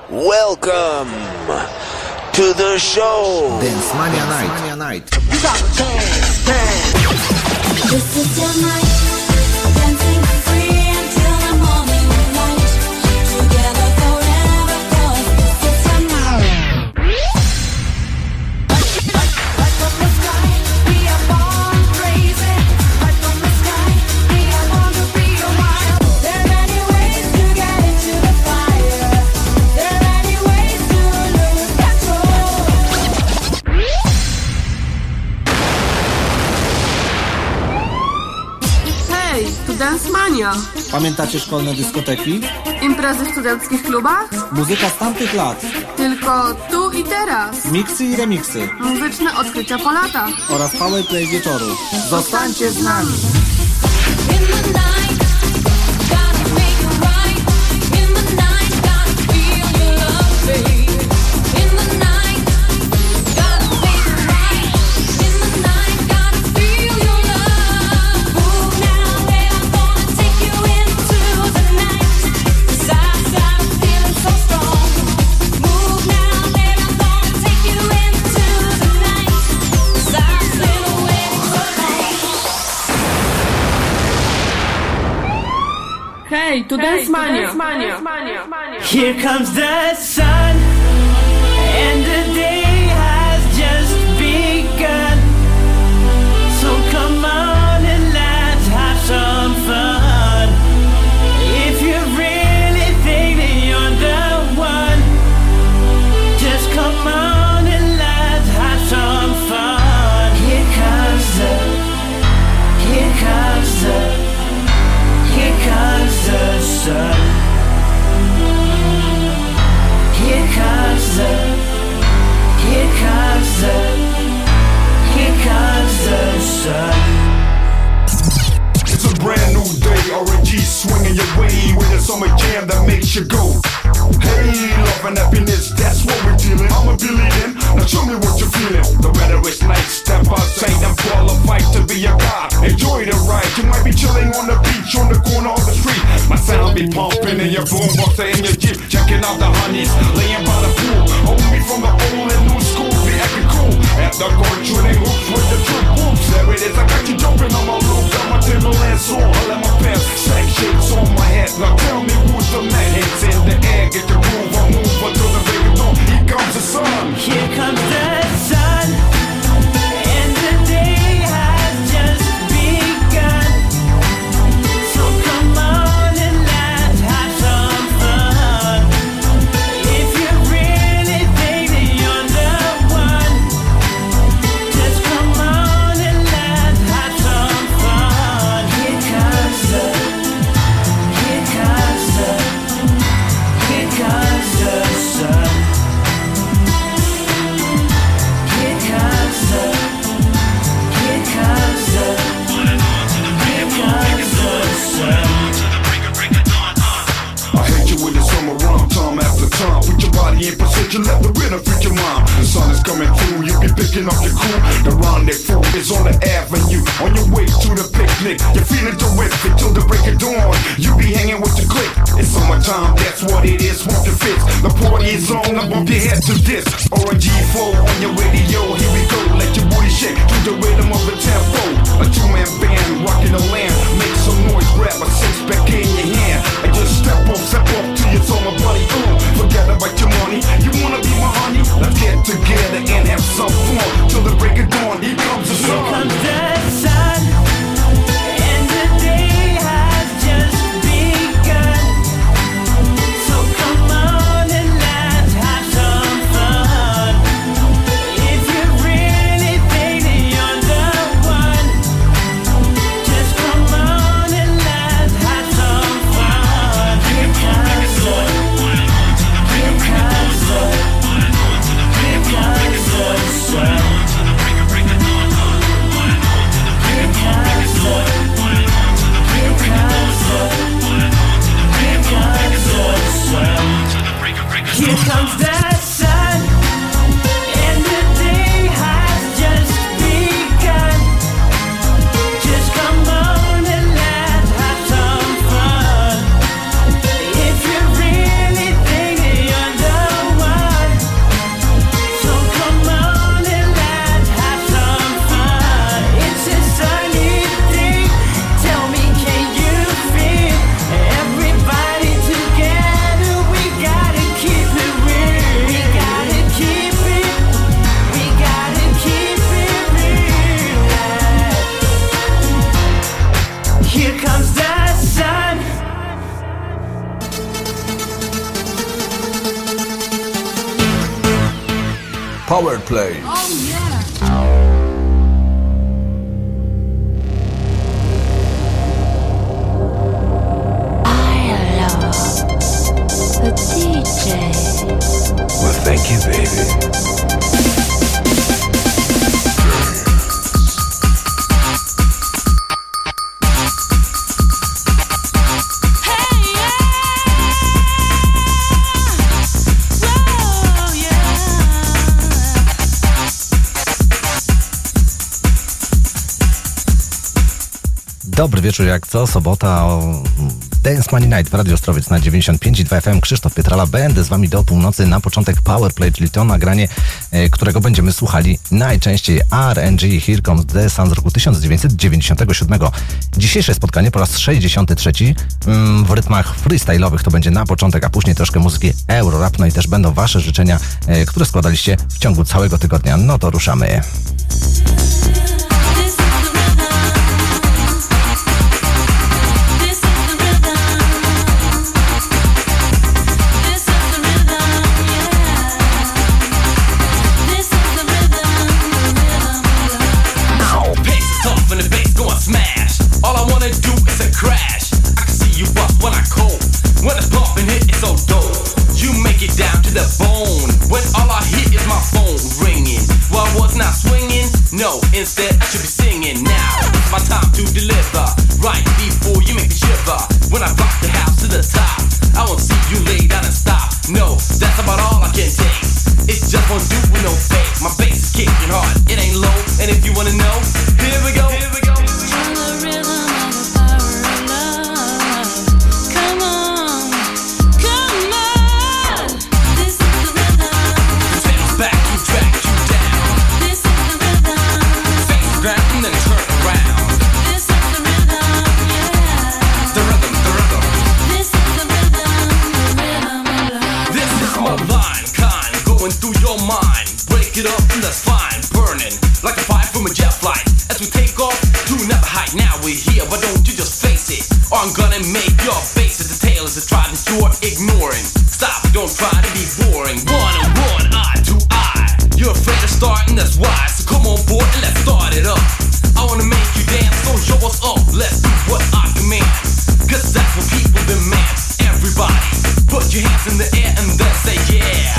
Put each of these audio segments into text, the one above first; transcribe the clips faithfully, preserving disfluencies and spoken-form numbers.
Welcome to the show. Dance Mania Night. Mania Night. This is your night. Dancing free until the morning light. Together forever, 'cause this is your night. Right from the sky, we are born crazy. Right from the sky, we are born to be wild. There are many ways to get into the fire. There are many ways to lose control. Hej, tu Dance Mania. Pamiętacie szkolne dyskoteki? Imprezy w studenckich klubach? Muzyka z tamtych lat. Tylko tu i teraz. Miksy i remiksy. Muzyczne odkrycia po latach. Oraz powerplay wieczoru. Zostańcie z nami! In the night, gotta make it right. In the night, gotta feel your love, babe. In the night, gotta make it right. In the night, gotta feel your love. Move now, babe, I'm gonna take you into the night. 'Cause I, I'm feeling so strong. Move now, babe, I'm gonna take you into the night. 'Cause I've been waiting so long. Hej, tu Dance Mania. Here comes the sun, and the day has just begun. So come on and let's have some fun. If you really think that you're the one, just come on and let's have some fun. Here comes the, here comes the, here comes the sun. Here comes the, here comes the, here comes the sun. It's a brand new day, R N G swinging your way with a summer jam that makes you go. Hey, love and happiness, that's what we're dealing. I'm a billion, now show me what you're feeling. The weather is nice, step outside and qualified to be a god. Enjoy the ride, you might be chilling on the beach, on the corner of the street. My sound be pumping in your boombox or in your Jeep, checking out the honeys, laying by the pool. Hold me from the old and new school, be acting cool. At the court, shooting hoops with the true whoops. There it is, I got you jumping on my roof, got my Timberlands on, I let my pants, sack shapes on my head. Now tell me who's the man, hands in the air, get the groove, I move until the break of dawn. Here comes the sun. Here comes the sun, and the day has just begun. So come on and let's have some fun. If you really think that you're the one, just come on and let's have some fun. Here comes the, here comes the, here comes the sun. Here comes the, here comes the, here comes the sun. I hate you with the summer rum, time after time. Put your body in position, let the rhythm freak your mind. The sun is coming through, you be picking up your crew. The rendezvous is on the avenue, on your way to the picnic. You're feeling terrific till the break of dawn. You be hanging with your clique. It's summertime, that's what it is, want your fits. The party is on, I bump your head to this. R N G flow on your radio, here we go. Let your booty shake to the rhythm of the tempo. A two-man band rocking the land. Make some noise, grab a six-pack in your hand. And just step up, step up till you told my buddy, ooh, forget about your money. You wanna be my honey? Let's get together and have some fun till the break of dawn. Here comes the Here sun. comes the sun, and the day has just begun. So come on and let's have some fun. If you really think that you're the one, just come on and let's have some fun. Here comes the, Powerplay. Oh yeah. The D J. Well, thank you, baby. Dobry wieczór, jak co sobota o Dance Money Night w Radio Ostrowiec na dziewięćdziesiąt pięć i dwa F M. Krzysztof Pietrala, będę z wami do północy. Na początek Powerplay, czyli to nagranie, e, którego będziemy słuchali najczęściej. R and G, Here Comes the Sun z roku tysiąc dziewięćset dziewięćdziesiątego siódmego. Dzisiejsze spotkanie po raz sześćdziesiąty trzeci mm, w rytmach freestyle'owych to będzie na początek, a później troszkę muzyki Eurorap, no i też będą wasze życzenia, e, które składaliście w ciągu całego tygodnia. No to ruszamy. No, instead I should be singing now. It's my time to deliver. Right before you make me shiver. When I rock the house to the top, I won't see you lay down and stop. No, that's about all I can take. It's just one do with no fake. My bass is kicking hard, it ain't low. And if you wanna know, here we go, here we go. That's fine, burning like a fire from a jet flight. As we take off to another height, now we're here. Why don't you just face it? Or I'm gonna make your face at the tail as a try that you're ignoring. Stop, don't try to be boring. One and one, eye to eye. You're afraid of starting, that's why. So come on board and let's start it up. I wanna make you dance, so show us up. Let's do what I command, cause that's what people demand. Everybody, put your hands in the air and then say yeah.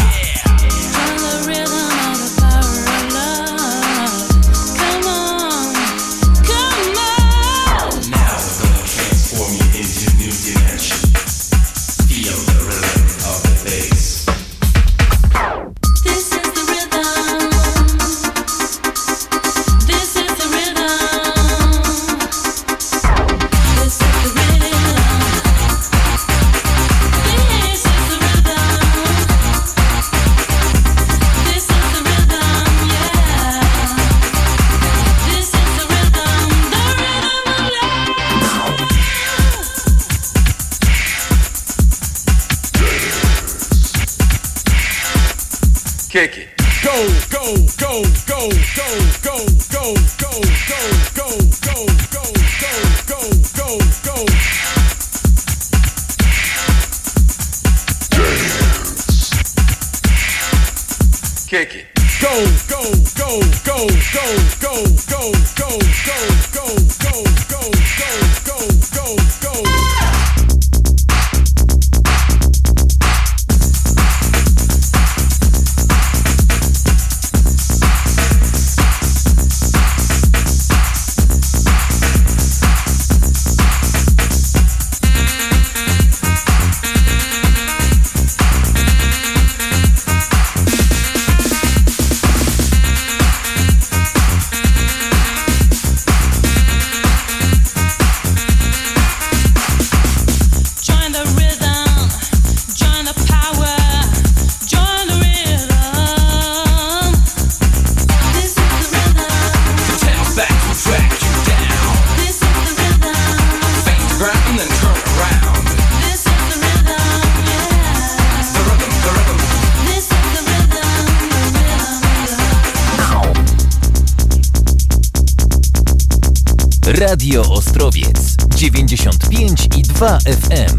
Kick it. Go, go, go, go, go, go, go, go, go, go, go, go, go, go, go, go. Dance. Kick it. Go, go, go, go, go, go, go, go, go, go, go, go, go, go, go, go. Radio Ostrowiec dziewięćdziesiąt pięć i dwa F M.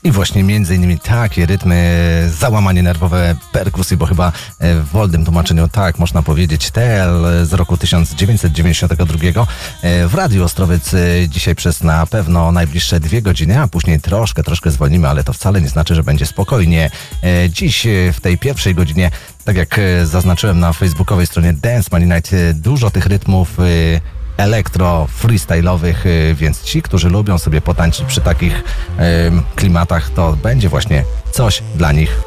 I właśnie między innymi takie rytmy, załamanie nerwowe perkusji, bo chyba w wolnym tłumaczeniu tak można powiedzieć, T L z roku tysiąc dziewięćset dziewięćdziesiątego drugiego w Radiu Ostrowiec dzisiaj przez na pewno najbliższe dwie godziny, a później troszkę, troszkę zwolnimy, ale to wcale nie znaczy, że będzie spokojnie. Dziś w tej pierwszej godzinie, tak jak zaznaczyłem na facebookowej stronie Dance Money Night, dużo tych rytmów elektro, freestyle'owych, więc ci, którzy lubią sobie potańczyć przy takich y, klimatach, to będzie właśnie coś dla nich.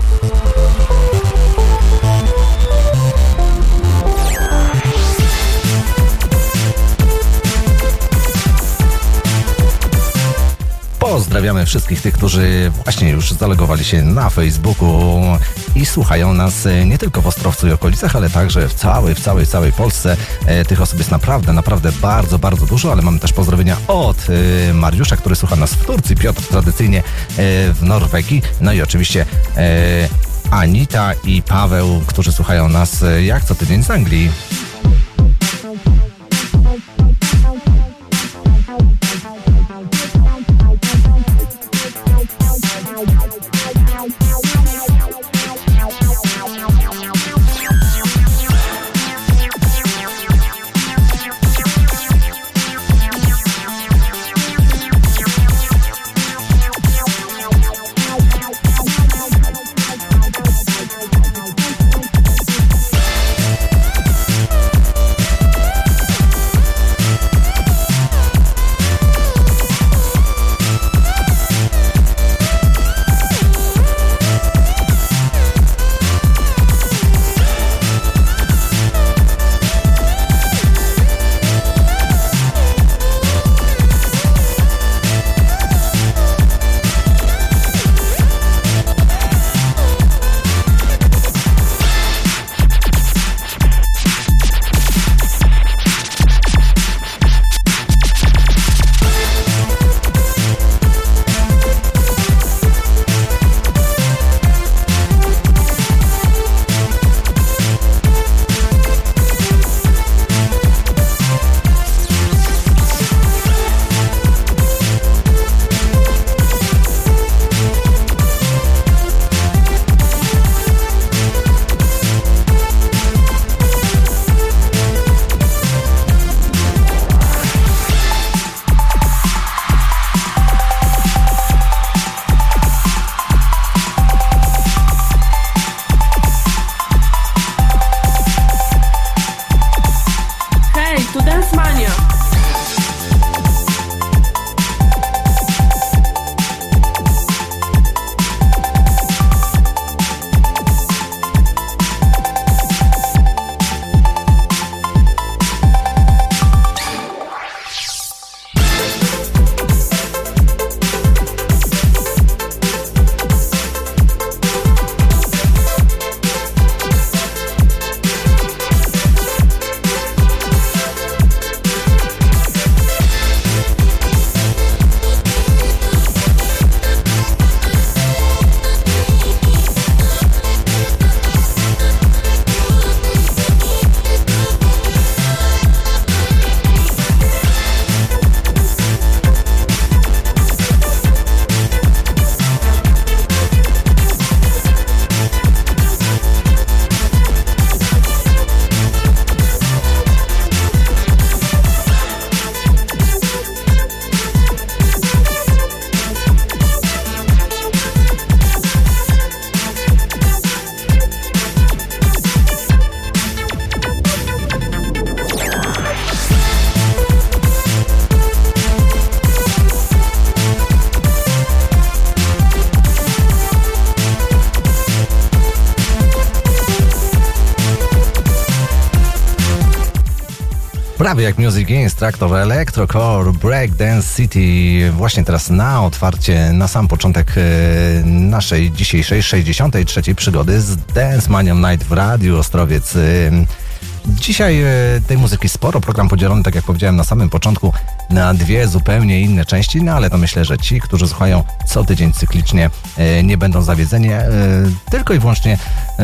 Pozdrawiamy wszystkich tych, którzy właśnie już zalegowali się na Facebooku i słuchają nas nie tylko w Ostrowcu i okolicach, ale także w całej, w całej, całej Polsce. Tych osób jest naprawdę, naprawdę bardzo, bardzo dużo, ale mamy też pozdrowienia od Mariusza, który słucha nas w Turcji, Piotr tradycyjnie w Norwegii, no i oczywiście Anita i Paweł, którzy słuchają nas jak co tydzień z Anglii. Prawie jak Music Instructor, Electrocore, Breakdance City. Właśnie teraz na otwarcie, na sam początek naszej dzisiejszej sześćdziesiątej trzeciej przygody z Dance Money Night w Radiu Ostrowiec. Dzisiaj tej muzyki sporo, program podzielony, tak jak powiedziałem na samym początku, na dwie zupełnie inne części, no ale to myślę, że ci, którzy słuchają co tydzień cyklicznie, nie będą zawiedzeni, tylko i wyłącznie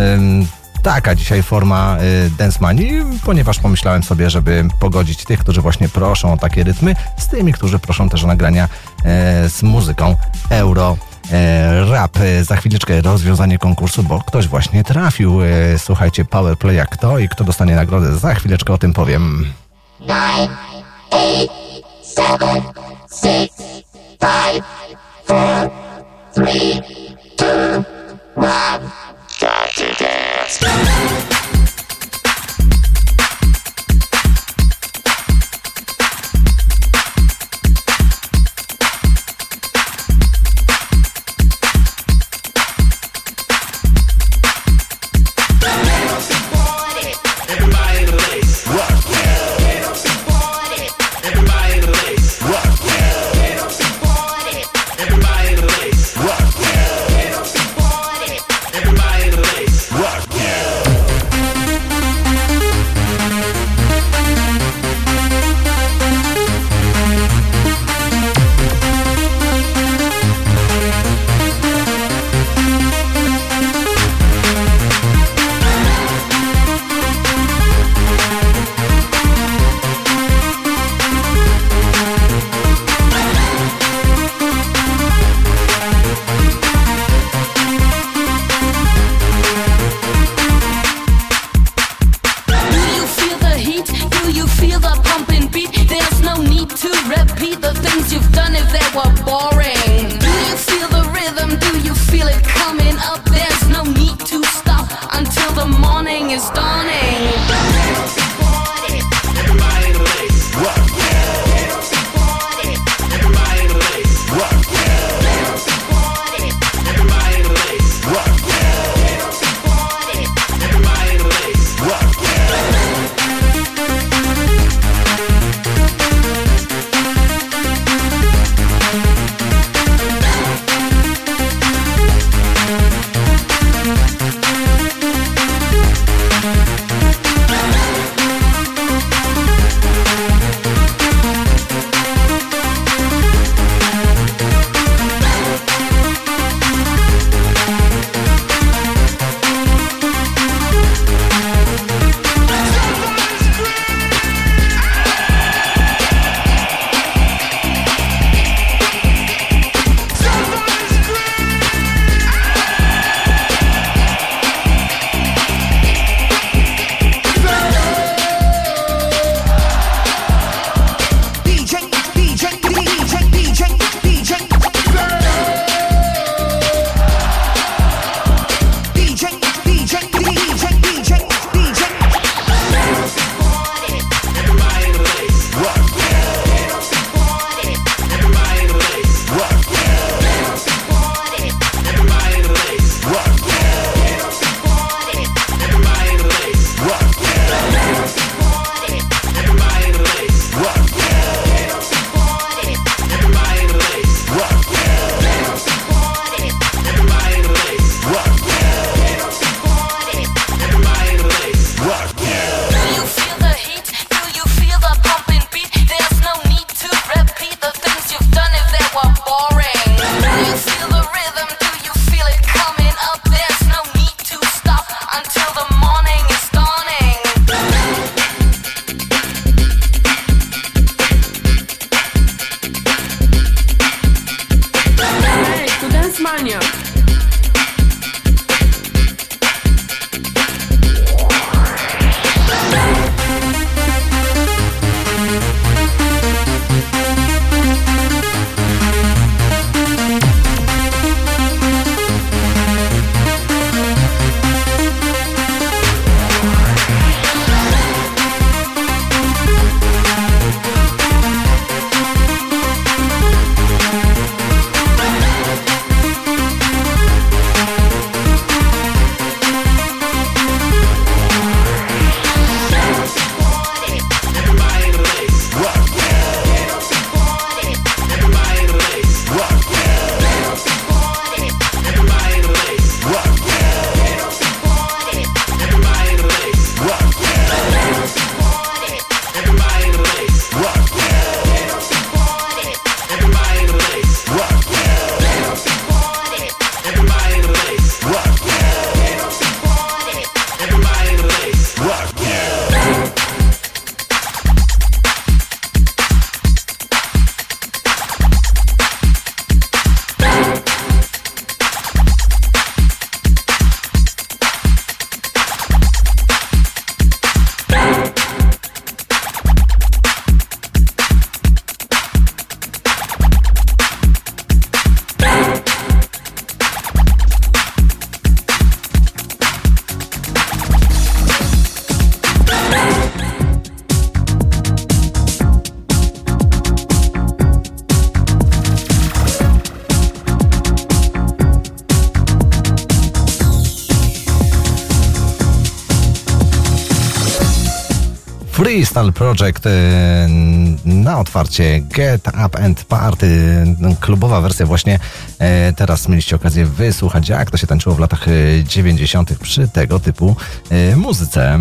taka dzisiaj forma Dance Money, ponieważ pomyślałem sobie, żeby pogodzić tych, którzy właśnie proszą o takie rytmy, z tymi, którzy proszą też o nagrania z muzyką euro e, rap. Za chwileczkę rozwiązanie konkursu, bo ktoś właśnie trafił. E, słuchajcie, Powerplaya kto i kto dostanie nagrodę. Za chwileczkę o tym powiem. nine, eight, seven, six, five, four, three, two, one. Got to dance. Freestyle Project na otwarcie Get Up and Party, klubowa wersja właśnie. Teraz mieliście okazję wysłuchać, jak to się tańczyło w latach dziewięćdziesiątych przy tego typu muzyce.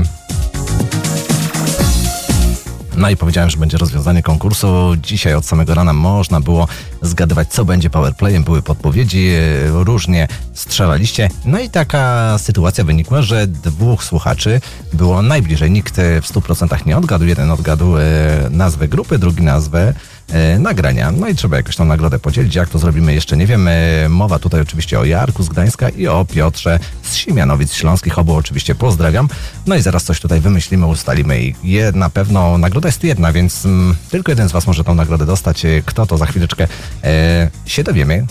No i powiedziałem, że będzie rozwiązanie konkursu. Dzisiaj od samego rana można było zgadywać, co będzie powerplayem. Były podpowiedzi, różnie strzelaliście. No i taka sytuacja wynikła, że dwóch słuchaczy było najbliżej. Nikt w stu procentach nie odgadł. Jeden odgadł nazwę grupy, drugi nazwę nagrania. No i trzeba jakoś tą nagrodę podzielić. Jak to zrobimy, jeszcze nie wiem. Mowa tutaj oczywiście o Jarku z Gdańska i o Piotrze z Siemianowic Śląskich. Obu oczywiście pozdrawiam. No i zaraz coś tutaj wymyślimy, ustalimy i je, na pewno nagroda jest jedna, więc mm, tylko jeden z Was może tą nagrodę dostać. Kto to, za chwileczkę e, się dowiemy.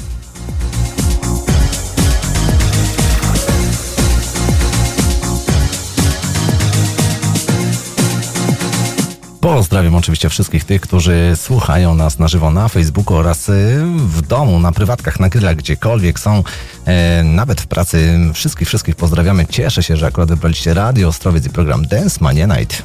Pozdrawiam oczywiście wszystkich tych, którzy słuchają nas na żywo na Facebooku oraz w domu, na prywatkach, na grillach, gdziekolwiek są, e, nawet w pracy. Wszystkich, wszystkich pozdrawiamy. Cieszę się, że akurat wybraliście Radio Ostrowiec i program Dance Mania Night.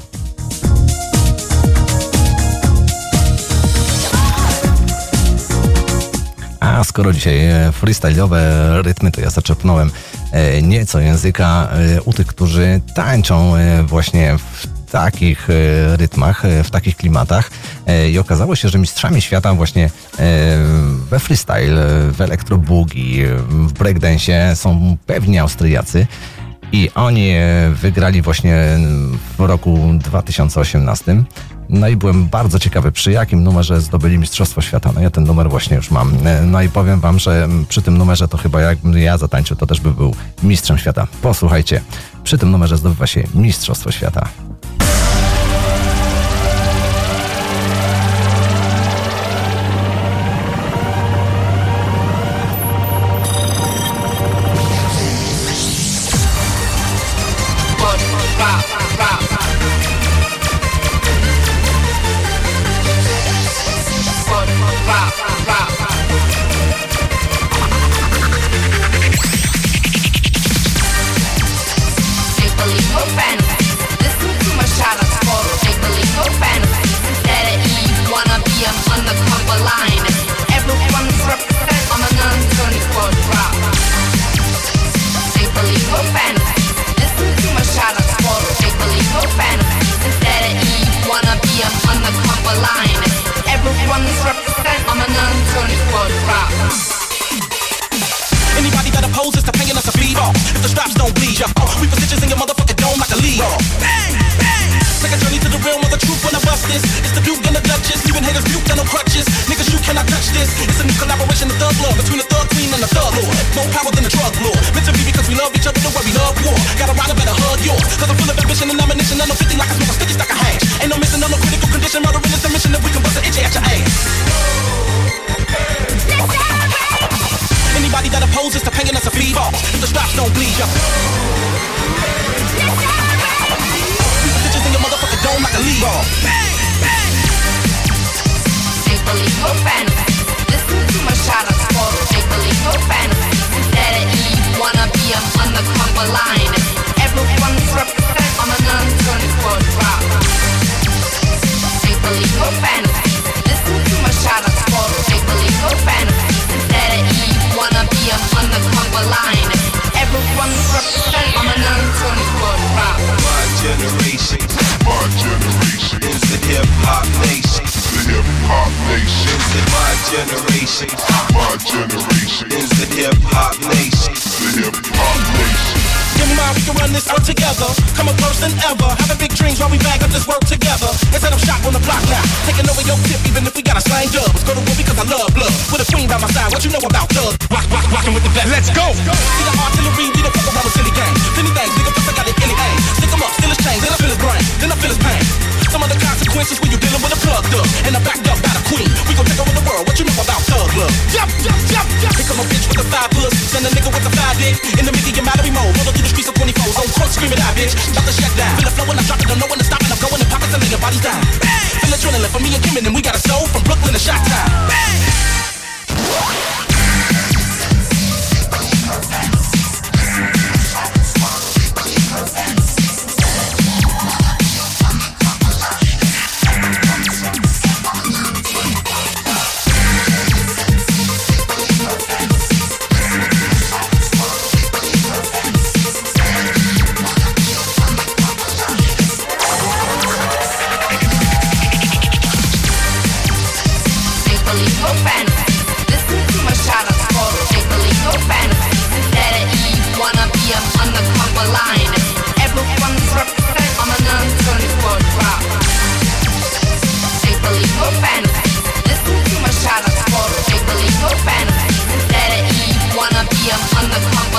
A skoro dzisiaj freestyle'owe rytmy, to ja zaczerpnąłem e, nieco języka e, u tych, którzy tańczą e, właśnie w takich rytmach, w takich klimatach i okazało się, że mistrzami świata właśnie we freestyle, w elektroboogie, w breakdance są pewni Austriacy i oni wygrali właśnie w roku dwa tysiące osiemnastym. No i byłem bardzo ciekawy, przy jakim numerze zdobyli Mistrzostwo Świata. No ja ten numer właśnie już mam. No i powiem wam, że przy tym numerze to chyba jakbym ja zatańczył, to też by był mistrzem świata. Posłuchajcie, przy tym numerze zdobywa się Mistrzostwo Świata.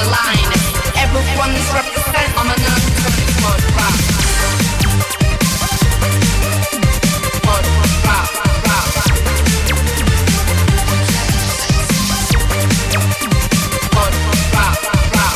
the line. Everyone is represented on an uncontrolled rock. Rock, rock, rock. Rock, rock, rock.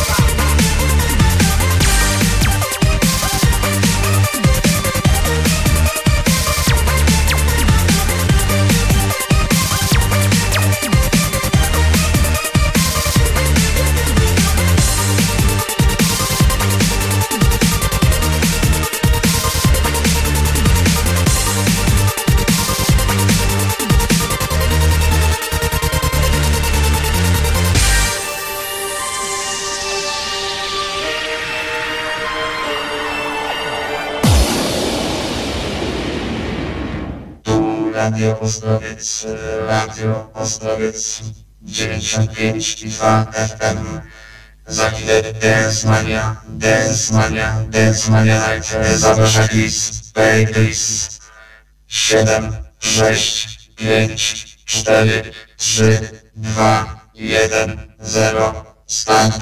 Radio Ostrowiec, Radio Ostrowiec dziewięćdziesiąt pięć i dwa F M. Za chwilę Dance Mania, Dance Mania, Dance Mania Night. Zaprasza Chris, Play Chris. siedem, sześć, pięć, cztery, trzy, dwa, jeden, zero, start.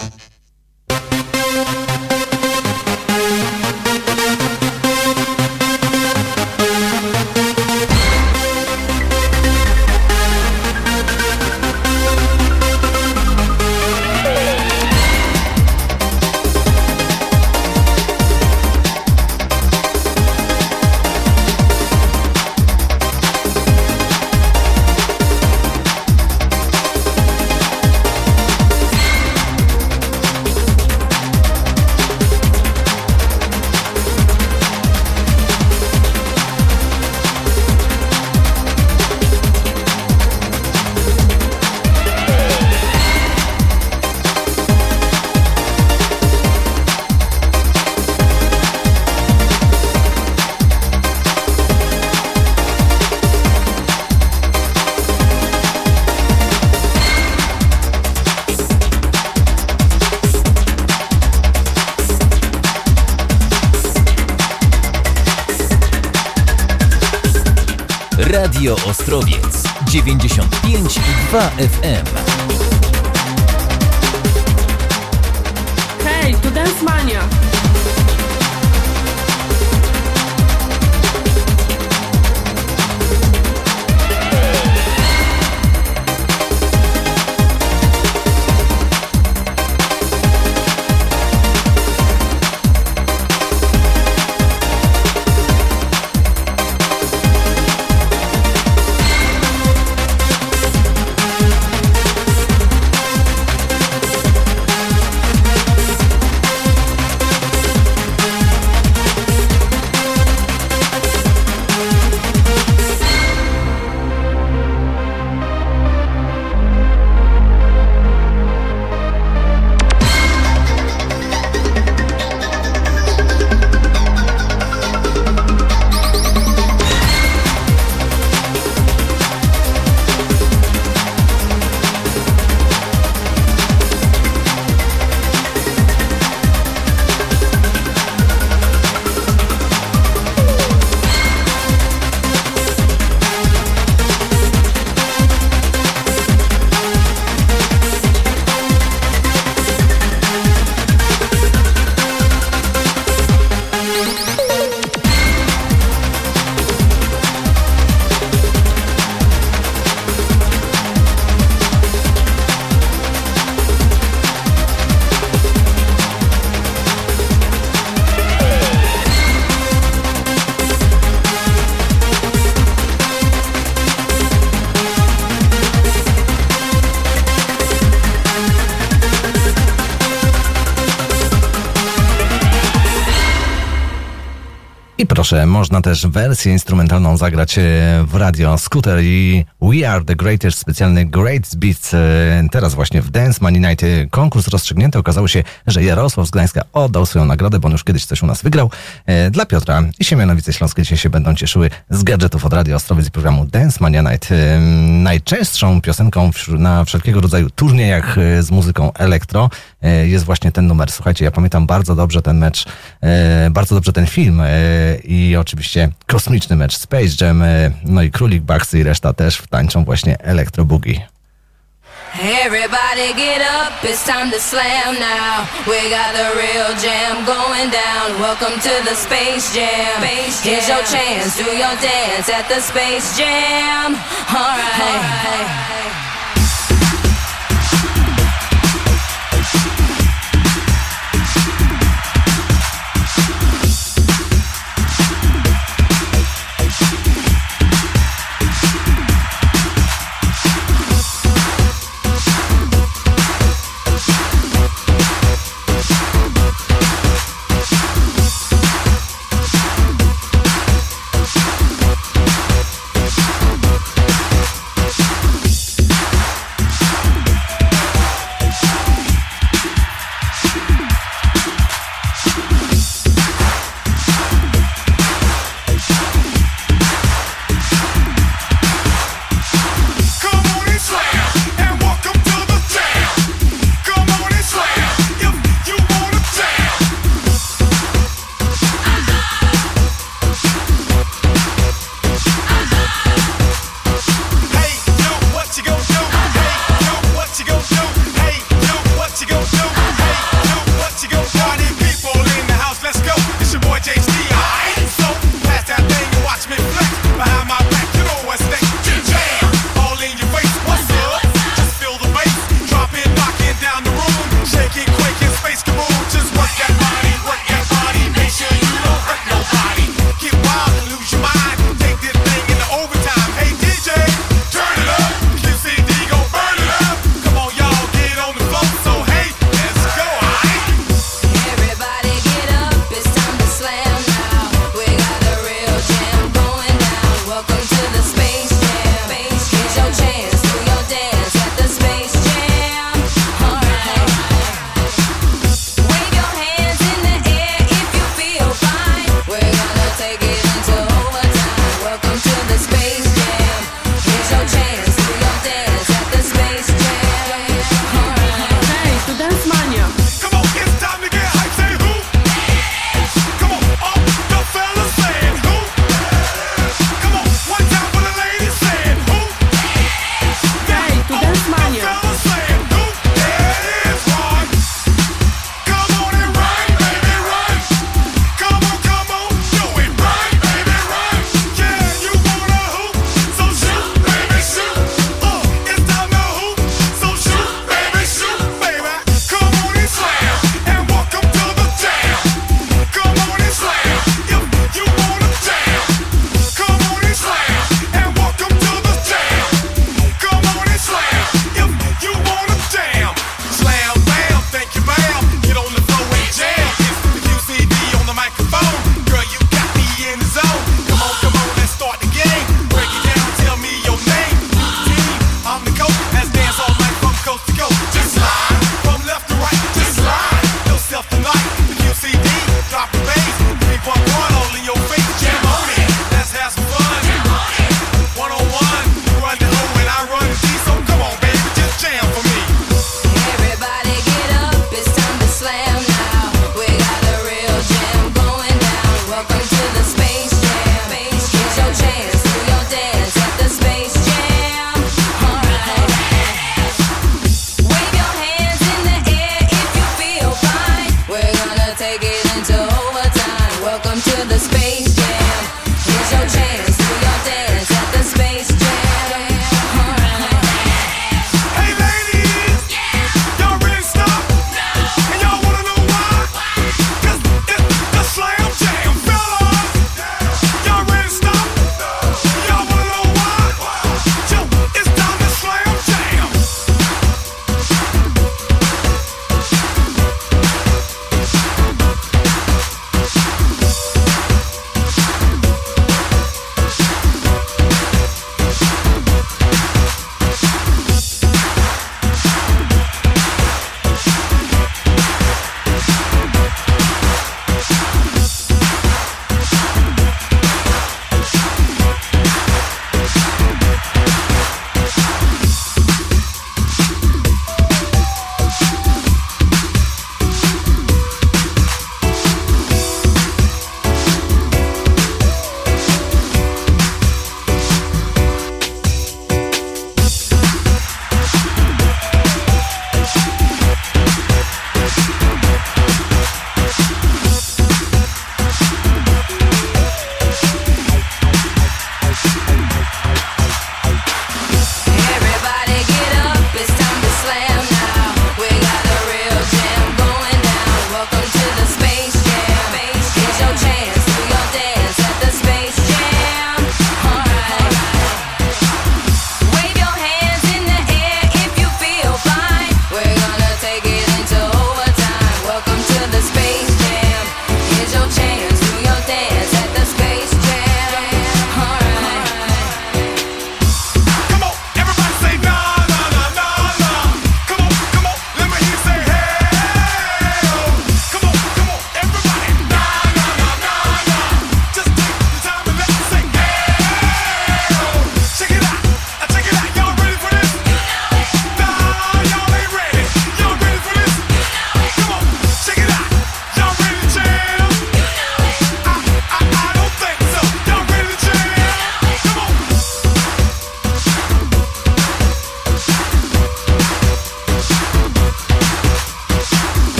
Radio Ostrowiec dziewięćdziesiąt pięć i dwa F M. Hej, tu Dance Mania. Proszę, można też wersję instrumentalną zagrać w Radio Scooter i We Are The Greatest, specjalny Great Beats. Teraz właśnie w Dance Money Night konkurs rozstrzygnięty. Okazało się, że Jarosław z Gdańska oddał swoją nagrodę, bo on już kiedyś coś u nas wygrał. Dla Piotra i Siemianowice Śląskie dzisiaj się będą cieszyły z gadżetów od Radio Ostrowiec i programu Dance Mania Night. Najczęstszą piosenką na wszelkiego rodzaju turniejach z muzyką elektro jest właśnie ten numer. Słuchajcie, ja pamiętam bardzo dobrze ten mecz, bardzo dobrze ten film i oczywiście kosmiczny mecz Space Jam, no i Królik, Baxy i reszta też tańczą właśnie Electro Boogie. Everybody get up, it's time to slam now. We got the real jam going down. Welcome to the Space Jam. Space Jam. Here's your chance, do your dance at the Space Jam. Alright. Alright.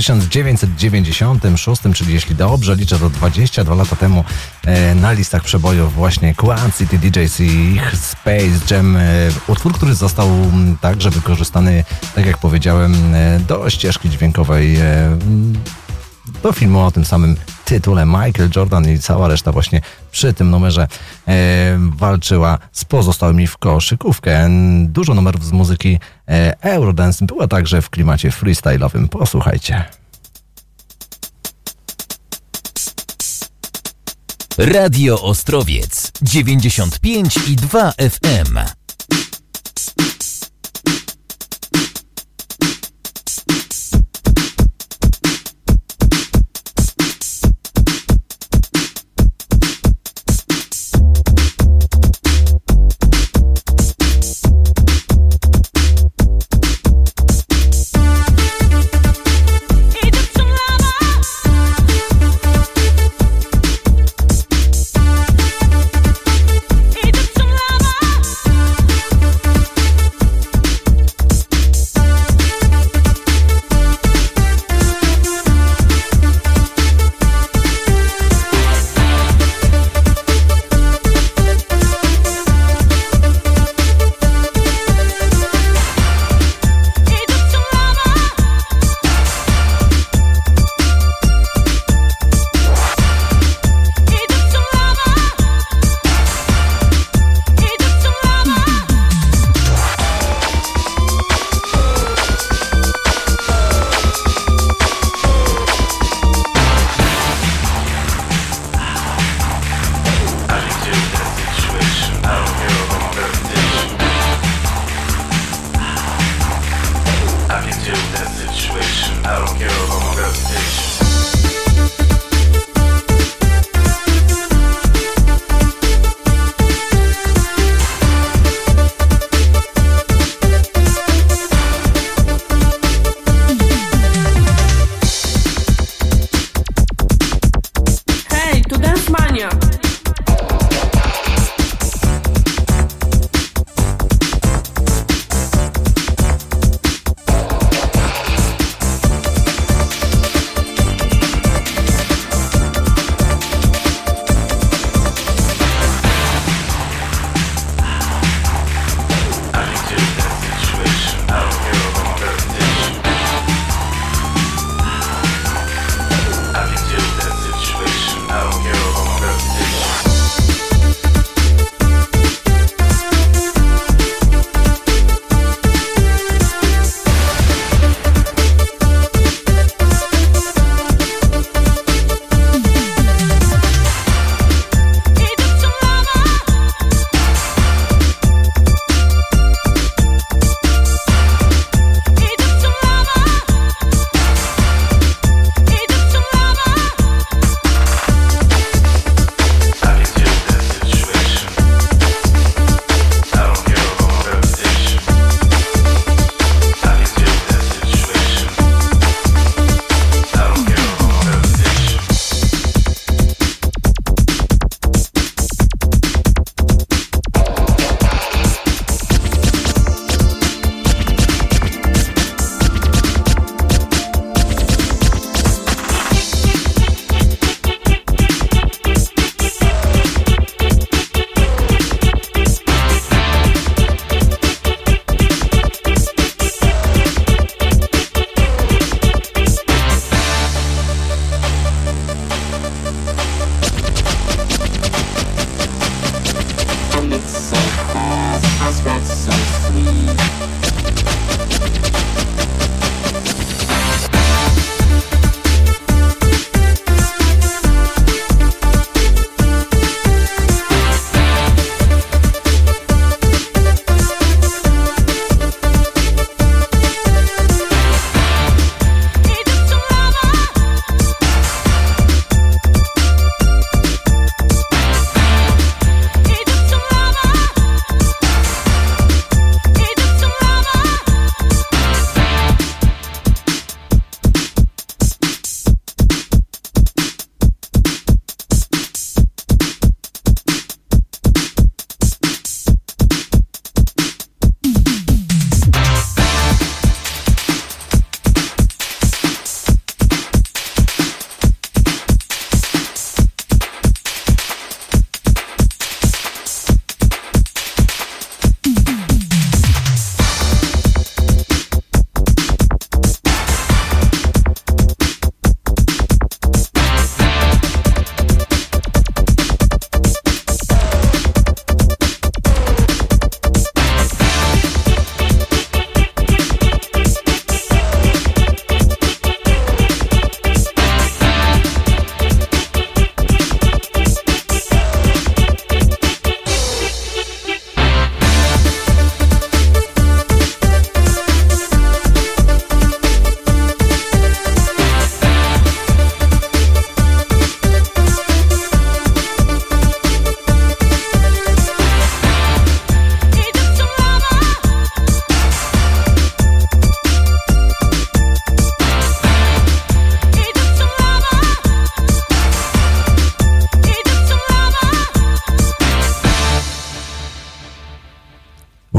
tysiąc dziewięćset dziewięćdziesiątym szóstym, czyli jeśli dobrze liczę, to dwadzieścia dwa lata temu e, na listach przebojów właśnie Quad City D Js i ich Space Jam. E, utwór, który został m, także wykorzystany, tak jak powiedziałem, e, do ścieżki dźwiękowej e, do filmu o tym samym tytule. Michael Jordan i cała reszta właśnie przy tym numerze e, walczyła z pozostałymi w koszykówkę. Dużo numerów z muzyki e, Eurodance była także w klimacie freestyle'owym. Posłuchajcie. Radio Ostrowiec dziewięćdziesiąt pięć i dwa F M. Egypt, some lava.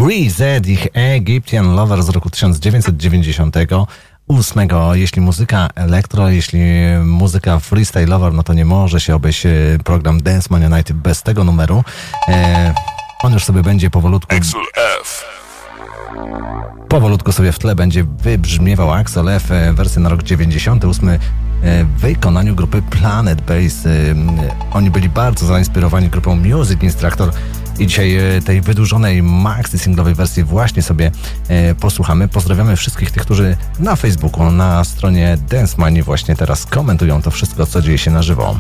Breeze, ich Egyptian Lover z roku tysiąc dziewięćset dziewięćdziesiątego ósmego. Jeśli muzyka elektro, jeśli muzyka freestyle'owa, no to nie może się obejść program Dance Mania Night bez tego numeru. E, on już sobie będzie powolutku... Axel F. Powolutku sobie w tle będzie wybrzmiewał Axel F, wersja na rok dziewięćdziesiąty ósmy w wykonaniu grupy Planet Base. Oni byli bardzo zainspirowani grupą Music Instructor i dzisiaj tej wydłużonej maxi singlowej wersji właśnie sobie posłuchamy. Pozdrawiamy wszystkich tych, którzy na Facebooku, na stronie Dance Mania właśnie teraz komentują to wszystko, co dzieje się na żywo.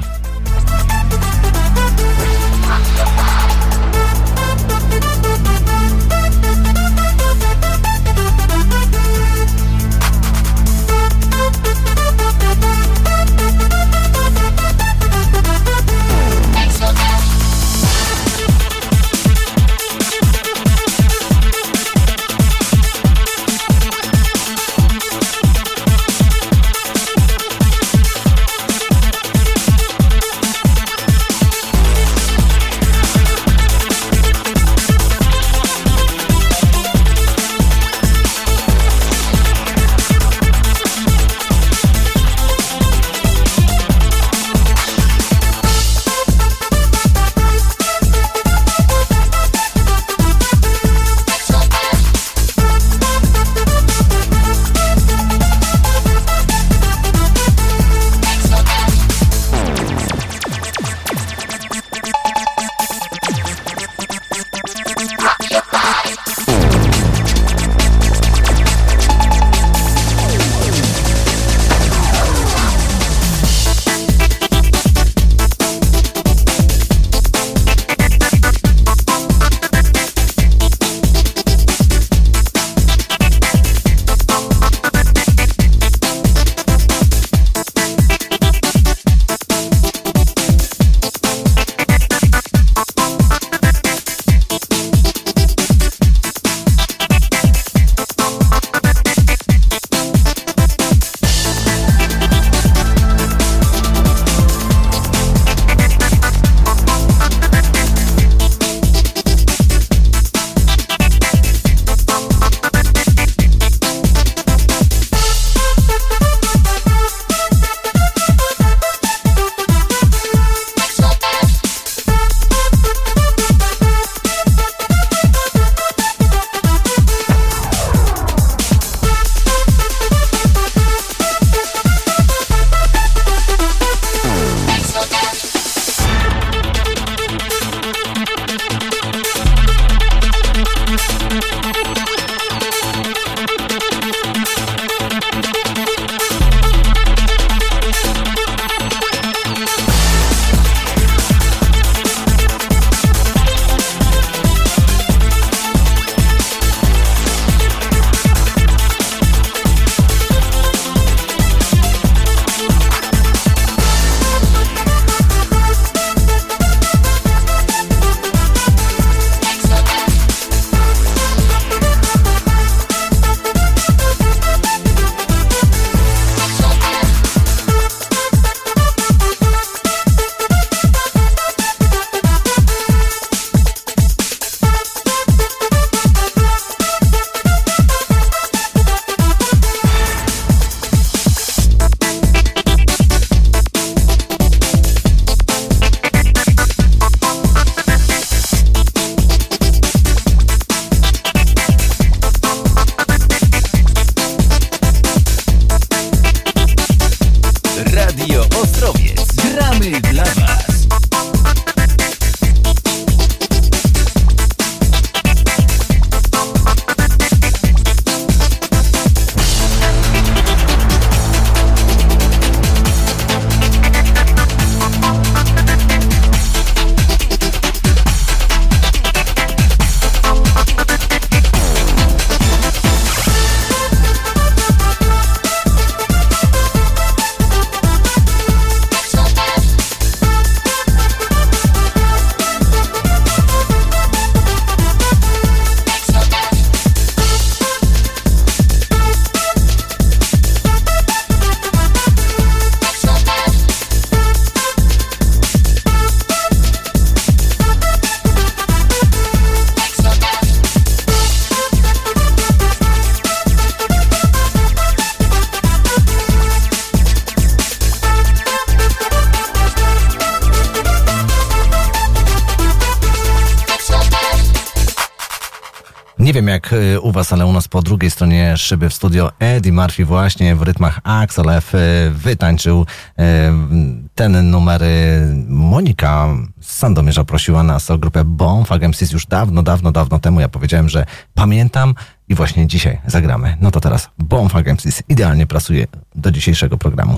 Nie wiem jak u was, ale u nas po drugiej stronie szyby w studio Eddie Murphy właśnie w rytmach Axel F wytańczył ten numer. Monika z Sandomierza prosiła nas o grupę Bonfag M Cs już dawno, dawno, dawno temu. Ja powiedziałem, że pamiętam i właśnie dzisiaj zagramy. No to teraz Bonfag M Cs idealnie pasuje do dzisiejszego programu.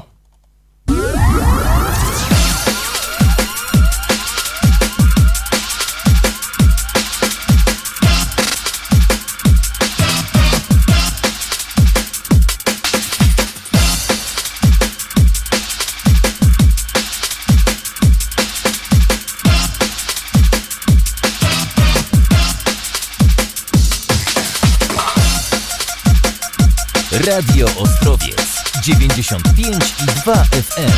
Radio Ostrowiec dziewięćdziesiąt pięć i dwa F M.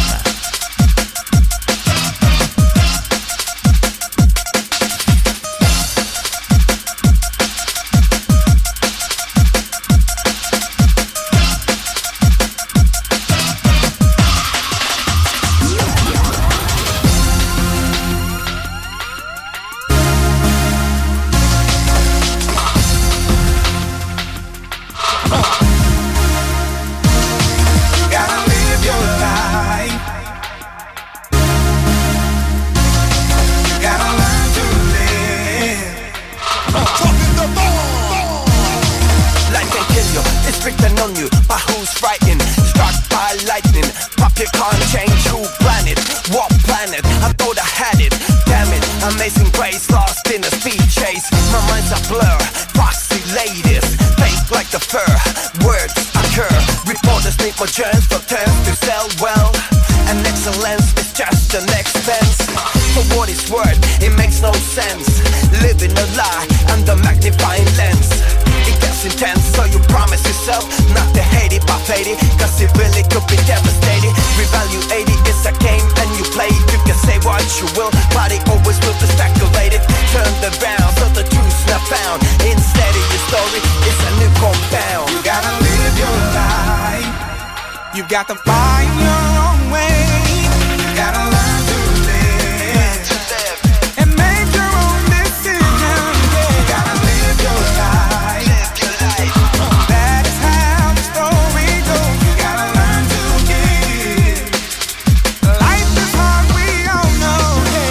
Got to find your own way. Gotta learn to live, to live. And make your own decisions. Yeah. Gotta live your life, live your life. Uh. That is how the story goes. You gotta learn to give. Life is hard, we all know.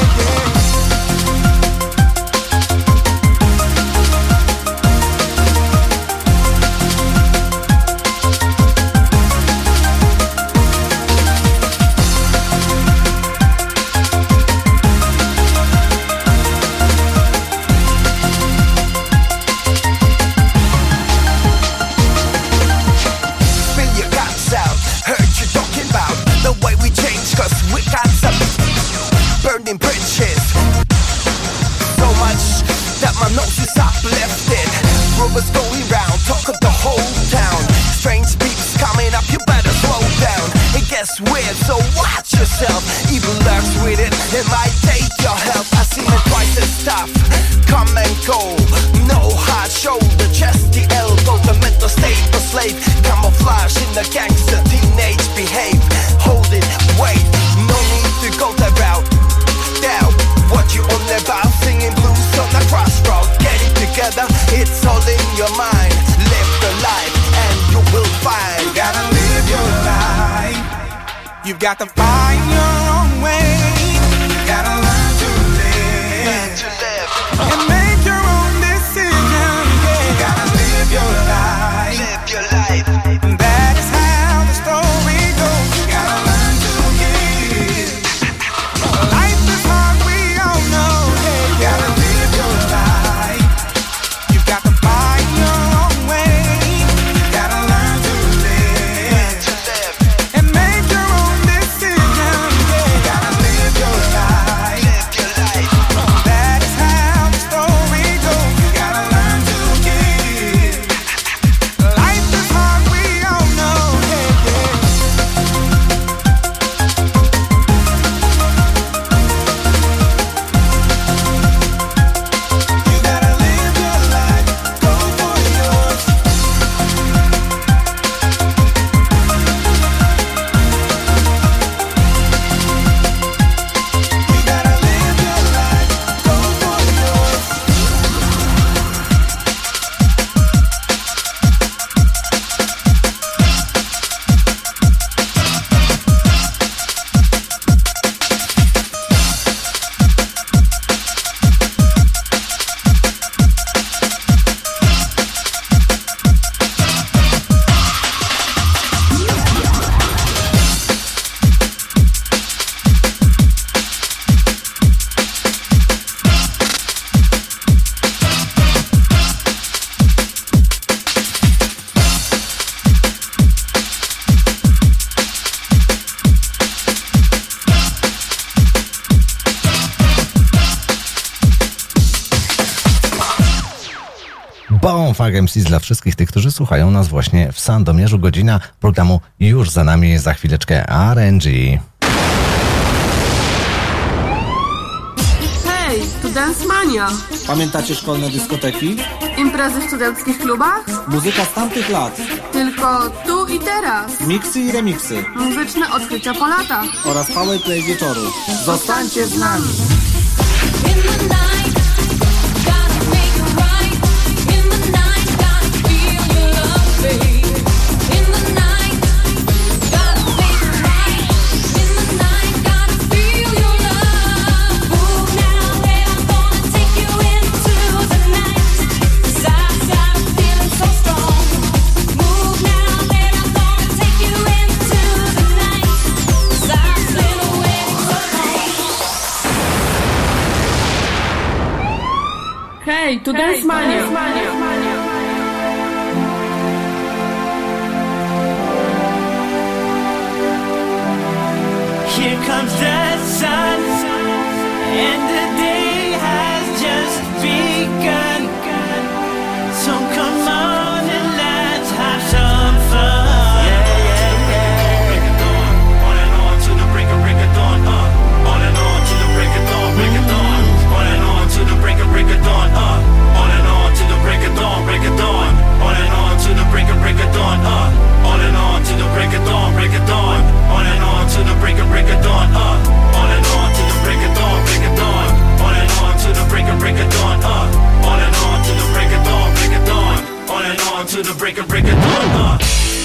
Got to find your own way. Gotta learn to live, to live. And make your own decisions. Yeah. Gotta live your life, live your life. That is how the story goes. You gotta learn to give. Life is hard, we all know. Yeah. Gotta live your life. You got to find your own way. Gotta learn to live, to live. And make your own decisions. Funk M Cs dla wszystkich tych, którzy słuchają nas właśnie w Sandomierzu. Godzina programu już za nami, za chwileczkę R and G. Hej, tu Dance Mania. Pamiętacie szkolne dyskoteki? Imprezy w studenckich klubach? Muzyka z tamtych lat. Tylko tu i teraz. Miksy i remiksy. Muzyczne odkrycia po latach. Oraz powerplay wieczoru. Zostańcie z nami. Hej, tu Dance Mania. Here comes the sun, and the day has just begun. So come on and let's have some fun. Yeah, yeah, yeah. Break it dawn, on and on to the break of break of dawn. Uh, on and on to the break of dawn, break of dawn. On and on to the break of break of dawn. Uh, on and on to the break of dawn, break of dawn. On and on to the break of break of dawn. Uh, on and on to the break of dawn, break of dawn. On and on to the break of break of dawn. Uh, on and on to the break of dawn, break of dawn. On and on to the break of break of dawn. Uh, on and on to the break of dawn, break of dawn. On and on to the break of break of dawn. Uh.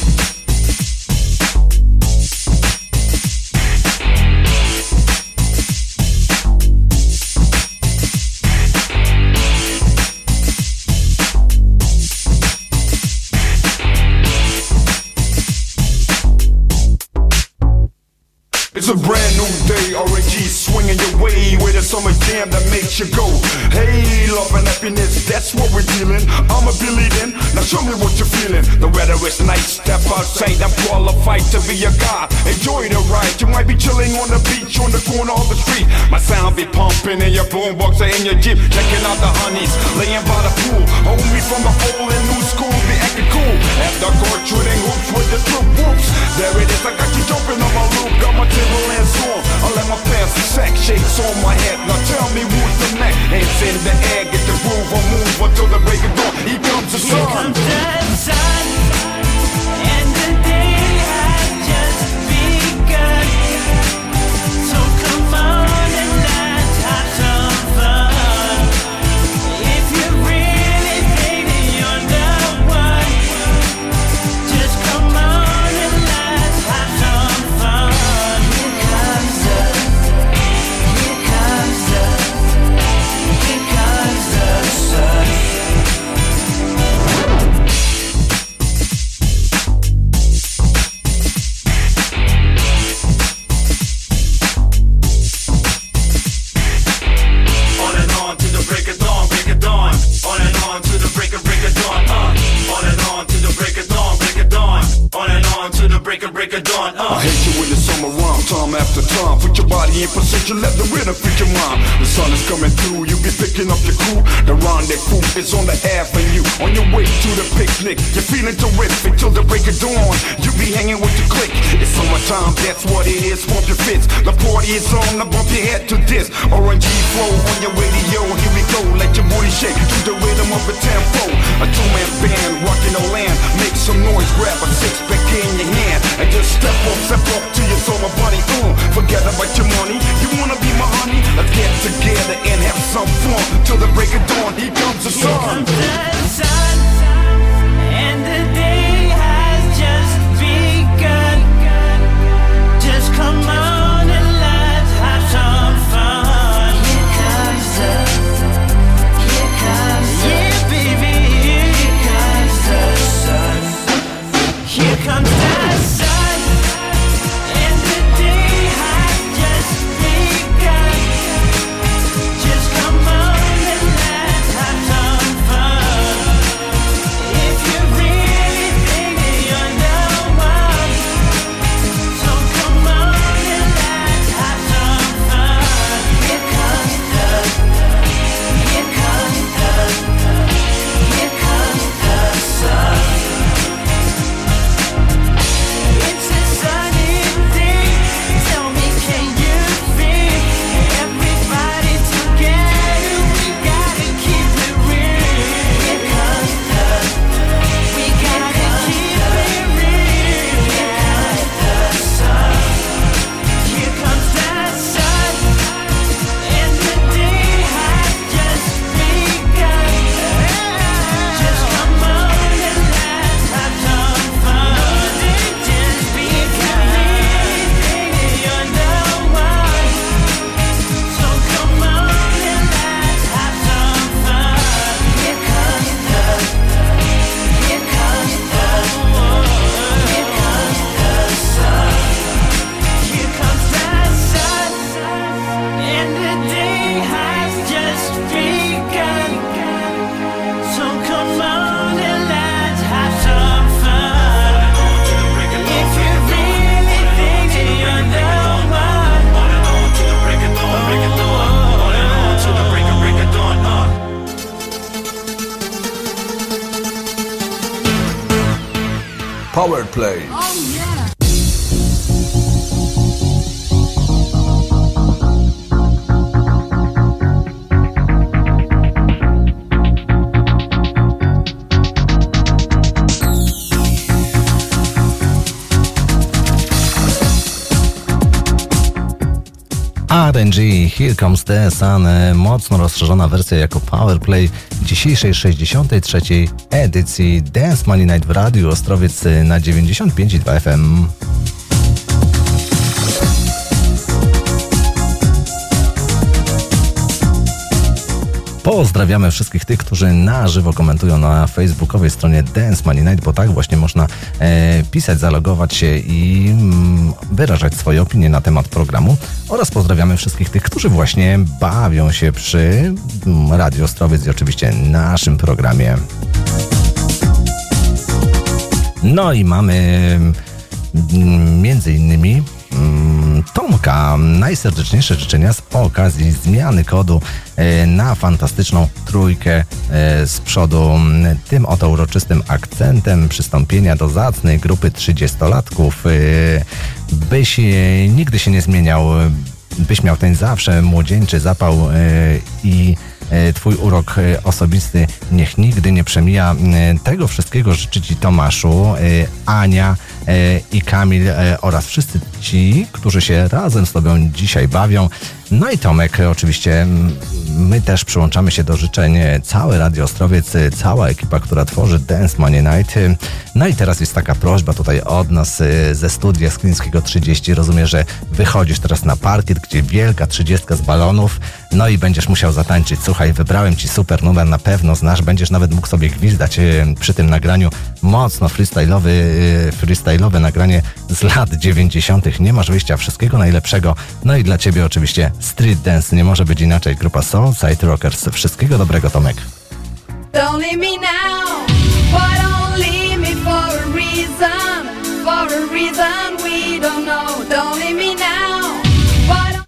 It's a brand new day, R and G swinging your way with a summer jam that makes you go, hey, love and happiness, that's what we're dealing. I'm a Billy then, now show me what you're feeling. The weather is nice, step outside, I'm qualified to be a guy. Enjoy the ride, you might be chilling on the beach, on the corner of the street. My sound be pumping in your boombox or in your Jeep, checking out the honeys, laying by the pool. Hold me from the old and new school, be acting cool. After court, shooting hoops with the troop whoops. There it is, I got you jumping on my loop, got my Timberlands on. I let my pants sack, shakes on my head. Now tell me who's the neck. Hands in the air, get the groove or move until the break of dawn. Here comes the sun. Here comes the sun, and the day has just begun. So come on and let's have some fun. If you're really baby, you're the one. Just come on and let's have some fun. Here comes the, here comes the, here comes the sun. On and on to the break of dawn, break of dawn. On and on to the break of break of dawn. Uh. On and on to the break of dawn, break of dawn. On and on to the break of break of dawn. Uh. I hate you when the summer rhyme, time after time. Put your body in position, let the rhythm fit your mind. The sun is coming through, you be picking up your crew. The rendezvous is on the avenue. On your way to the picnic, you're feeling terrific till the break of dawn. You be hanging with the clique. It's summertime, that's what it is. Pump your fits. The party is on, now bump your head to this. R and G flow on your radio. Here we go, let your booty shake to the rhythm of a tempo. A two-man band rocking the land. Make some noise, grab a six-pack in your hand and just step up, step up to your summer body. Ooh, forget about your money. You wanna be my honey? Let's get together and have some fun till the break of dawn. Here comes the sun. Here comes the sun, and the day has just begun. Just come on and let's have some fun. Here comes the, here comes the, yeah, baby. Here comes the sun. Here comes the sun, and the day has just begun. Just come on and let's have some fun. Powerplay. Oh yeah. R and G, Here Comes the Sun, mocno rozszerzona wersja jako Powerplay dzisiejszej sześćdziesiątej trzeciej edycji Dance Money Night w Radiu Ostrowiec na dziewięćdziesiąt pięć i dwa F M. Pozdrawiamy wszystkich tych, którzy na żywo komentują na facebookowej stronie Dance Money Night, bo tak właśnie można e, pisać, zalogować się i mm, wyrażać swoje opinie na temat programu. Oraz pozdrawiamy wszystkich tych, którzy właśnie bawią się przy mm, Radio Ostrowiec i oczywiście naszym programie. No i mamy mm, między innymi Tomka, najserdeczniejsze życzenia z okazji zmiany kodu na fantastyczną trójkę z przodu. Tym oto uroczystym akcentem przystąpienia do zacnej grupy trzydziestolatków, byś nigdy się nie zmieniał, byś miał ten zawsze młodzieńczy zapał i Twój urok osobisty niech nigdy nie przemija. Tego wszystkiego życzy Ci Tomaszu, Ania i Kamil oraz wszyscy ci, którzy się razem z Tobą dzisiaj bawią. No i Tomek, oczywiście my też przyłączamy się do życzeń, całe Radio Ostrowiec, cała ekipa, która tworzy Dance Money Night. No i teraz jest taka prośba tutaj od nas ze studia Sklińskiego trzydzieści. Rozumiem, że wychodzisz teraz na parkiet, gdzie wielka trzydziestka z balonów, no i będziesz musiał zatańczyć. Słuchaj, wybrałem Ci super numer, na pewno znasz, będziesz nawet mógł sobie gwizdać przy tym nagraniu. Mocno freestyle'owy, freestyle'owe nagranie z lat dziewięćdziesiątych. Nie masz wyjścia, wszystkiego najlepszego. No i dla Ciebie oczywiście Street Dance, nie może być inaczej. Grupa Soulside Rockers. Wszystkiego dobrego, Tomek. Don't leave me now, but don't leave me for a reason, for a reason we don't know. Don't leave me now, but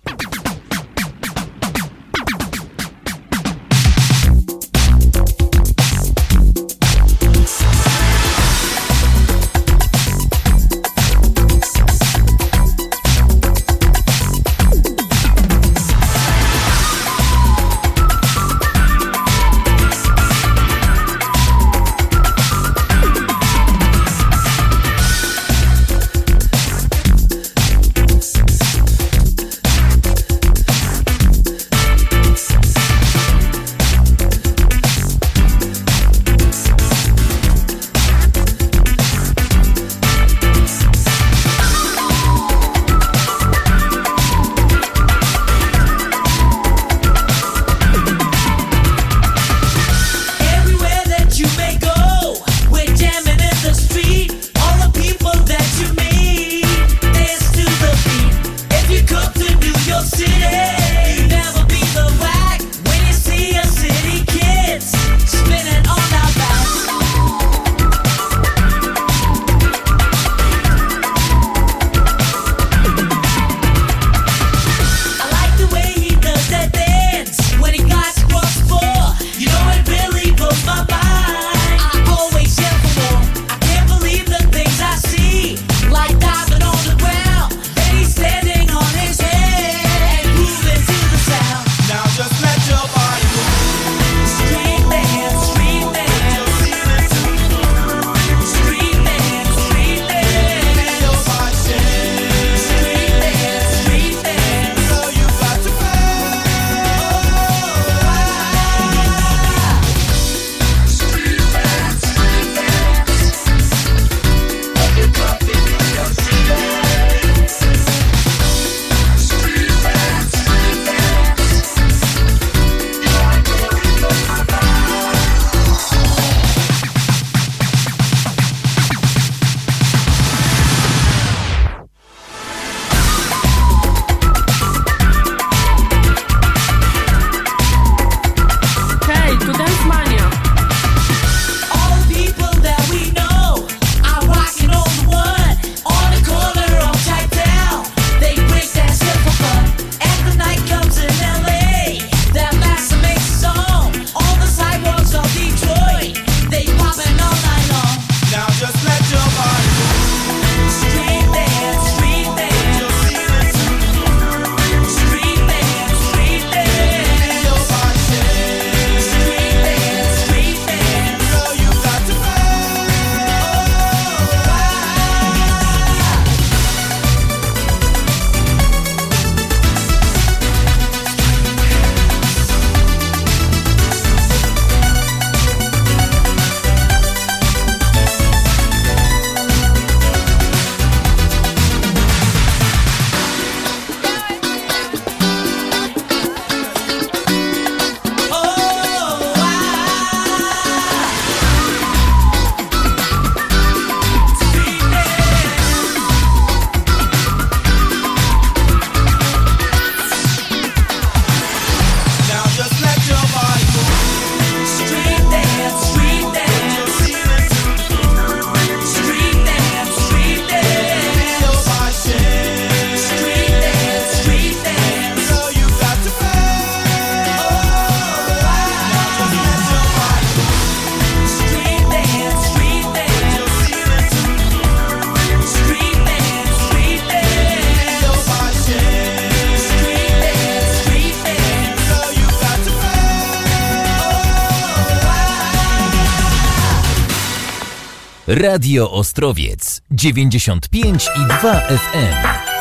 Radio Ostrowiec dziewięćdziesiąt pięć i dwa F M.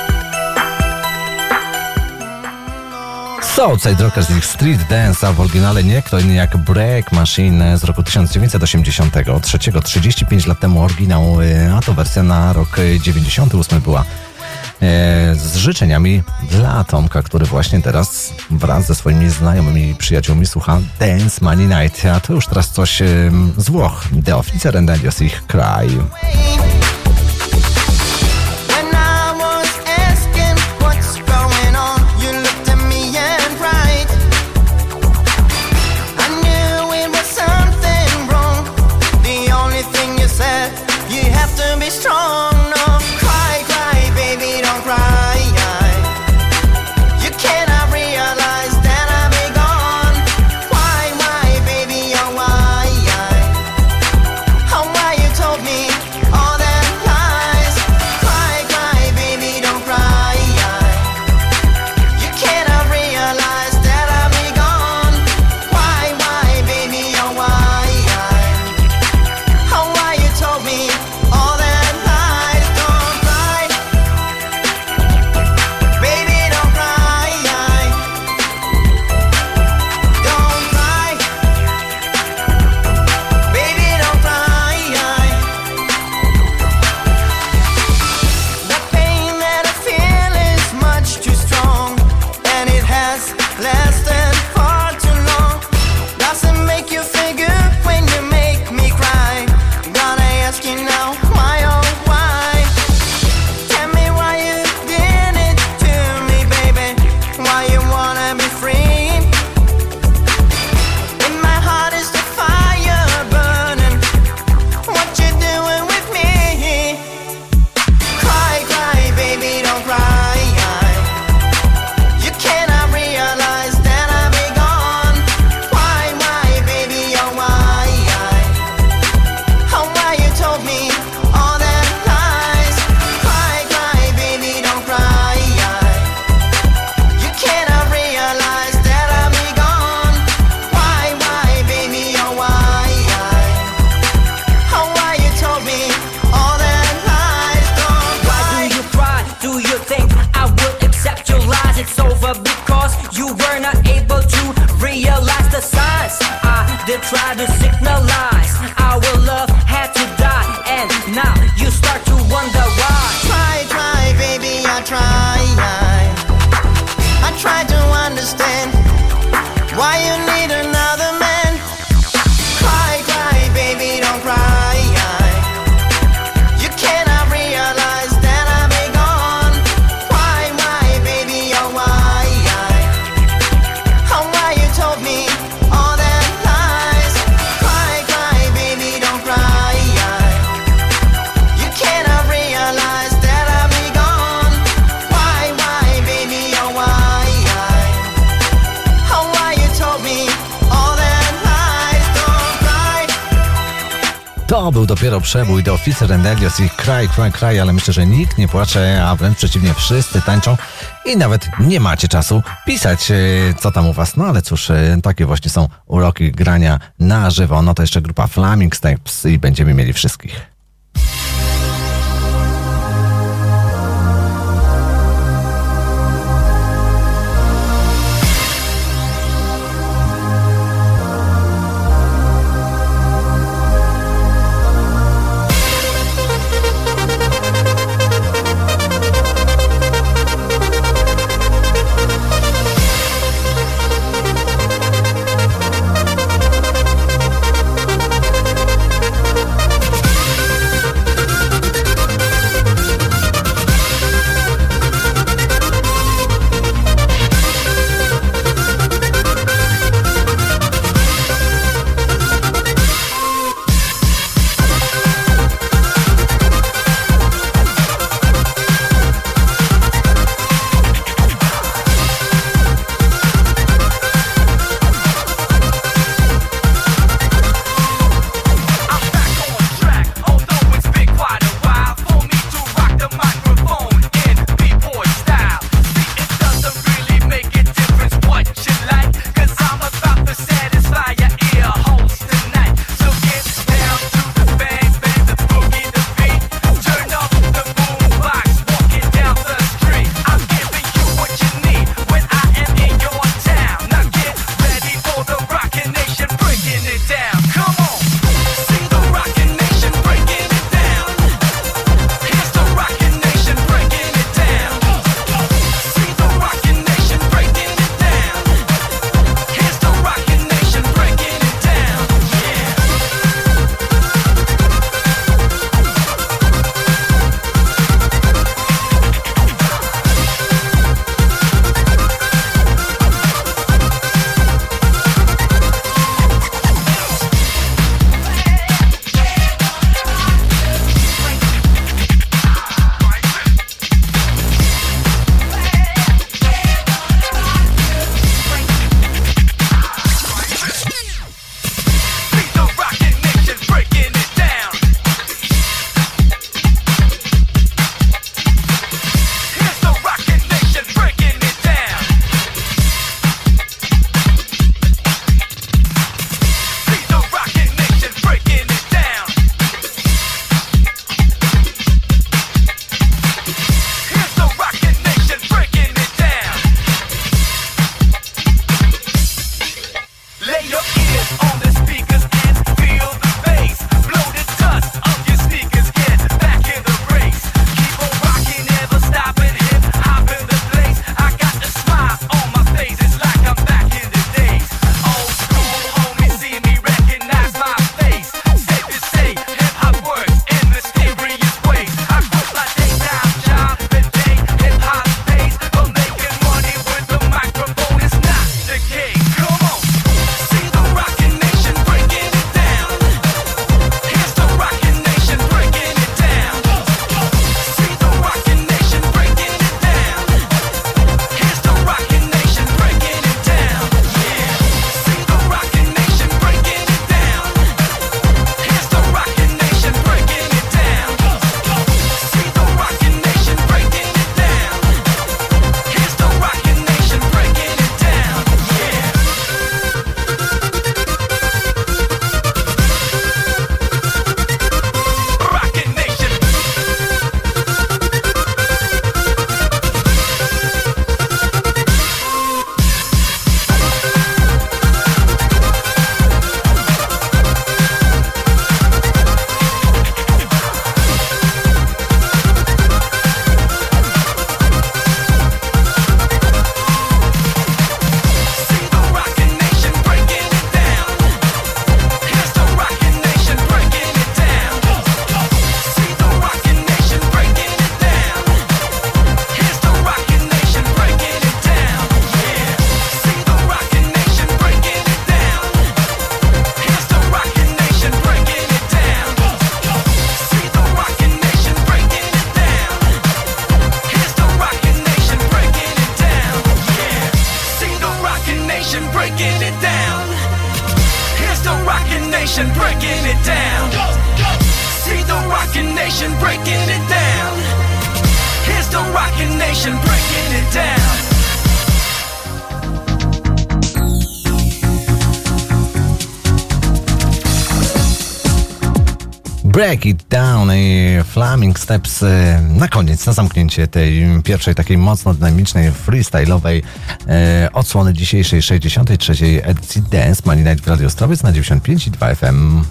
Southside Rockers z ich Street Dance, a w oryginale nie kto inny jak Break Machine z roku tysiąc dziewięćset osiemdziesiątego trzeciego, trzydzieści pięć lat temu oryginał, a to wersja na rok dziewięćdziesiąty ósmy była. Z życzeniami dla Tomka, który właśnie teraz wraz ze swoimi znajomymi przyjaciółmi słucha Dance Money Night, a to już teraz coś z Włoch. The Officer and Adios ich Cry. To był dopiero przebój The Officer and Adios i Cry, Cry, Cry, ale myślę, że nikt nie płacze, a wręcz przeciwnie, wszyscy tańczą i nawet nie macie czasu pisać, co tam u was. No ale cóż, takie właśnie są uroki grania na żywo. No to jeszcze grupa Flaming Steps i będziemy mieli wszystkich. nation breaking it down. Here's the rockin' nation breaking it down. See the rockin' nation breaking it down. Here's the rockin' nation breaking it down. Break It Down i Flaming Steps na koniec, na zamknięcie tej pierwszej takiej mocno dynamicznej, freestyle'owej e, odsłony dzisiejszej sześćdziesiątej trzeciej edycji Dance Money Night w Radio Ostrowiec na dziewięćdziesiąt pięć i dwa F M.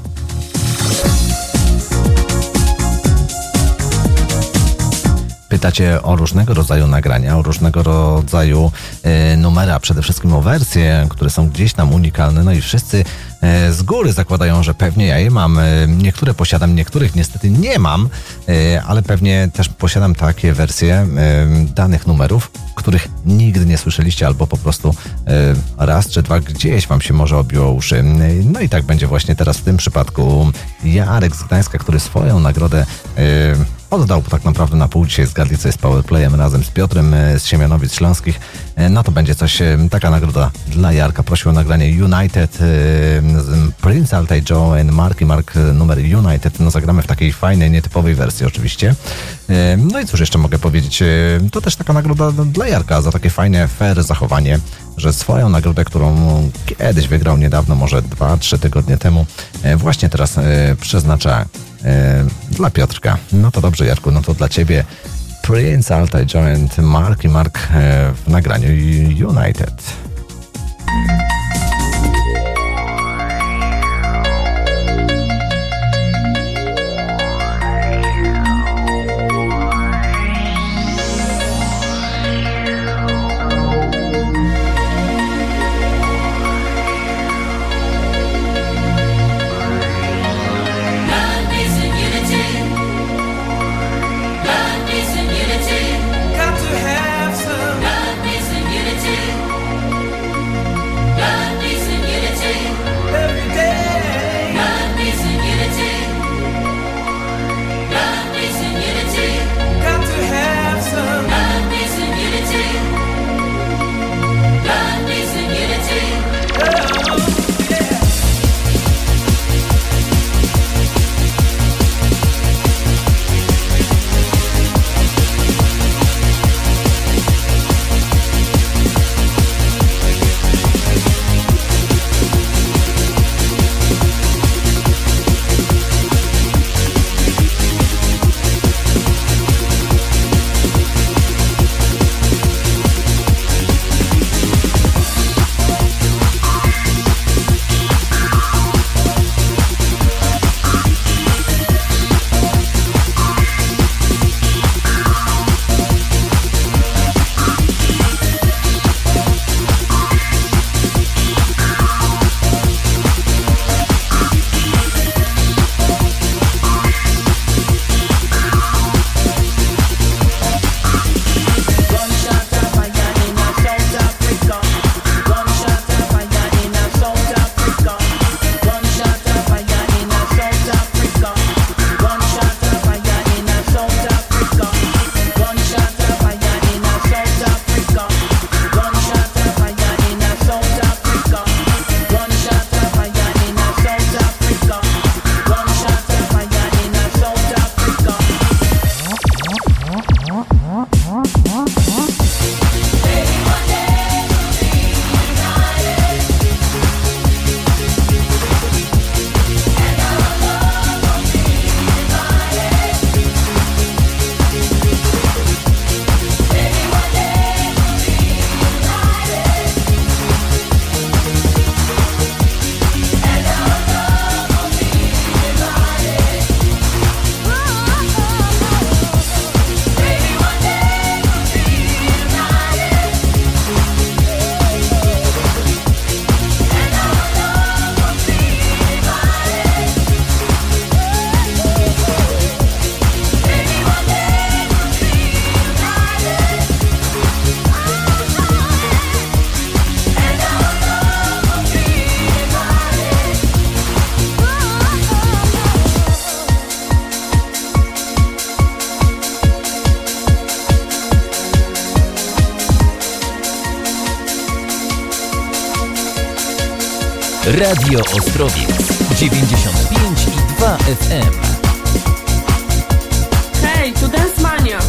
Pytacie o różnego rodzaju nagrania, o różnego rodzaju e, numery, a przede wszystkim o wersje, które są gdzieś tam unikalne, no i wszyscy e, z góry zakładają, że pewnie ja je mam. E, niektóre posiadam, niektórych niestety nie mam, e, ale pewnie też posiadam takie wersje e, danych numerów, których nigdy nie słyszeliście, albo po prostu e, raz czy dwa gdzieś wam się może obiło uszy. No i tak będzie właśnie teraz w tym przypadku. Jarek z Gdańska, który swoją nagrodę e, oddał tak naprawdę na pół. Dzisiaj zgadli, co jest Powerplayem razem z Piotrem z Siemianowic Śląskich. No to będzie coś, taka nagroda dla Jarka. Prosił o nagranie United, Prince Altaj Joe and Marky Mark numer United. No zagramy w takiej fajnej, nietypowej wersji oczywiście. No i cóż jeszcze mogę powiedzieć? To też taka nagroda dla Jarka za takie fajne, fair zachowanie, że swoją nagrodę, którą kiedyś wygrał niedawno, może dwa, trzy tygodnie temu, właśnie teraz przeznacza dla Piotrka. No to dobrze, Jarku, no to dla ciebie Prince Altaj Joe and Marky Mark w nagraniu United. Got to have some love, peace, and unity. Radio Ostrowiec dziewięćdziesiąt pięć i dwa F M. Hej, tu Dance Mania.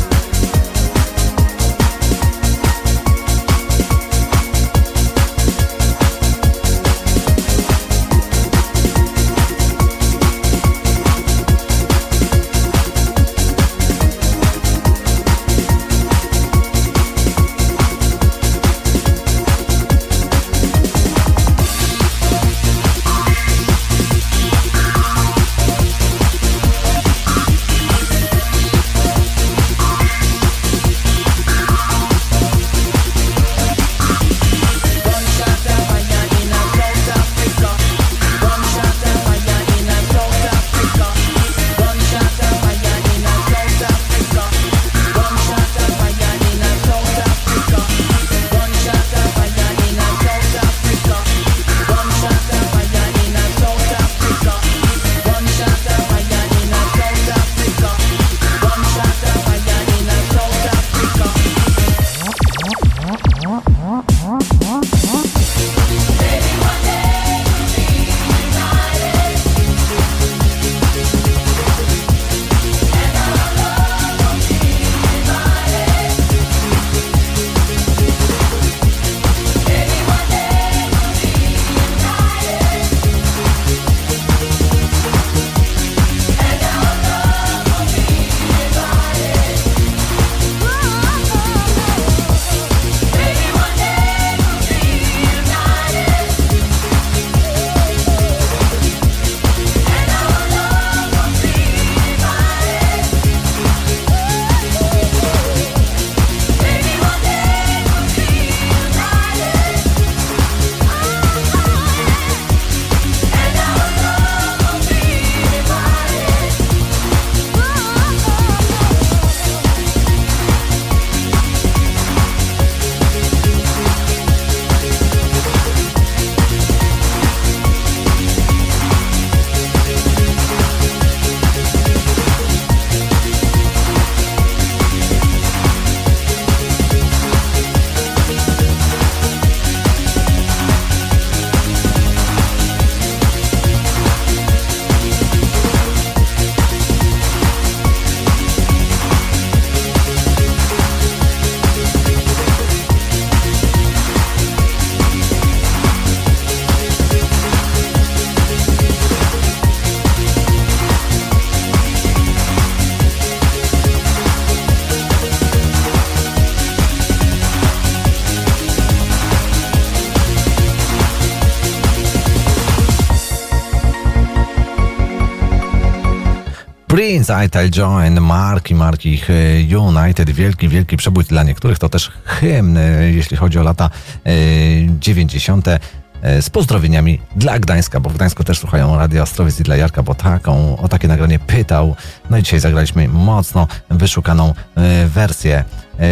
Prince, Ital Join, marki, marki ich United, wielki, wielki przebój dla niektórych, to też hymn, jeśli chodzi o lata dziewięćdziesiąte. Z pozdrowieniami dla Gdańska, bo w Gdańsku też słuchają Radia Ostrowiec i dla Jarka, bo taką, o takie nagranie pytał. No i dzisiaj zagraliśmy mocno wyszukaną wersję.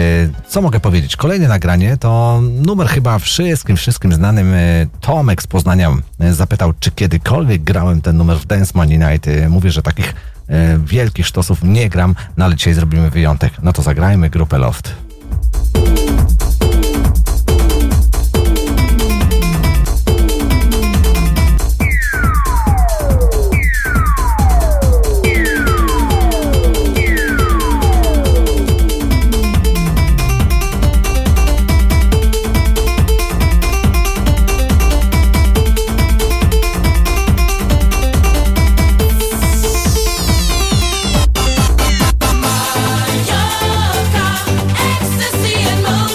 Co mogę powiedzieć? Kolejne nagranie to numer chyba wszystkim, wszystkim znanym. Tomek z Poznania zapytał, czy kiedykolwiek grałem ten numer w Dance Money Night. Mówię, że takich wielkich sztosów nie gram, no ale dzisiaj zrobimy wyjątek. No to zagrajmy grupę Loft. Ecstasy and more.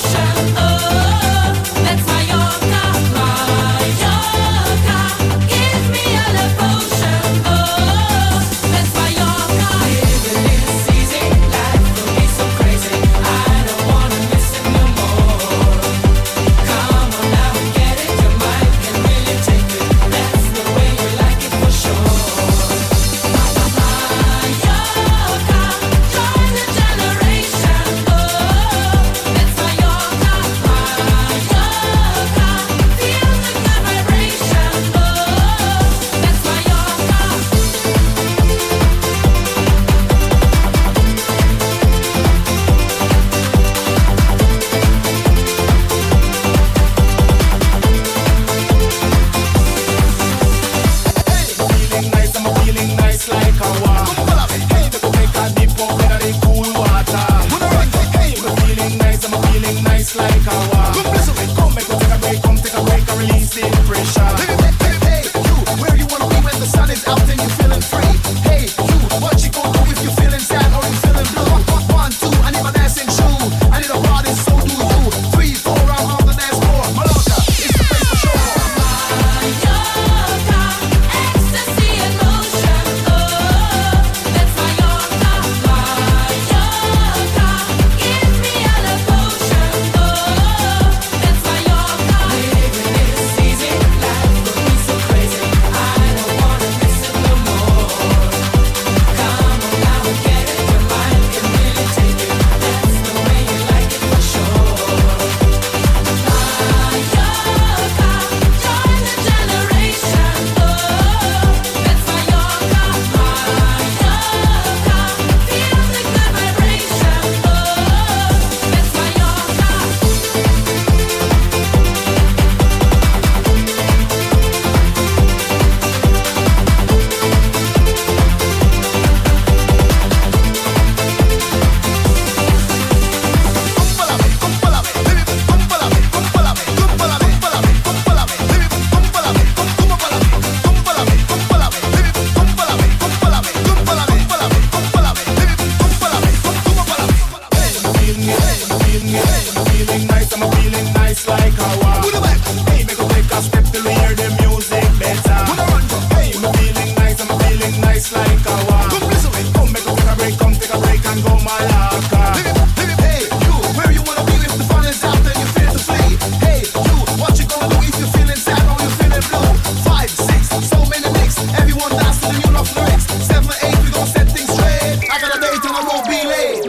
step till we hear the music better. Hey, I'm feeling nice, I'm feeling nice like a walk. Come listen, come make us take a break, come take a break and go Malacca. Hey, you, where you wanna be if the fun is out and you feel to flee? Hey, you, what you gonna do if you're feeling sad or you're feeling blue? Five, six, so many nicks, everyone dance to the new love lyrics. Seven, eight, we gon' set things straight. I got a date and I won't be late.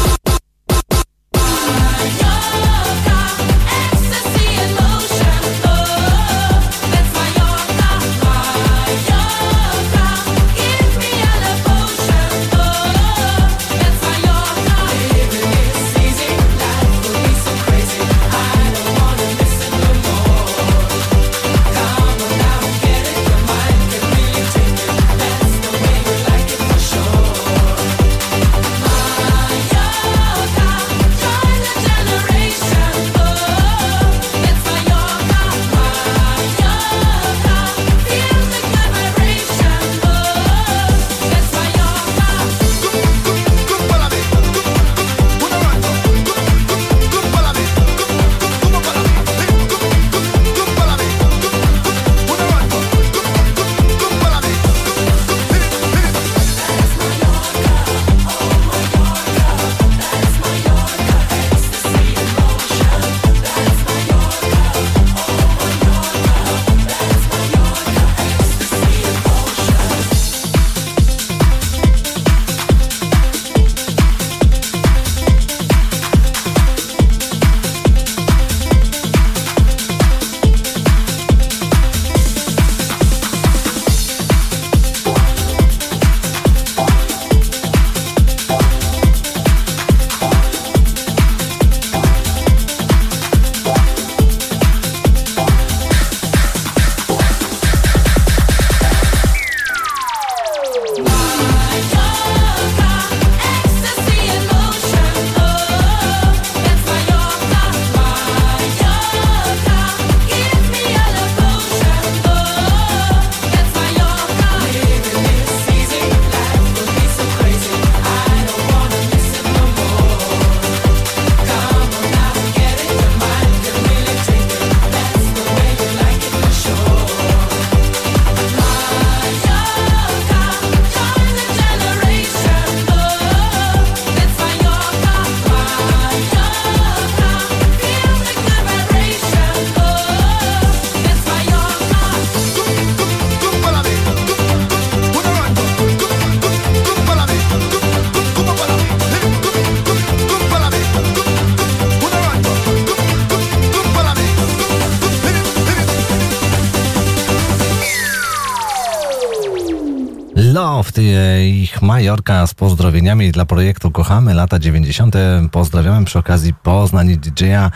Loft, ich Majorka z pozdrowieniami dla projektu Kochamy lata dziewięćdziesiąte. Pozdrawiamy przy okazji Poznań i D J-a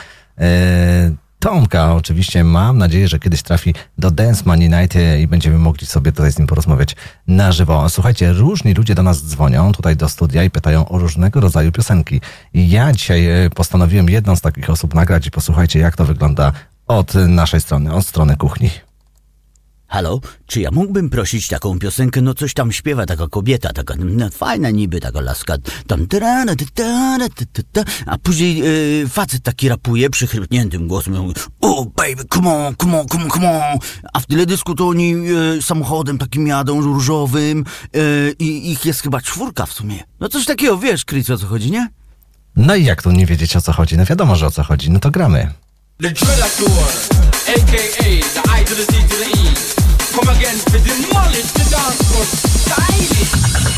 e, Tomka. Oczywiście mam nadzieję, że kiedyś trafi do Dance Money Night i będziemy mogli sobie tutaj z nim porozmawiać na żywo. Słuchajcie, różni ludzie do nas dzwonią tutaj do studia i pytają o różnego rodzaju piosenki. I ja dzisiaj postanowiłem jedną z takich osób nagrać i posłuchajcie, jak to wygląda od naszej strony, od strony kuchni. Halo, czy ja mógłbym prosić taką piosenkę, no coś tam śpiewa taka kobieta, taka no, fajna niby, taka laska, tam ta, ta, ta, ta, a później yy, facet taki rapuje przychrypniętym głosem, mówi, oh baby, come on, come on, come on, come on, a w teledysku to oni yy, samochodem takim jadą, różowym yy, i ich jest chyba czwórka w sumie. No coś takiego, wiesz, Chris, o co chodzi, nie? No i jak tu nie wiedzieć, o co chodzi? No wiadomo, że o co chodzi, no to gramy. The Dreadactor, a k a the I to the C to the E. Come again to demolish the dance floor. Stylish.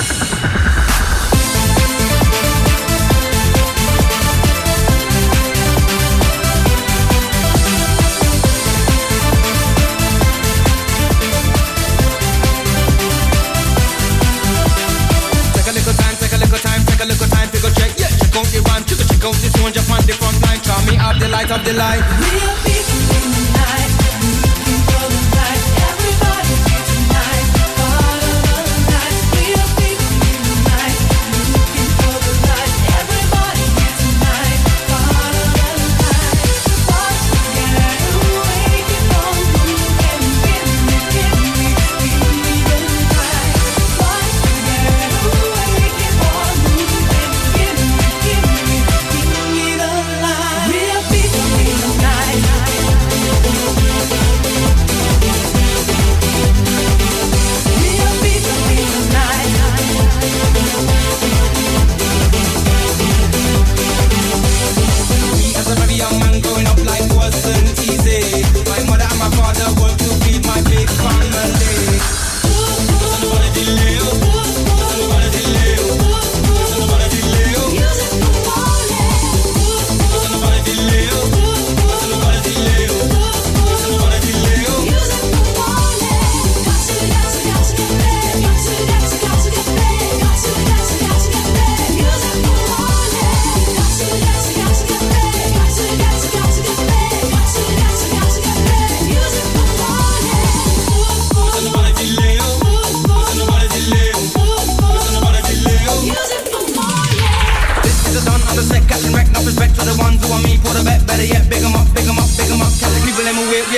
Take a little time, take a little time, take a little time to go check. Yeah, check out the rhyme, check out, check out the tune, just on the front line. Try me out the light of the light. Real people in the night, looking for the light. Everybody tonight, part of the night. Real people in the night, looking for the light. Everybody here tonight, part of the night. Watch the get away, keep on moving, give me, give me, give me the light. Watch the get away, keep on moving, give me, give me, give me the light. Real people in the night.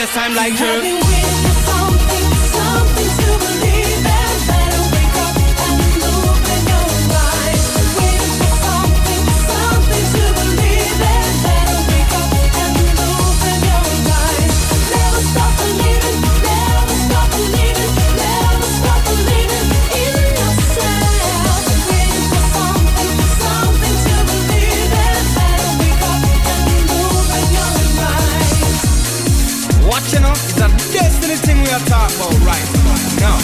last time like her. Talk about right now.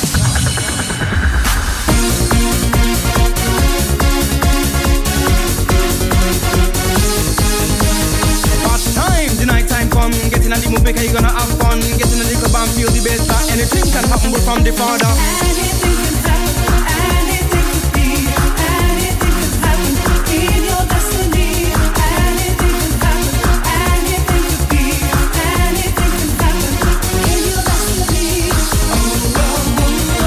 Past time, the night time come, getting a the movie, cause you gonna have fun, getting a little band, feel the better. Anything can happen but from the Father. Anything can happen, anything could be, anything could happen in your destiny. Anything can happen, anything could be, anything can happen in your destiny. Oh, oh, oh,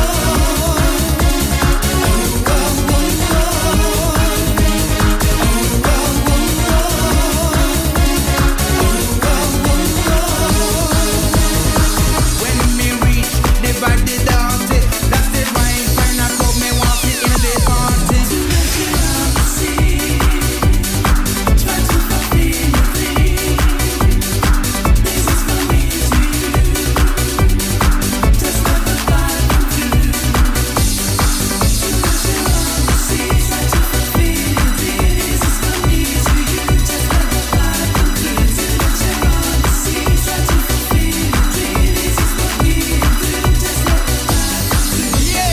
when me reach the body down, that's it right. When I come, me walk it in the party. Try to fulfill your dream. This is for me to you. Just let the vibe come through. Try to fulfill your dream. This is for me to you. Just let the vibe come through. Try to fulfill your dream. This is for me to you. Just let the vibe come through. Yeah.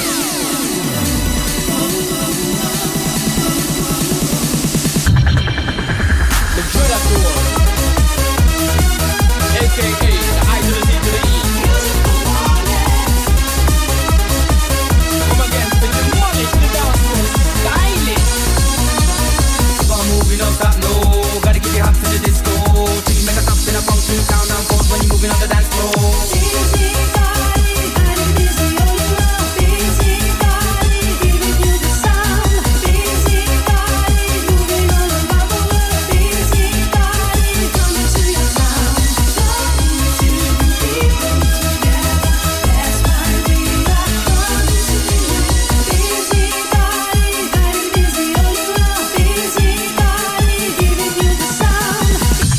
The Predator, aka the I to the Z to the E. Come again, with the money to the dance floor, stylish. Come moving up that low, gotta get you hot to the disco. Things make a stop in a funky town and forth when you're moving on the dance floor. Busy body, body busy all around. Busy body, giving you the sound. Busy body, moving all around the world. Busy body, coming to your sound. Coming to people together. That's why we are coming to you. Busy body, body busy all around. Busy body, giving you the sound.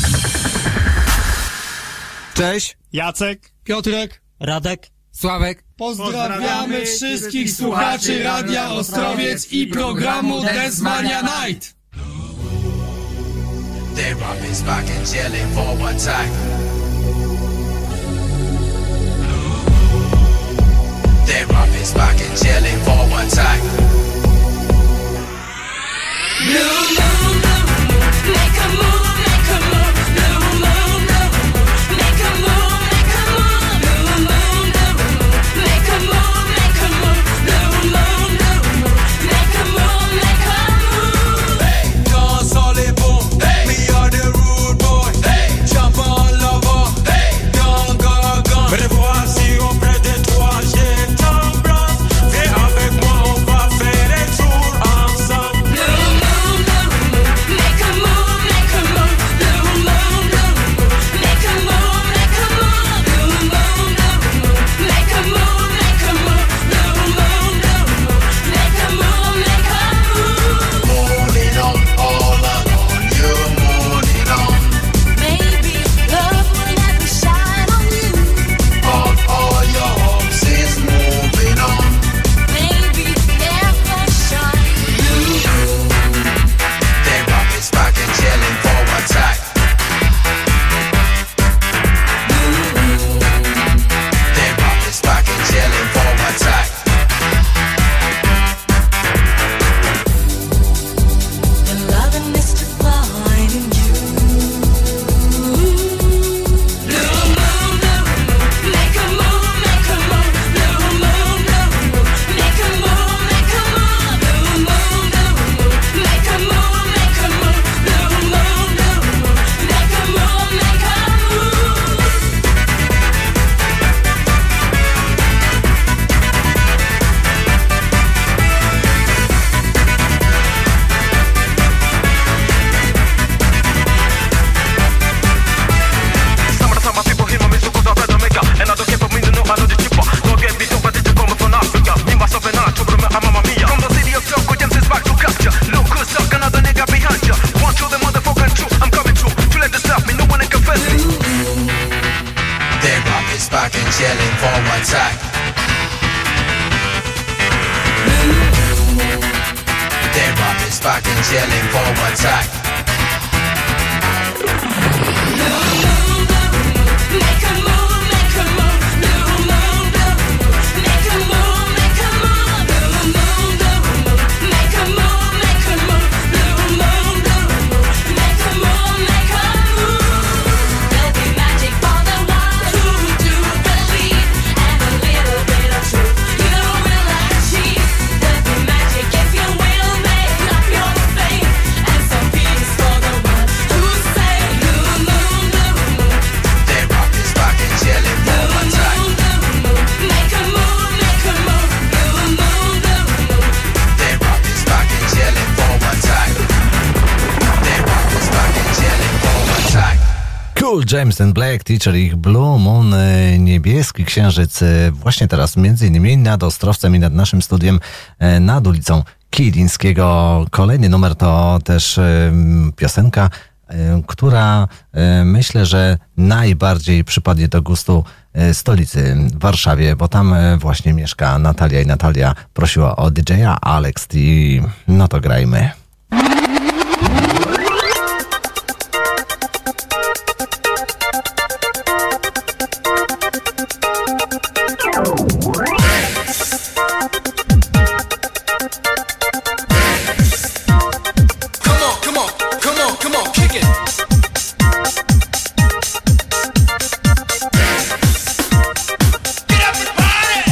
Cześć, Jacek, Piotrek, Radek, Sławek. pozdrawiamy Pozdrawiamy wszystkich słuchaczy Radia Ostrowiec i programu Dance Mania Night. They rob his back and chillin' for one time. They rob his back and chillin' for one time. Blue moon, blue moon, make a move, make a move. Blue moon, blue moon, make a move, make a move. Blue moon, blue moon, make a move, make a move. Blue moon, blue moon, make a move, make a move. Hey, dans on les bons. Hey, me are the rude boy. Hey, jump on lover. Hey, gun, gun, gun. Me voici auprès de toi, j'ai ton bras. Viens avec moi, on va faire back and chilling for one time. The rock is back and chilling for one time. Make a move, make a move, blue moon, blue moon. Make a move, make a move, blue moon, blue moon. Make a move, make a move, blue moon, blue moon. Make a move, make a move. There'll be magic for the ones who do believe, and a little bit of truth you will achieve. There'll be magic if you will make up your faith, and some peace for the ones who say blue moon, blue moon. The rock is back and chilling for one time. Make a move, make a move, blue moon, blue moon. The rock is back and chilling for one time. The rock is back and chilling for one time. Cool James and Black, Teacher, ich Blue Moon, e, niebieski księżyc, e, właśnie teraz między innymi nad Ostrowcem i nad naszym studiem, e, nad ulicą Kilińskiego. Kolejny numer to też e, piosenka, e, która e, myślę, że najbardziej przypadnie do gustu e, stolicy Warszawie, bo tam e, właśnie mieszka Natalia i Natalia prosiła o D J-a Alex T. No to grajmy. Come on, come on, come on, come on, kick it. Get up and party.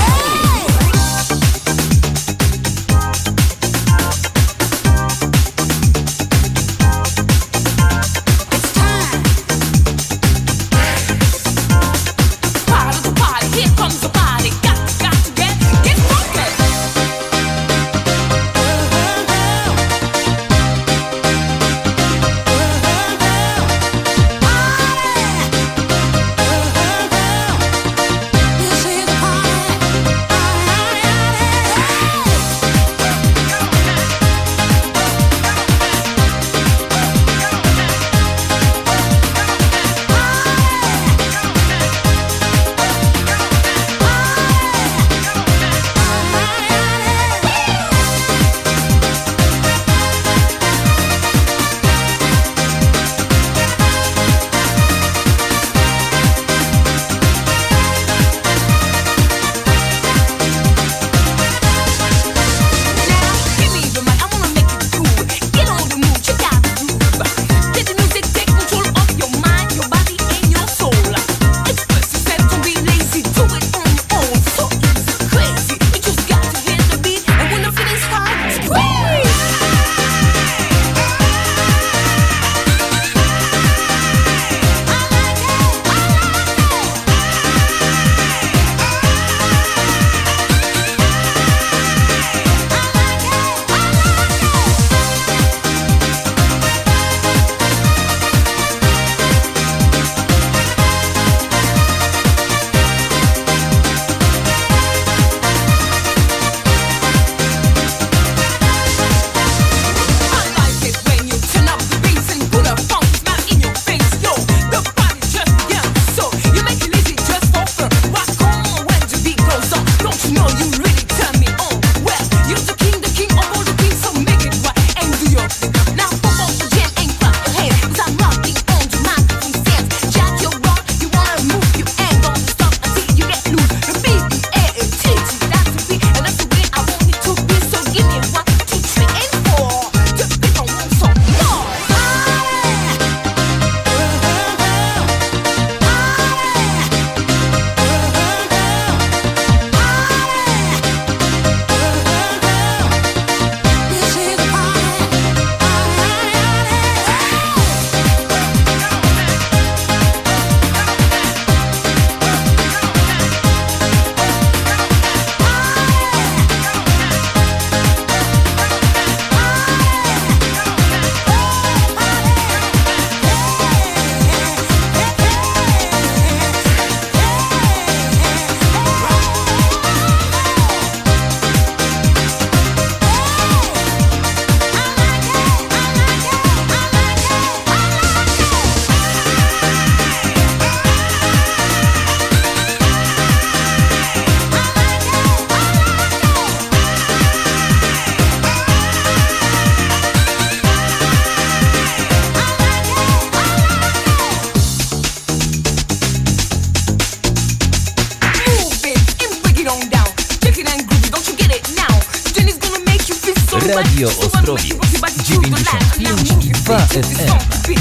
Radio Ostrowiec dziewięćdziesiąt pięć i dwa F M.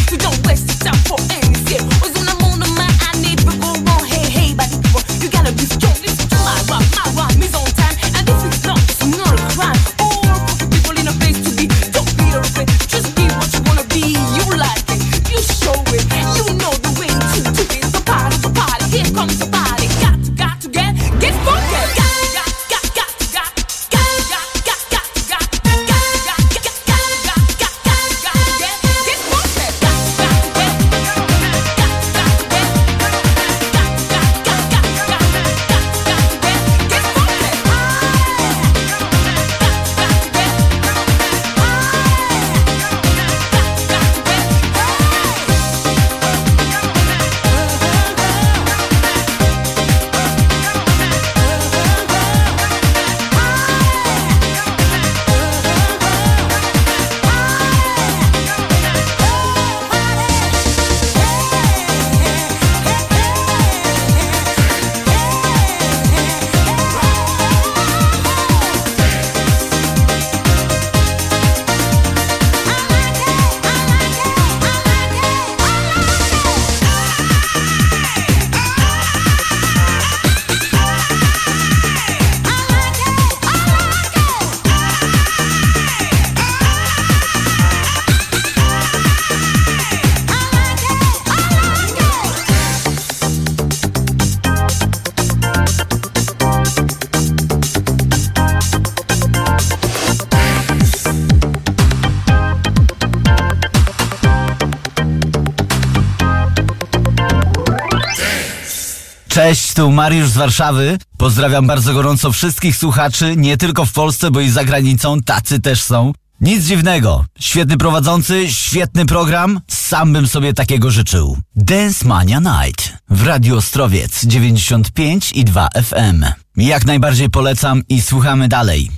Cześć, tu Mariusz z Warszawy. Pozdrawiam bardzo gorąco wszystkich słuchaczy, nie tylko w Polsce, bo i za granicą, tacy też są. Nic dziwnego. Świetny prowadzący, świetny program. Sam bym sobie takiego życzył. Dance Mania Night w Radiu Ostrowiec dziewięćdziesiąt pięć i dwa F M. Jak najbardziej polecam i słuchamy dalej.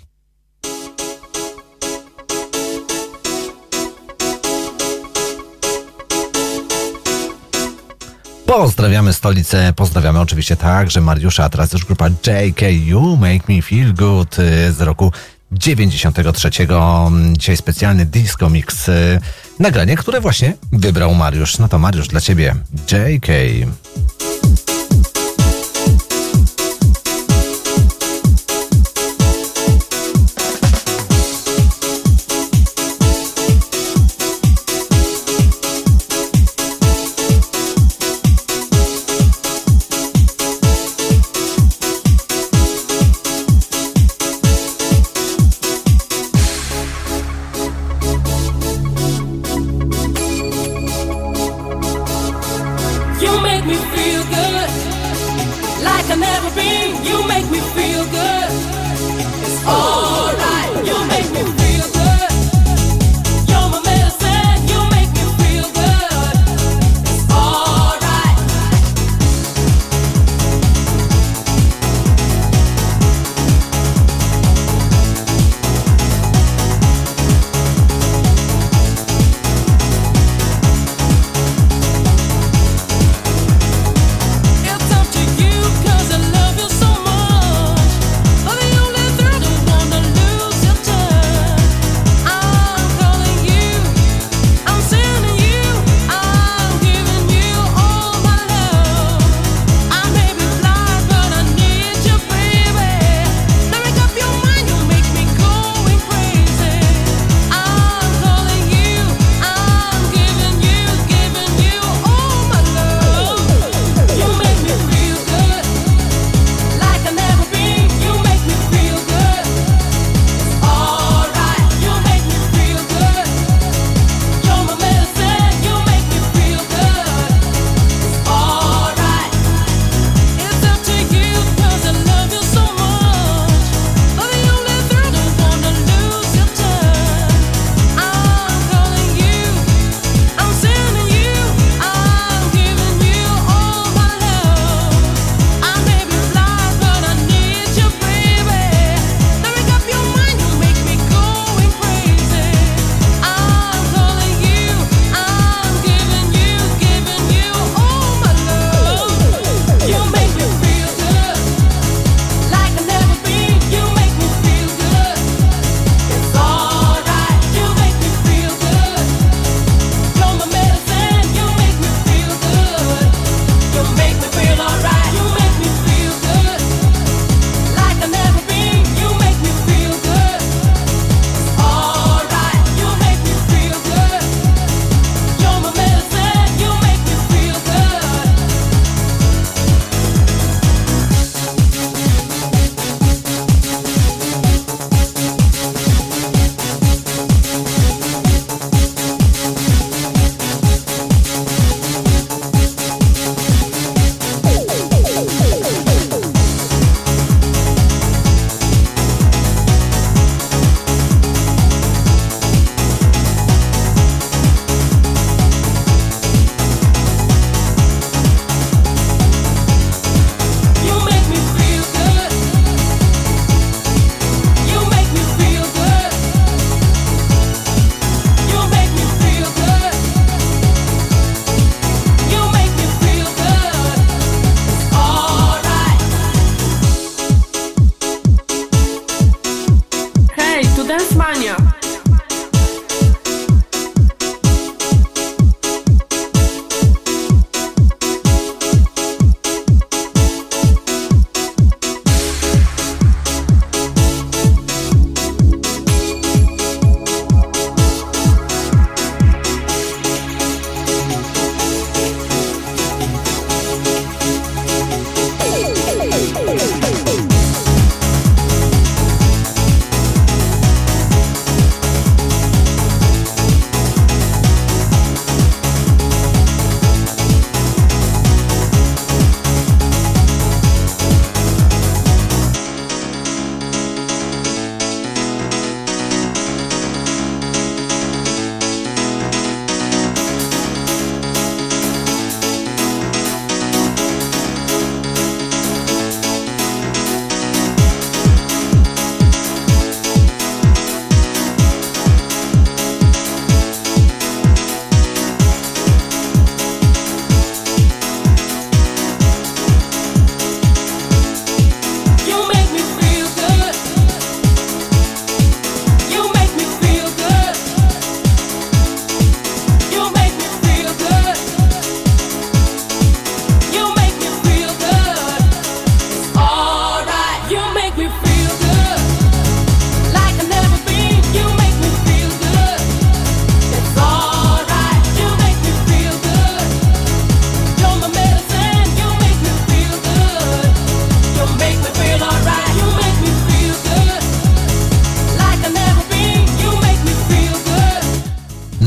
Pozdrawiamy stolicę, pozdrawiamy oczywiście także Mariusza, a teraz już grupa J K You Make Me Feel Good z roku dziewięćdziesiątego trzeciego. Dzisiaj specjalny disco mix, nagranie, które właśnie wybrał Mariusz. No to Mariusz, dla ciebie J K. It's up to you 'cause I love you so much.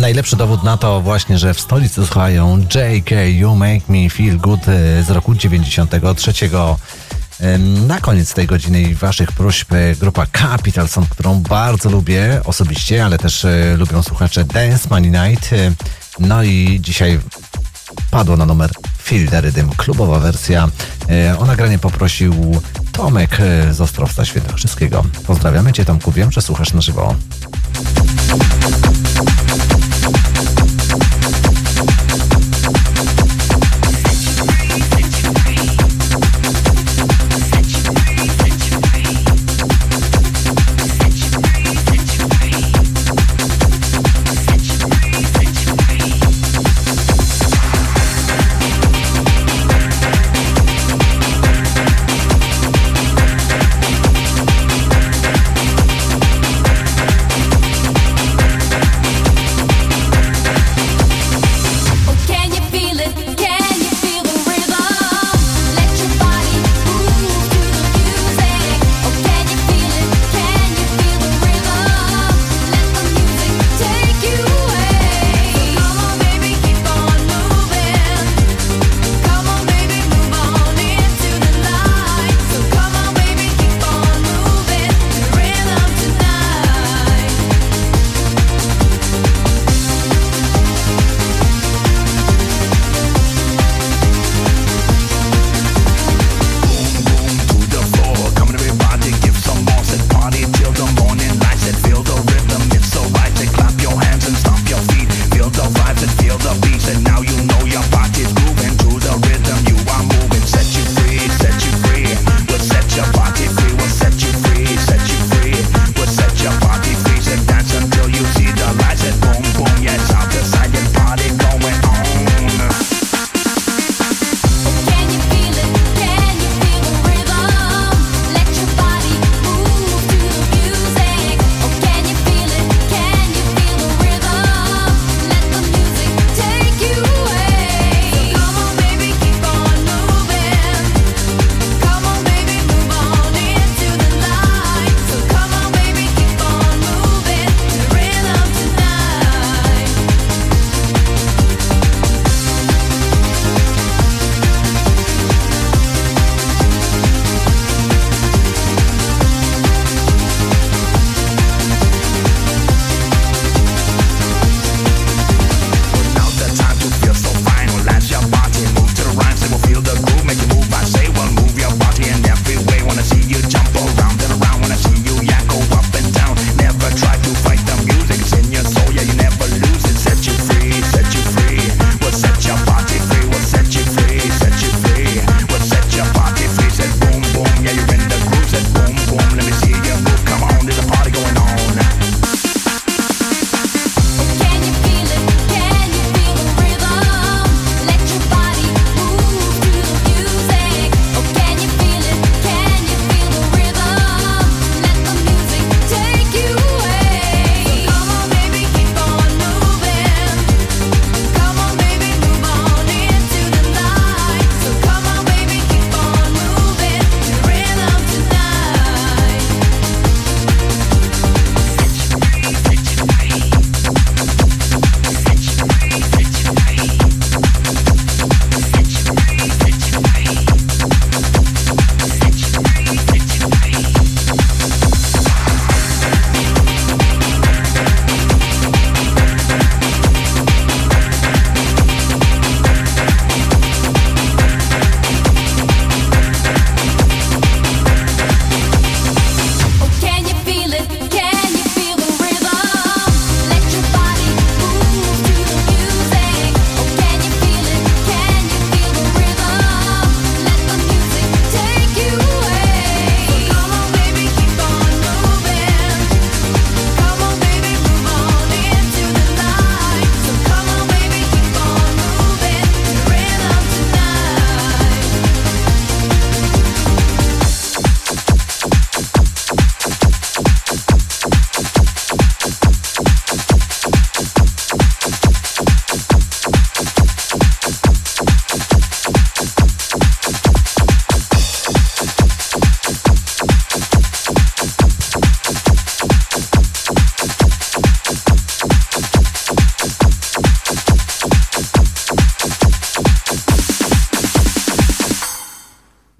najlepszy dowód na to właśnie, że w stolicy słuchają J K You Make Me Feel Good z roku dziewięćdziesiątego trzeciego. Na koniec tej godziny i waszych próśb grupa Capitalson, którą bardzo lubię osobiście, ale też lubią słuchacze Dance Money Night. No i dzisiaj padło na numer Feel the Rhythm, klubowa wersja. O nagranie poprosił Tomek z Ostrowca Świętokrzyskiego. Pozdrawiamy cię, Tomku, wiem, że słuchasz na żywo.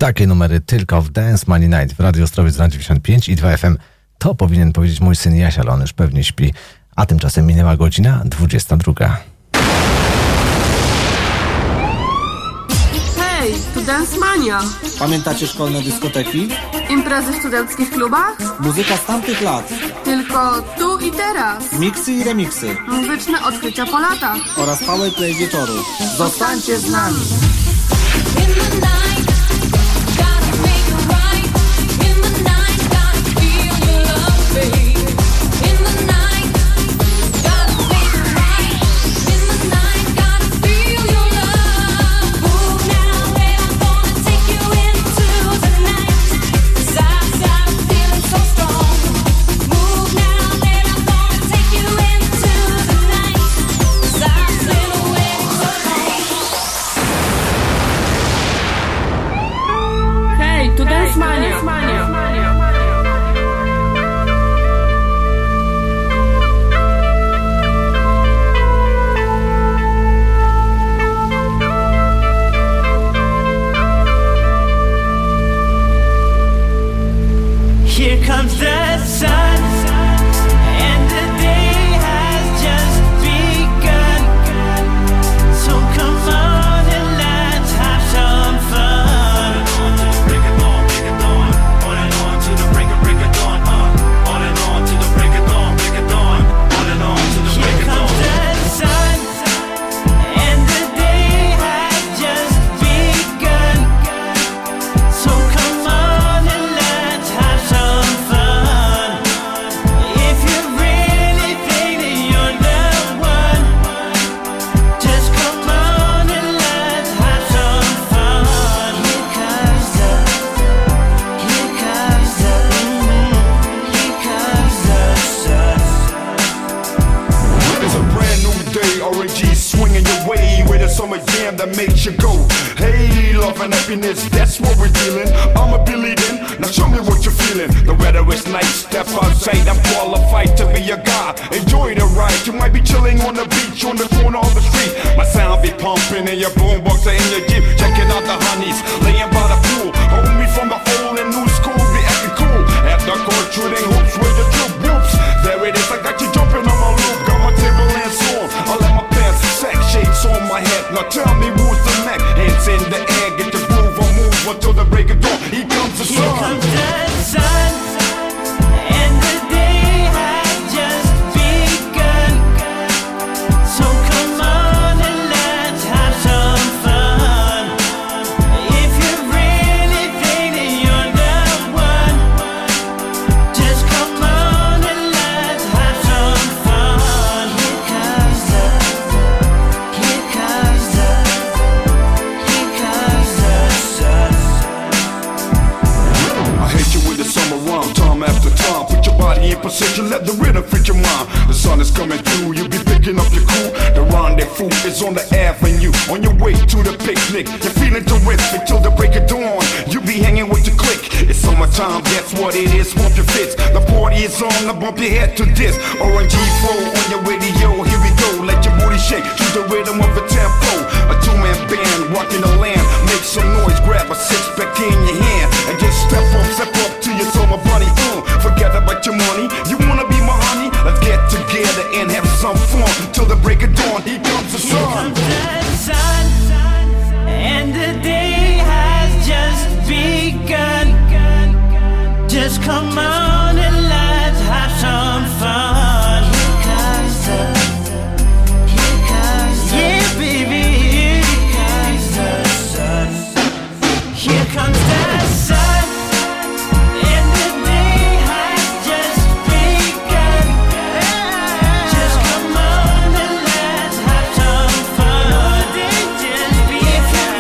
Takie numery tylko w Dance Money Night w Radio Ostrowiec na dziewięćdziesiąt pięć i dwa F M. To powinien powiedzieć mój syn Jaś, ale on już pewnie śpi. A tymczasem minęła godzina dwudziesta druga. Hej, tu Dance Mania. Pamiętacie szkolne dyskoteki? Imprezy w studenckich klubach? Muzyka z tamtych lat. Tylko tu i teraz. Miksy i remiksy. Muzyczne odkrycia po latach. Oraz powerplay wieczoru. Zostańcie z nami.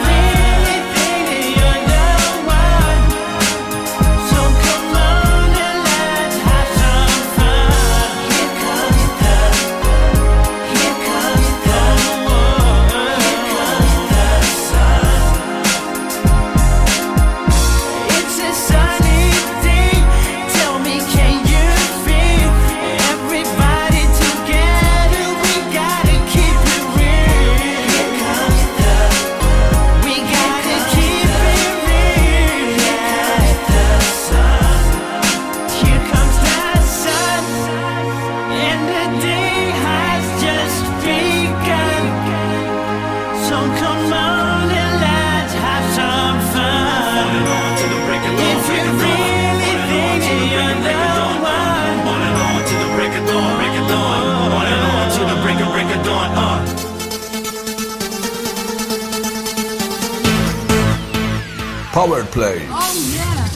So come on and Powerplay. Oh yeah.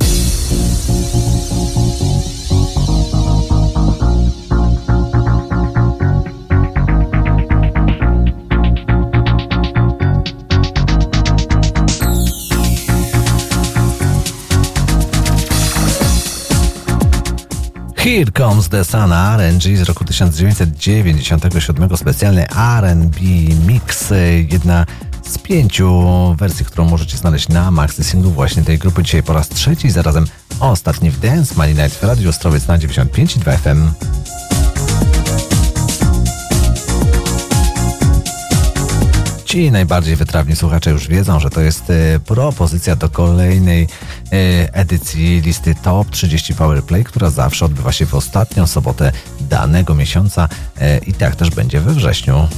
Here Comes the Sun, R and G z roku tysiąc dziewięćset dziewięćdziesiątego siódmego, specjalny R and B mix, jedna z pięciu wersji, którą możecie znaleźć na maxi singlu właśnie tej grupy. Dzisiaj po raz trzeci, zarazem ostatni w Dance Money Night w Radiu Ostrowiec na dziewięćdziesiąt pięć i dwa F M. Ci najbardziej wytrawni słuchacze już wiedzą, że to jest e, propozycja do kolejnej e, edycji listy Top trzydzieści Powerplay, która zawsze odbywa się w ostatnią sobotę danego miesiąca e, i tak też będzie we wrześniu.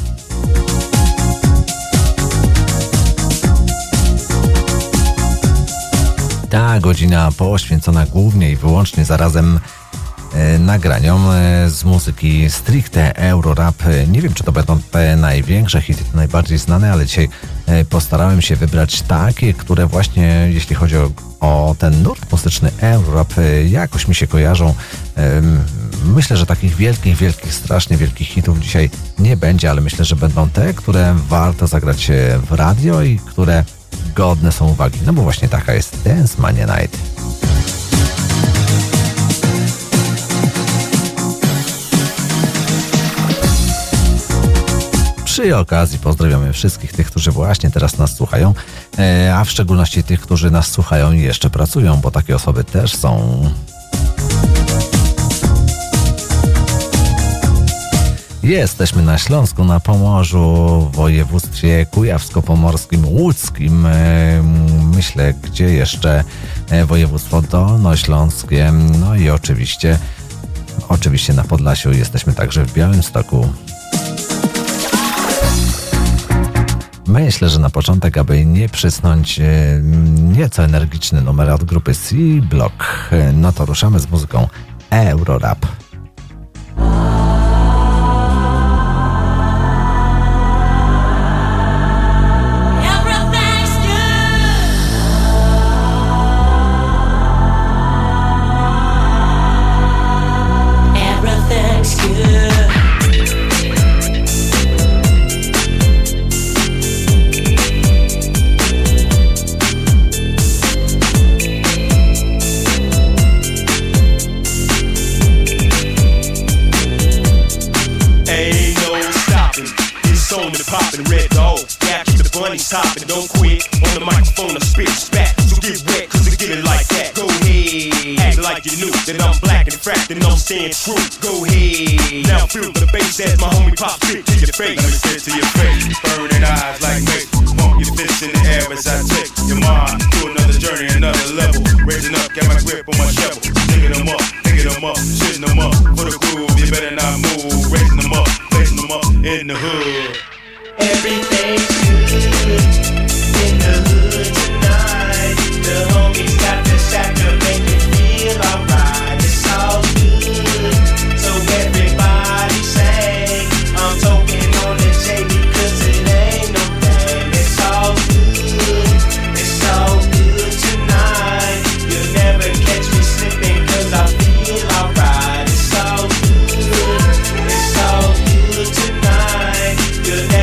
Ta godzina poświęcona głównie i wyłącznie zarazem nagraniom z muzyki stricte Eurorap. Nie wiem, czy to będą te największe hity, najbardziej znane, ale dzisiaj postarałem się wybrać takie, które właśnie, jeśli chodzi o, o ten nurt muzyczny Eurorap, jakoś mi się kojarzą. Myślę, że takich wielkich, wielkich, strasznie wielkich hitów dzisiaj nie będzie, ale myślę, że będą te, które warto zagrać w radio i które godne są uwagi. No bo właśnie taka jest Dance Money Night. Przy okazji pozdrawiamy wszystkich tych, którzy właśnie teraz nas słuchają, a w szczególności tych, którzy nas słuchają i jeszcze pracują, bo takie osoby też są. Jesteśmy na Śląsku, na Pomorzu, w województwie kujawsko-pomorskim, łódzkim, myślę, gdzie jeszcze województwo dolnośląskie, no i oczywiście, oczywiście na Podlasiu, jesteśmy także w Białymstoku. Myślę, że na początek, aby nie przysnąć, nieco energiczny numer od grupy C-Block, no to ruszamy z muzyką Eurorap. Topping, don't quit on the microphone, I spit spat. So get wet, cause I get it like that. Go ahead, act like you knew that I'm black and fracked and I'm staying true. Go ahead, now feel the bass as my homie pop spit to your face. Let me spit to your face, burning eyes like me. Pump your fists in the air as I take your mind to another journey, another level. Raising up, got my grip on my shovel. Digging them up, picking them up, shitting them up. For the groove, you better not move. Raising them up, placing them up in the hood. Everything's good in the hood tonight. The homies got the shack to make it feel alright. It's all good, so everybody say I'm talking on the J because it ain't no thing. It's all good, it's all good tonight. You'll never catch me slipping cause I feel alright. It's all good, it's all good tonight. You'll never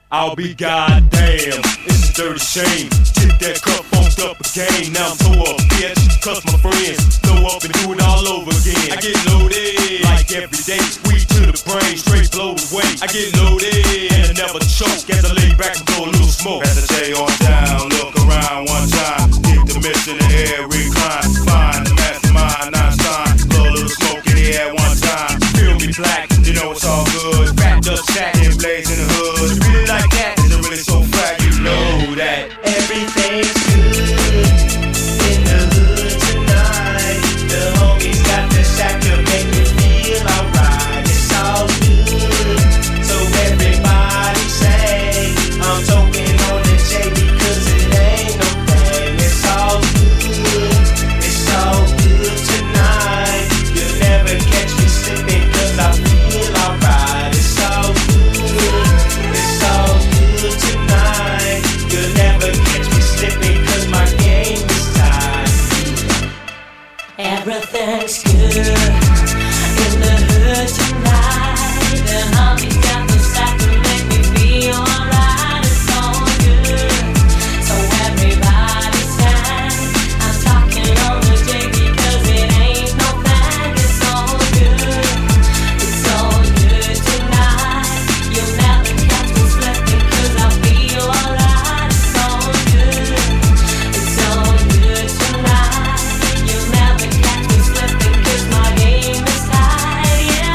I'll be goddamn. It's a dirty shame. Get that cup funked up again. Now I'm so up, bitch. Cause my friends blow up and do it all over again. I get loaded like every day. Weed to the brain, straight blow away. I get loaded and I never choke. As I lay back and blow a little smoke. As I stay on down, look around one time. Keep the mist in the air, recline. Find the mastermind, Einstein. Blow a little smoke in the air one time. Feel me black, you know it's all good. Wrapped up, shack, and blaze in the hood. You really like that? Is it really so fat? You know that everything's good in the hood tonight. The homies got the shack to make me feel alright. It's all good, so everybody say I'm talking on the J because it ain't no thing. It's all good, it's all good tonight. You'll never catch me slipping cause I feel alright. It's all good, it's all good tonight. You'll never catch me slipping cause my game is tight. Everything's good in the hood tonight. The homies got the sack to make me feel alright. It's all good, so everybody stand. I'm talking on the J because it ain't no thing. It's all good, it's all good tonight. You'll never catch me slipping cause I feel alright. It's all good, it's all good tonight. You'll never catch me slipping cause my game is tight, yeah.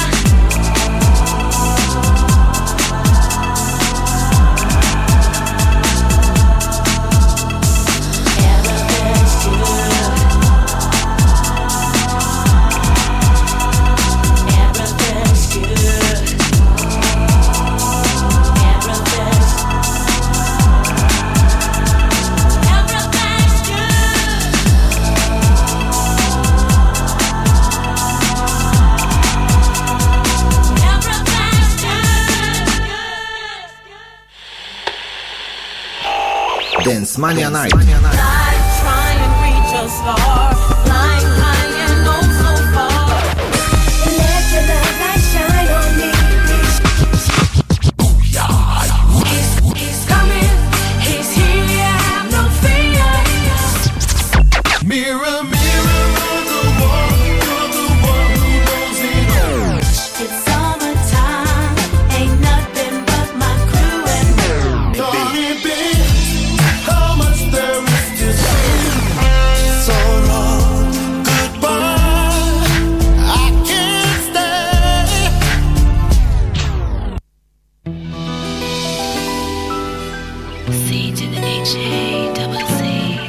Everything's good. Everything's good. Everything's Everything's Dance Mania Night. Try and reach a star, flying high and oh so far. Let your love light shine on me. He's, he's coming, he's here, have no fear. Mirror, mirror on the wall, you're the one who knows it all. It's summertime, ain't nothing but my crew and me. Honey, babe, how much there is to say? So long, goodbye, I can't stay. C to the H A double C.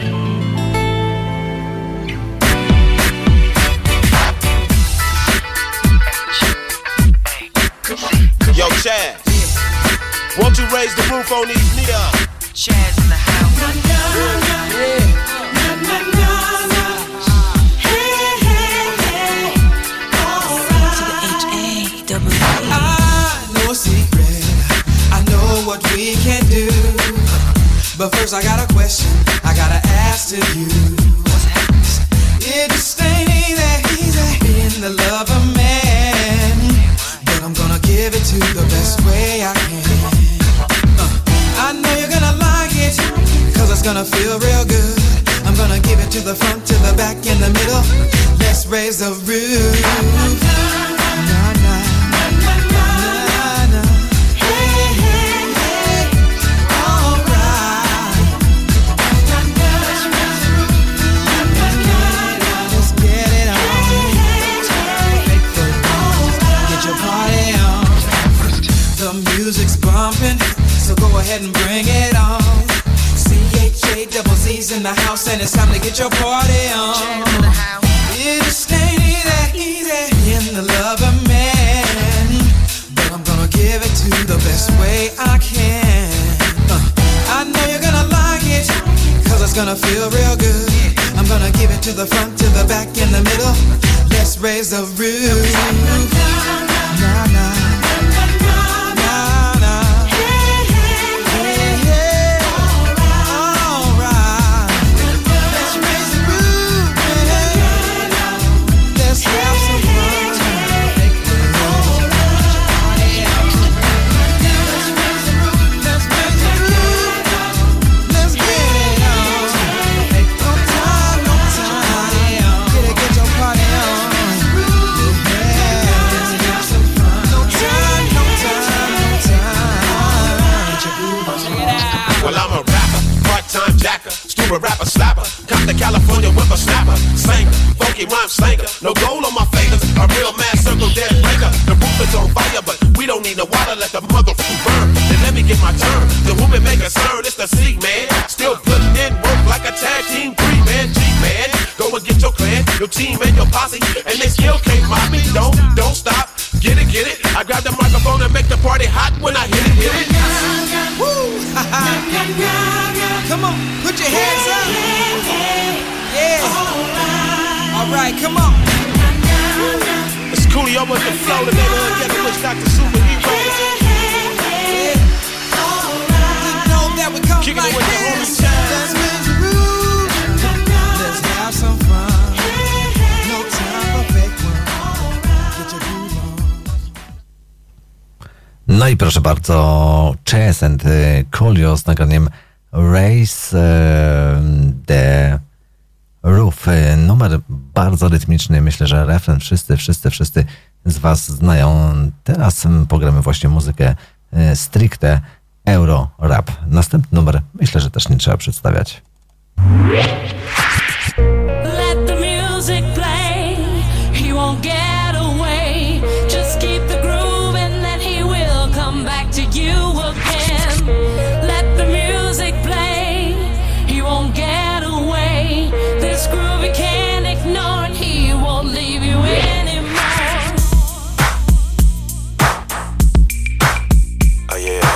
Yo, Chaz, won't you raise the roof on these neons? Chaz in the house. I know a secret, I know what we can do. But first I got a question, I gotta ask to you. It just ain't that easy being the lover man, but I'm gonna give it to you the best way I can. uh, I know you're gonna like it, cause it's gonna feel real good. I'm gonna give it to the front, to the back, in the middle. Let's raise the roof. Nah, nah. Music's bumping, so go ahead and bring it on. C H A double Z's in the house, and it's time to get your party on. It just ain't that easy in the lover man, but I'm gonna give it to you the best way I can. uh, I know you're gonna like it, cause it's gonna feel real good. I'm gonna give it to the front, to the back, in the middle. Let's raise the roof. Nah, nah. Let's tricky rhyme slanker. No gold on my fingers, a real mass circle dead breaker. The roof is on fire, but we don't need no water, let the motherfucker burn. Then let me get my turn. The woman make a stir, it's the C man. Still putting in work like a tag team three man, G man. Go and get your clan, your team and your posse, and they still can't mock me. Don't, don't stop. Get it, get it. I grab the microphone and make the party hot when I hit it, hit it. Woo! Come on, put your hands up. Yeah. All right, come on. It's Coolio with the flow, the neighborhood ghetto which Doctor Superhero. Yeah. You know that we come kicking like it with the this. homie child. Let's raise the roof. Let's have some fun. No time for fake one. Get your groove on. No i proszę bardzo, Chess and Coolio z nagraniem Raise the Roof. Numer bardzo rytmiczny. Myślę, że refren wszyscy, wszyscy, wszyscy z was znają. Teraz pogramy właśnie muzykę stricte euro rap. Następny numer myślę, że też nie trzeba przedstawiać. Let the music play. He won't get away. Just keep the groove and then he will come back to you again. Let the music play. He won't get away. This groove he can't ignore and he won't leave you anymore. Oh yeah.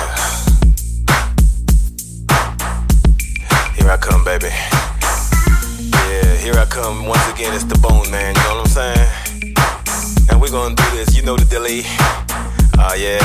Here I come, baby. Yeah, here I come once again. It's the Bone Man, you know what I'm saying? And we're gonna do this, you know the dilly. Oh yeah.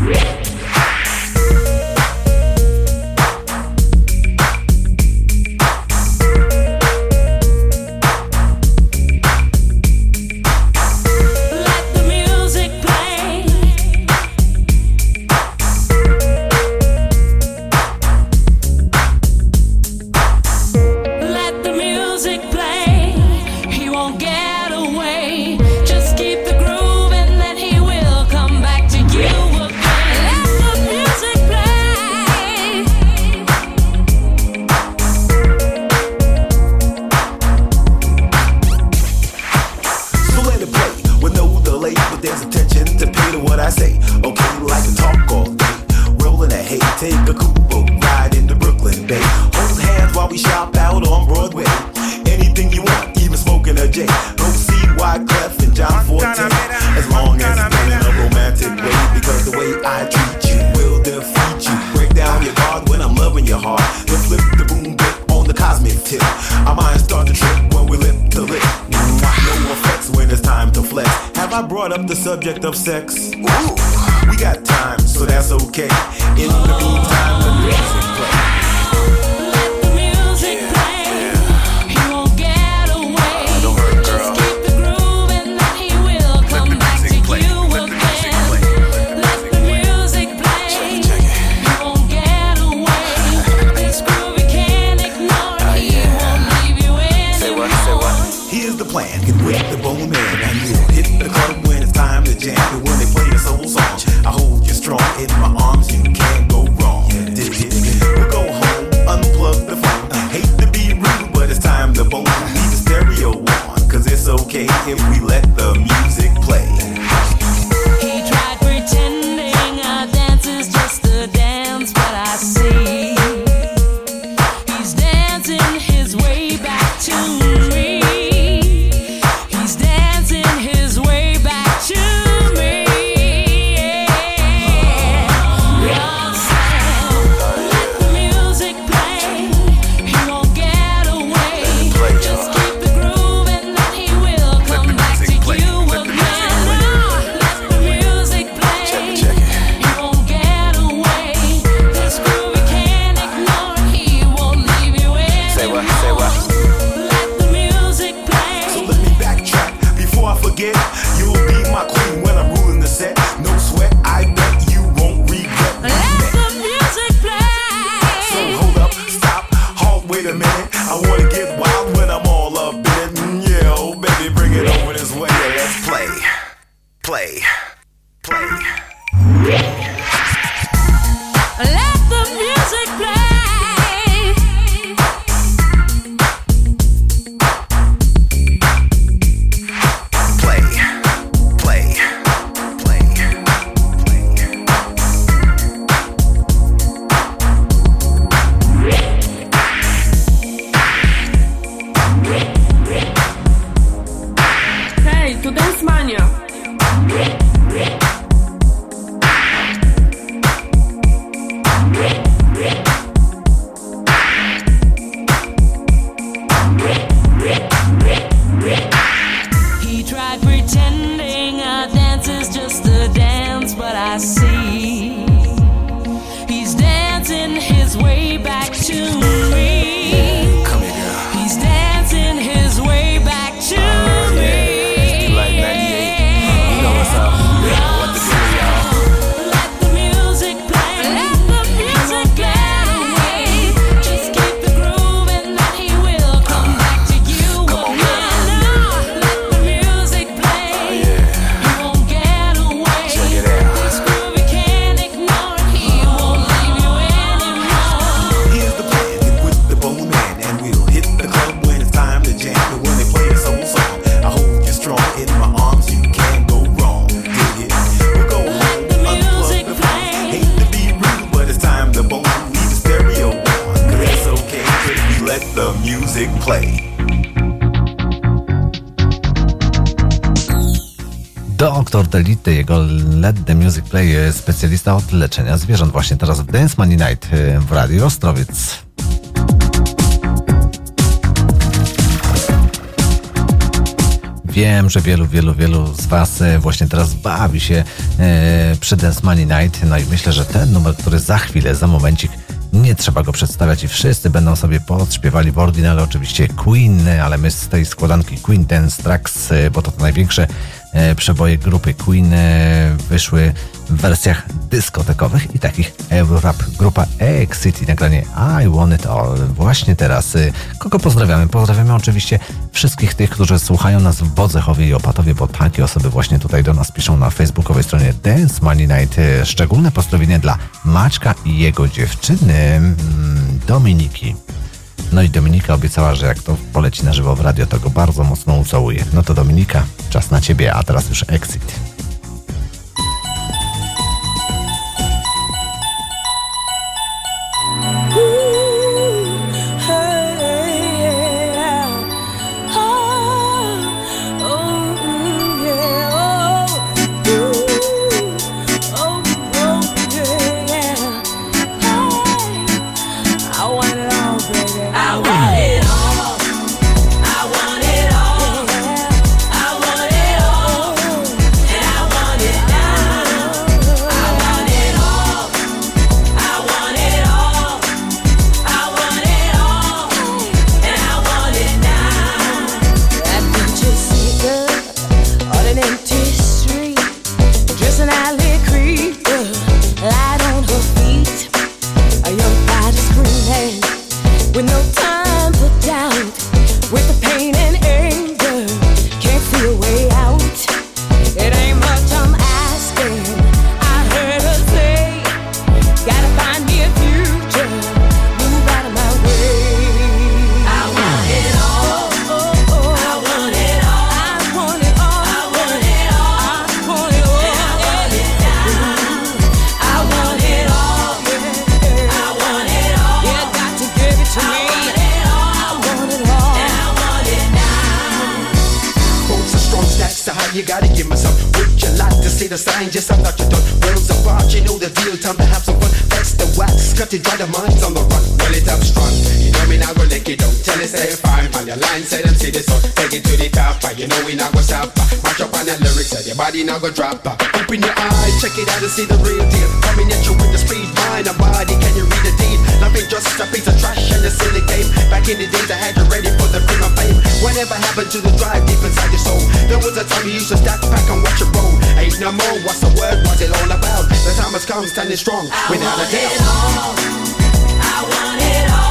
Subject of sex. Ooh, we got time, so that's okay. In the meantime, the music play. Let the music play. He won't get away. Don't hurt, girl. Just keep the groove and then he will come back to you again. Let the music play. He won't get away. This groove he can't ignore. He won't leave you anymore. Say what? Say what? Here's the plan. Get with the Bone Man and we'll hit the club when it's time to jam. And when they play a soul song, I hold you strong in my arms. You can't go wrong. Dig it. We'll go home, unplug the phone. Hate to be rude, but it's time to bone. Leave the stereo on, cause it's okay if we let the music play. He tried pretending our dance is just a dance, but I see he's dancing his way back to me. He's dancing his way back to me. Let the music play. He won't get away. Just keep the groove and then he will come back to you again. Let the music play. He won't get away. This groove he can't ignore. He won't leave you anymore. Say what? Say what? Let the music play. So let me backtrack before I forget. You'll be my queen when I'm ruling the set. No sweat, I bet you won't regret. Let the music play. So hold up, stop, halt, wait a minute. I wanna get wild when I'm all up in it. Mm, yeah, oh baby, bring it over this way. Yeah, let's play, play, play. Let the music play. I see. He's dancing his way back to me. Come here, girl. He's dancing his way back to uh, me. Yeah. It's like ninety-eight. You know what's up. Yeah, what the deal, y'all? Let the music play. Let the music play. Just keep the groove and then he will come uh, back to you. Come on, girl. Let the music play. Oh, yeah. You won't get away. Check it out. This groove you can't ignore. He won't leave you anymore. Here's the plan with the Bone Man, and we'll hit the club when it's time to jam. And when they play a soul song, I hold you strong in my arms. You can't go wrong. Dig it? We'll go home, unplug the phones. Hate to be rude, but it's time to bone. Leave the stereo on, 'cause it's okay, 'cause we let the music play. Doktor Delity, jego Let the Music Play, specjalista od leczenia zwierząt, właśnie teraz w Dance Money Night w Radiu Ostrowiec. Wiem, że wielu, wielu, wielu z Was właśnie teraz bawi się e, przy Dance Money Night, no i myślę, że ten numer, który za chwilę, za momencik, nie trzeba go przedstawiać i wszyscy będą sobie podśpiewali w oryginale oczywiście Queen, ale my z tej składanki Queen Dance Tracks, bo to, to największe e, przeboje grupy Queen e, wyszły w wersjach dyskotekowych i takich Eurorap. Grupa Exit, nagranie I Want It All. Właśnie teraz. E, kogo pozdrawiamy? Pozdrawiamy oczywiście wszystkich tych, którzy słuchają nas w Bodzechowie i Opatowie, bo takie osoby właśnie tutaj do nas piszą na facebookowej stronie Dance Money Night. E, szczególne pozdrowienie dla Maćka i jego dziewczyny mm, Dominiki. No i Dominika obiecała, że jak to poleci na żywo w radio, to go bardzo mocno ucałuje. No to Dominika, czas na ciebie, a teraz już Exit. Now go drop her. Open your eyes, check it out and see the real deal. Coming at you with the speed, mind and body, can you read the deed? Love ain't just a piece of trash and a silly game. Back in the days I had you ready for the fame of fame. Whatever happened to the drive deep inside your soul? There was a time you used to stack back and watch it roll. Ain't no more, what's the word, what's it all about? The time has come, standing strong, I without a doubt. I want it all.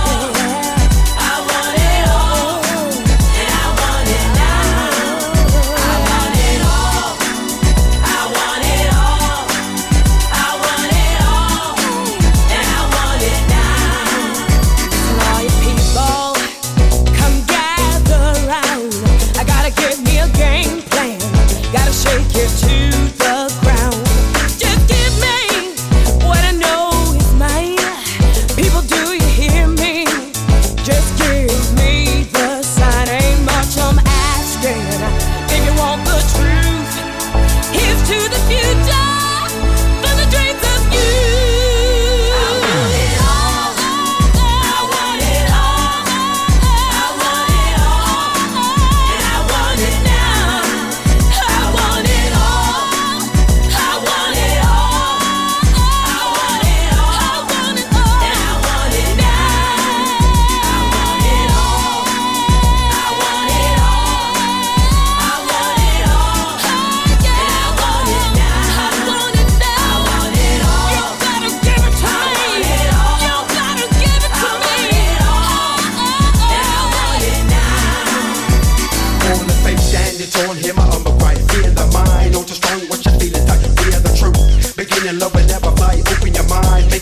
Shake you to the ground. Just give me what I know is mine.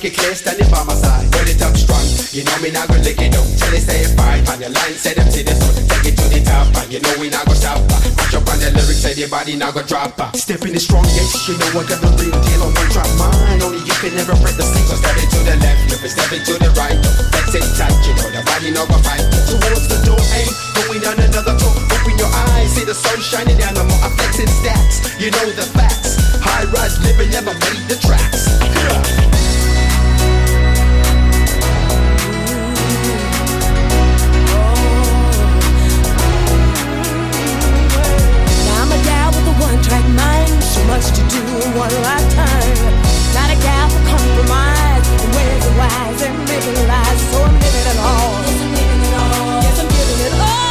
make it clear, standing by my side. Well, it up strong, you know me not gonna lick it up. Tell it say it fine, on your line, say them to the sun. Take it to the top, and you know we not gonna stop. Match up on the lyrics, say the body not gonna drop. Step in the strong, yes, you know I got the real deal on one drop. Mine, only you can never break the seat. So step it to the left, flip it, step it to the right. Let's it tight, you know the body not gonna fight. Towards the door, aim, going down another door. Open your eyes, see the sun shining down the more. I'm flexing stats, you know the facts. High rise living, never made the tracks. Yeah. One-track mind, so much to do in one lifetime. Not a gal for compromise, and ways are wise and making lies. So I'm living it all. Yes, I'm living it all. Yes, I'm giving it all.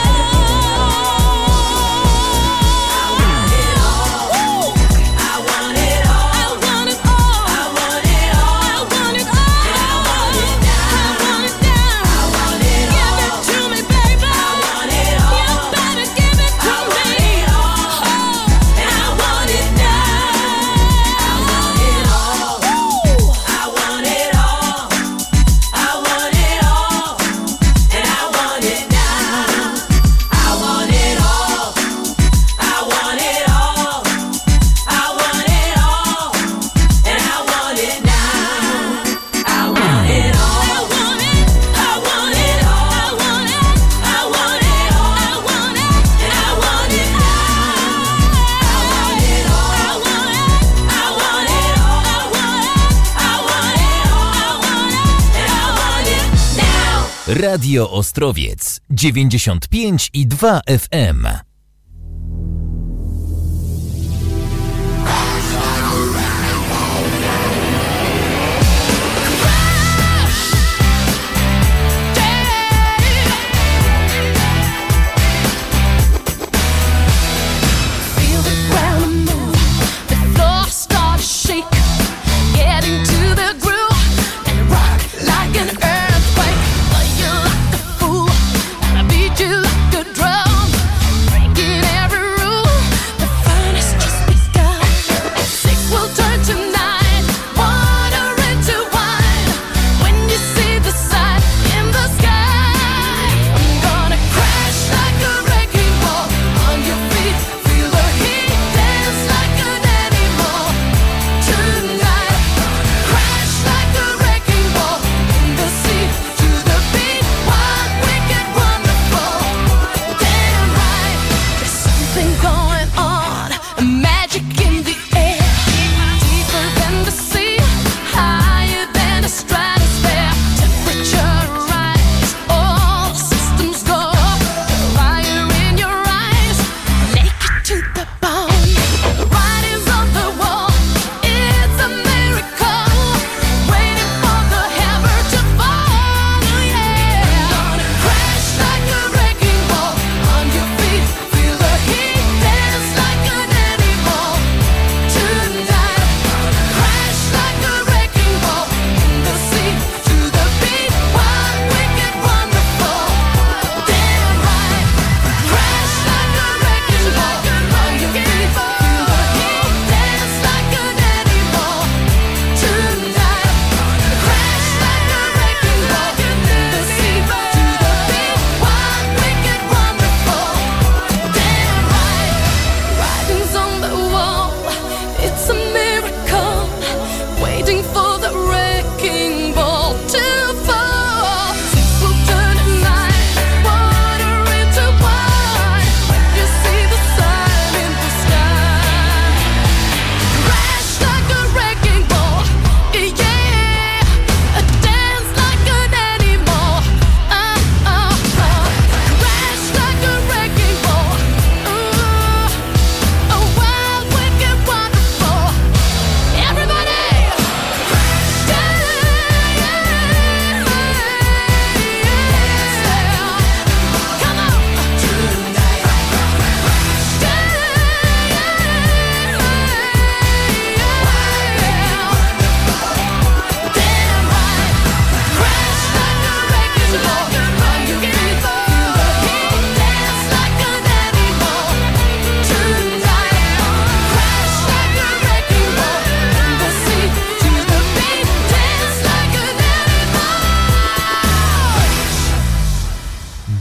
Radio Ostrowiec dziewięćdziesiąt pięć i dwa F M. Break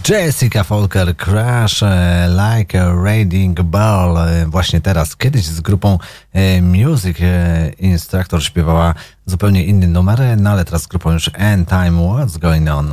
Jessica Folker, Crash Like a Raging Ball. Właśnie teraz, kiedyś z grupą Music Instructor śpiewała zupełnie inny numer, no ale teraz z grupą już End Time, What's Going On.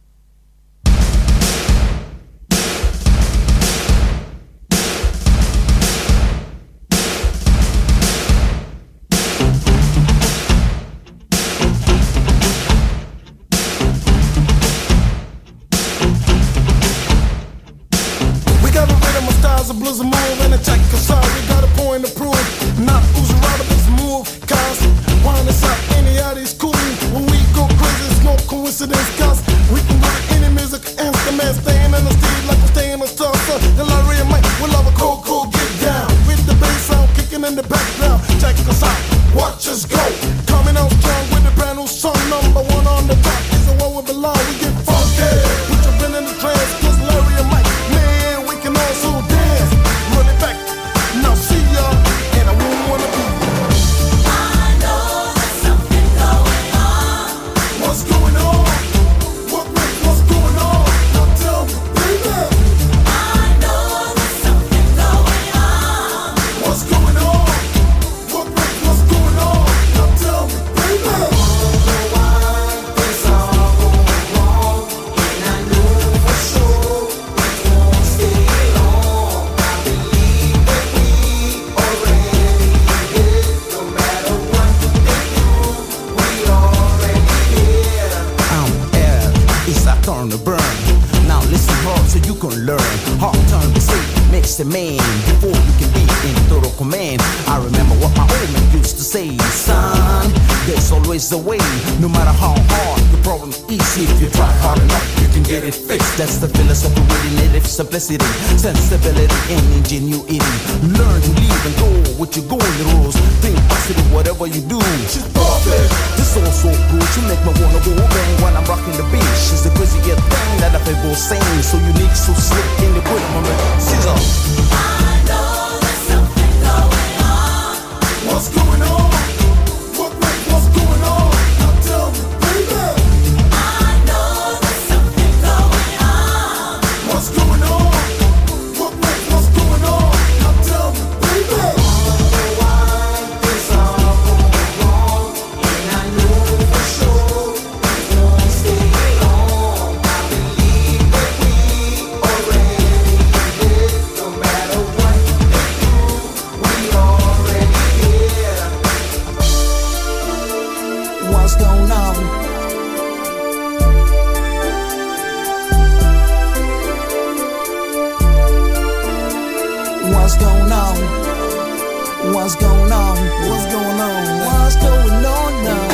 Simplicity, sensibility, and ingenuity. Learn to leave and go with your golden rules. Think positive, whatever you do. She's perfect. This all so good, she make me wanna go bang when I'm rocking the beat. She's the craziest thing that I've ever seen. So unique, so slick in the good moment. Scissor. I know there's something going on. What's going on? What, what, what's going on? Now tell me, baby. I know there's something going on. What's going on? What, what, what's going on? Now tell me, baby. All the while it's all going wrong, and I know for sure it won't stay long. I believe that we already did. No matter what they do, we already here. What's going on? What's going on? What's going on? What's going on? What's going on now?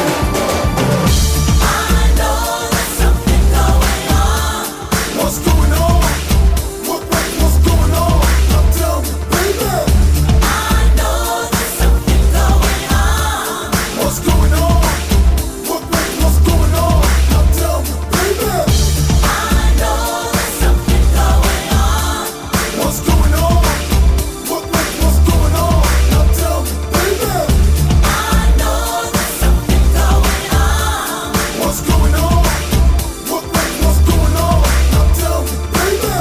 I know there's something going on. What's going on? What, what, what's going on? Now tell me, baby. I know there's something going on. What's going on? What, what, what's going on? Now tell me, baby. I know there's something going on. What's going on? What, what, what's going on? Now tell me, baby. I know there's something going on. What's going on? What, what, what's going on? Now tell me, baby.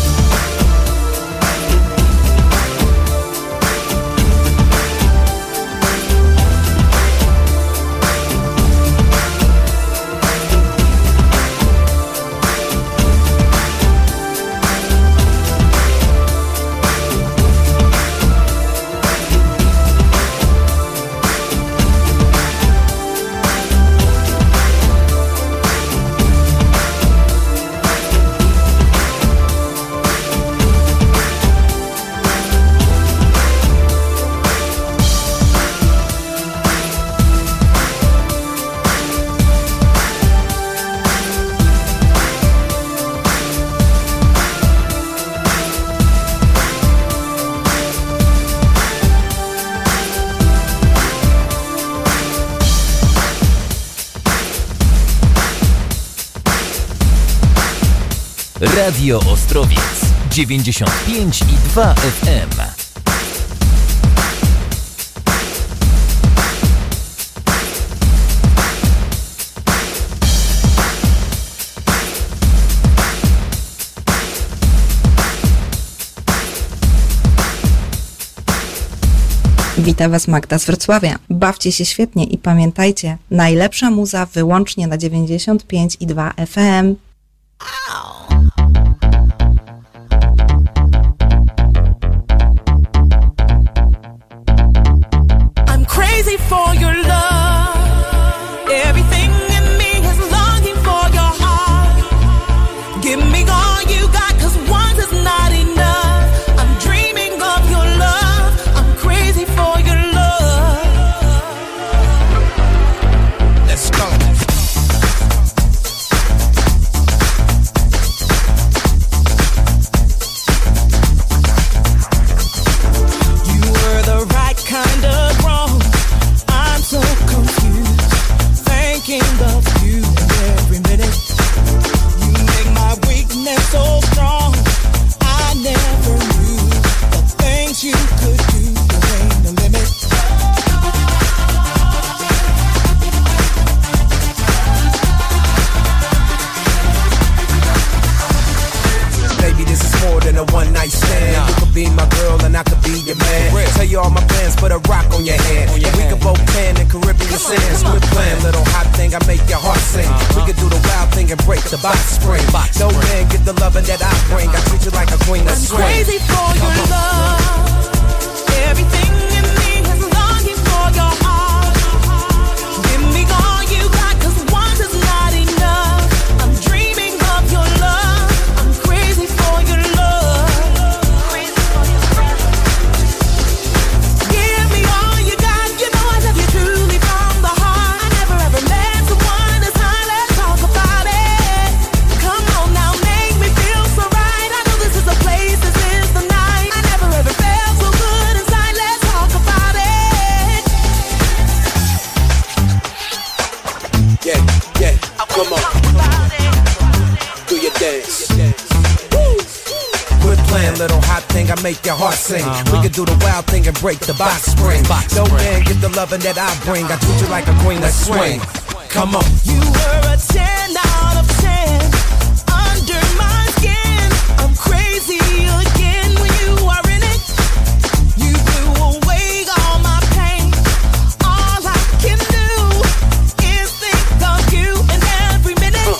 Radio Ostrowiec dziewięćdziesiąt pięć i dwa F M. Wita Was Magda z Wrocławia. Bawcie się świetnie i pamiętajcie, najlepsza muza wyłącznie na dziewięćdziesiąt pięć i dwa F M. I'm crazy for your love. Everything in me is longing for your heart. Give me all you got, 'cause one is not enough. I'm dreaming of your love. I'm crazy for your love. Let's go. You were the right kind of wrong. I'm so confused, thinking of you every minute. You make my weakness so strong. I never knew the things you could do. There ain't no limit. Baby, this is more than a one night stand. You could be my girl and I could be your man. Tell you all my plans, put a rock on your hand. And we could both tan in Caribbean sands. Quit playing, little hot thing, I make your heart sing. We could do the wild thing and break the box spring. No man get the loving that I bring. I treat you like a queen. I'm crazy for your love. Everything in me is longing for your heart. Give me all you got, 'cause one is not enough. I'm dreaming of your love. I'm crazy for your love. Give me all you got. You know I love you truly from the heart. I never ever met someone as high. Let's talk about it. Come on now, make me feel so right. I know this is the place, this is the night. I never ever felt so good inside. Let's talk about it. Yeah, yeah, come on. Do your dance. Quit playing, little hot thing, I make your heart sing. We could do the wild thing and break the box spring. No man get the loving that I bring. I treat you like a queen, let's swing. Come on. You were a ten out of ten. Under my skin, I'm crazy again when you are in it. You blew away all my pain. All I can do is think of you in every minute.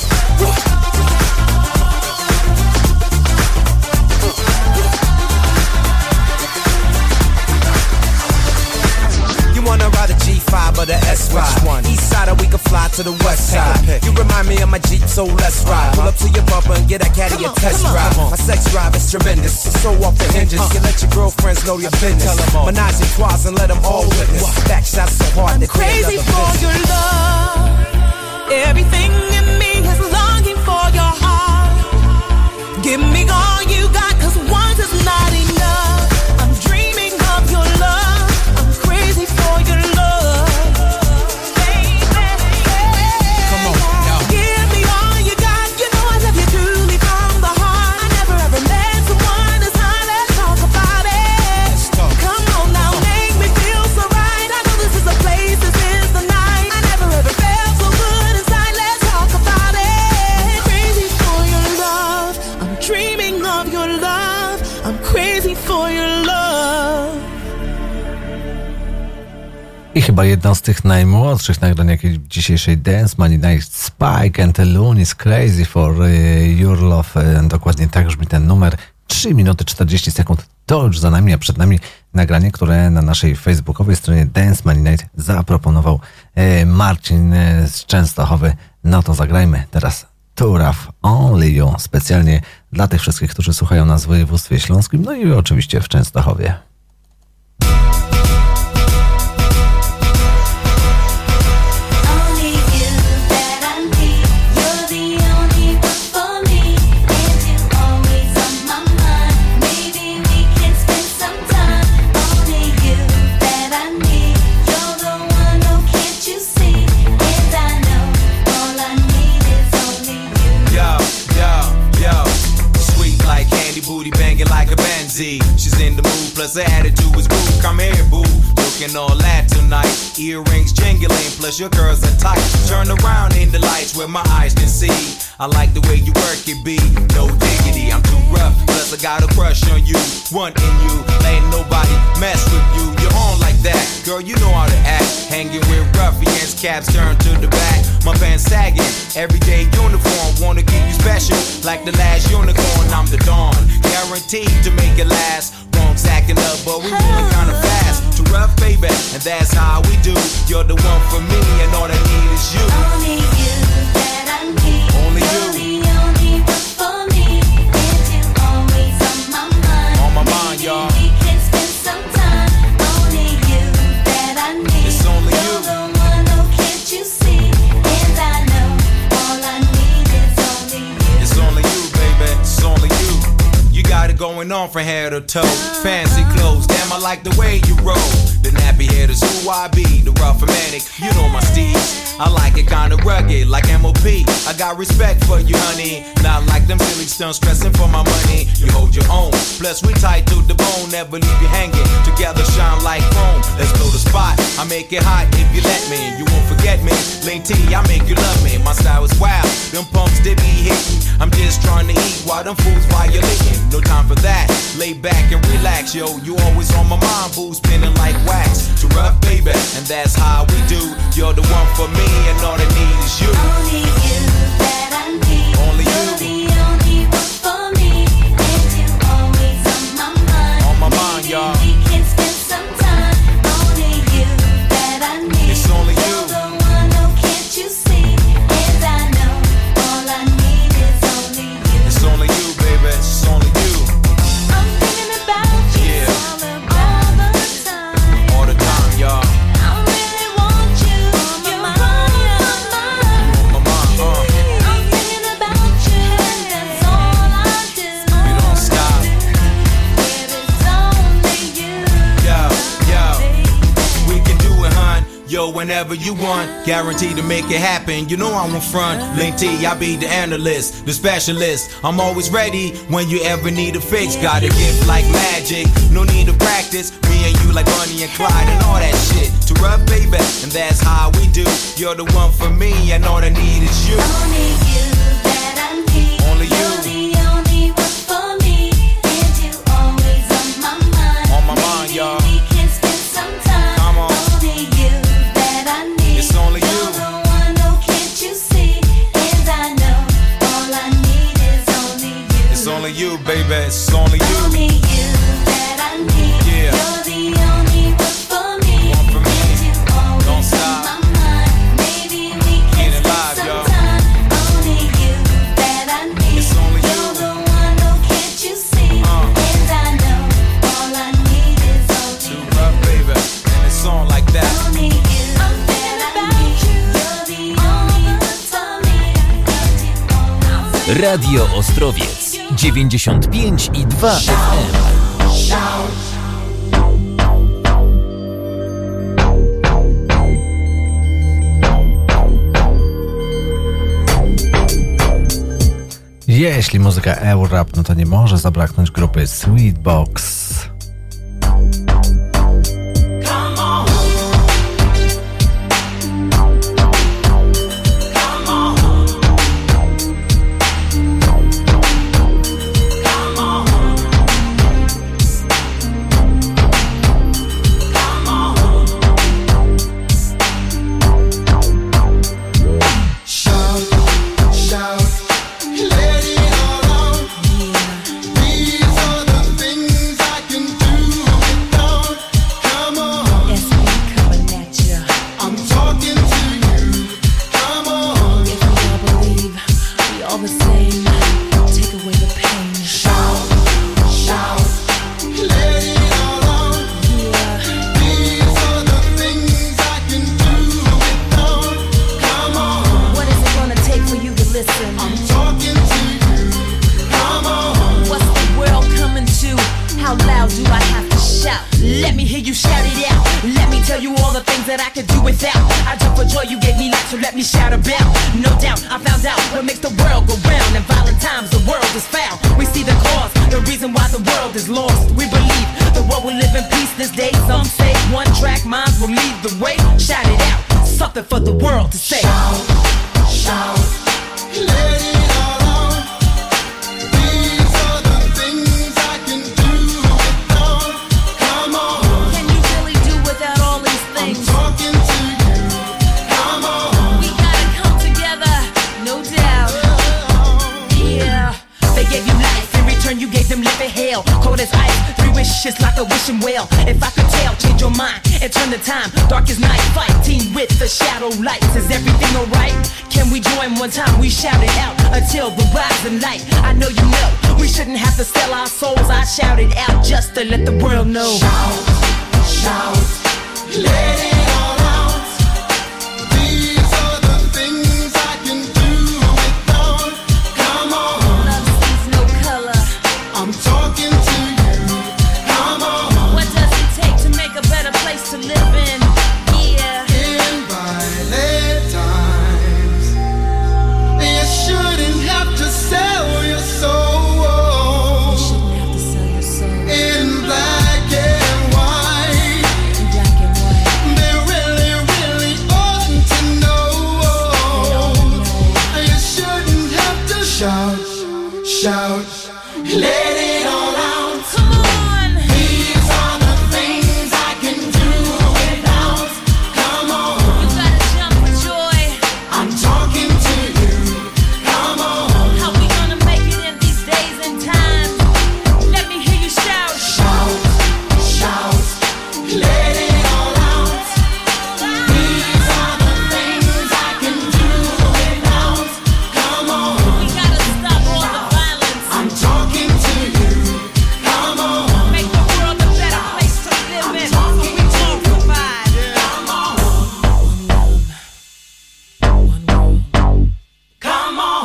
You wanna ride a G five or the S ride? East side or we can fly to the west side. You remind me of my Jeep, so let's ride. Pull up to your bumper and get that caddy a test drive. My sex drive is tremendous, it's so off the hinges. You let your girlfriends know your business. Menage a trois and let them all witness. Back shots so hard I'm that they crazy another for business. your love. Everything in me is longing for your heart. Give me all you got, 'cause one is not enough. I'm dreaming of your love. I'm crazy for your love. Come on, now. Give me all you got. You know I love you truly from the heart. I never ever met someone as high. Let's talk about it. Let's talk. Come on now, make me feel so right. I know this is the place, this is the night. I never ever felt so good inside. Let's talk about it. Crazy for your love. I'm dreaming of your love. I'm crazy for your love. I chyba jedno z tych najmłodszych nagrań jakiej dzisiejszej Dance Money Night, Spike and the Loonies, Crazy for Your Love. Dokładnie tak brzmi ten numer. trzy minuty czterdzieści sekund to już za nami, a przed nami nagranie, które na naszej facebookowej stronie Dance Money Night zaproponował Marcin z Częstochowy. No to zagrajmy teraz Too Rough, Only You, specjalnie dla tych wszystkich, którzy słuchają nas w województwie śląskim, no i oczywiście w Częstochowie. She's in the mood, plus her attitude is cool. Come here, boo. Looking all that tonight. night. Earrings jingling, plus your curls are tight. Turn around in the lights where my eyes can see. I like the way you work it, B. No diggity, I'm too rough. Plus I got a crush on you, one in you. Ain't nobody mess with you. You're on like that, girl. You know how to act. Hanging with ruffians, caps turned to the back. My pants sagging, everyday uniform. Wanna keep you special, like the last unicorn. I'm the dawn, guaranteed to make it last. Wrong's acting up, but we moving kinda fast. Too rough, baby, and that's how we do. You're the one for me, and all I need is you. Only you that I need. Only you. You're the only one for me, and you always on my mind. On my mind, y'all. We can spend some time. Only you that I need. It's only you. You're the one, oh can't you see? And I know all I need is only you. It's only you, baby. It's only you. You got it going on from head to toe. Fancy clothes, damn, I like the way you roll. The nappy head is who I be, the rough romantic. You know my steez. I like it kinda rugged, like M O P. I got respect for you, honey. Not like them silly stunts stressing for my money. You hold your own. Plus we tight to the bone, never leave you hanging. Together shine like chrome. Let's blow the spot. I make it hot if you let me. You won't forget me. Lane T, I make you love me. My style is wild. Them pumps they be hitting. I'm just trying to eat while them fools violating. No time for that. Lay back and relax, yo. You always on my mind, boo, spinning like wax. Too rough, baby, and that's how we do. You're the one for me, and all I need is you. Only you that I need. Only you. You're the only one for me, and you always on my mind. On my mind, y'all. We can spend some time. Only you that I need. It's only you. You're the one, oh can't you see? And I know all I need is only you. It's only you, baby. It's only you. I'm thinking about you Yeah. all the, all the time. All the time, y'all. I really want you. You're running my mind. On my mind, uh. I'm thinking about you, and that's all I do. You don't stop. It is only you. Yo, yo. We can do it, hun. Yo, whenever you want, guaranteed to make it happen. You know I'm in front. Link T, I be the analyst, the specialist. I'm always ready when you ever need a fix. Got a gift like magic, no need to practice. Me and you like Bonnie and Clyde and all that shit. To rub, baby, and that's how we do. You're the one for me, and all I need is you. Only you that I need. Only you. You're the only one for me, and you always on my mind. On my mind, y'all. We can spend some time. Come on. Only you that I need. It's only you. You're the one, oh can't you see? And I know all I need is only you. It's only you, baby. It's only you. Only you that I need. Yeah. You're the only one for me. One for me. And you always Don't on stop. my mind. Maybe we can Get it spend live, some y'all. time. Only you that I need. It's only you. You're the one, oh can't you see? Uh. And I know all I need is only Too you. rough, baby, and it's on like that. Only you. I'm thinking about you. You're the only one for me. And you always Radio Ostrowiec dziewięćdziesiąt pięć i dwa F M. Jeśli muzyka Eurorap, no to nie może zabraknąć grupy Sweetbox. Let it all out. These are the things I that I could do without. I jump for joy, you gave me life, so let me shout about. No doubt, I found out what makes the world go round. In violent times, the world is foul. We see the cause, the reason why the world is lost. We believe the world will live in peace this day. Some say one track minds will lead the way. Shout it out, something for the world to say. Shout, shout, let it all out. These are the things I can do without. Come on. Can you really do without all these things? I'm talking to you. Come on. We gotta come together, no doubt. Yeah. They gave you life, in return you gave them living hell. Cold as ice, three wishes like a wishing well. If I could tell, change your mind and turn the time. Dark as night, fighting with the shadow lights. Is everything alright? Can we join one time? We shout it out until the rising light. I know you know, we shouldn't have to sell our souls. I shout it out just to let the world know. Shout, shout, let it all out. These are the things I can do without. Come on. Love sees no color. I'm talking to you. Come on. What does it take to make a better place to live in? Yeah. In violent times, you shouldn't have to sell your soul. You shouldn't have to sell your soul. In black and white, In black and white. they really, really ought to know. You shouldn't have to shout, shout, let it all out. Come on. These are the things I can do without. Come on, You gotta jump for joy. I'm talking to you. Come on, How we gonna make it in these days and times? Let me hear you shout. shout, shout, let it all out. These are the things I can do without. Come on, We gotta stop all the violence. I'm talking to you. Come on, Make the world a better place to live in. So we all provide. come on, One world. come on,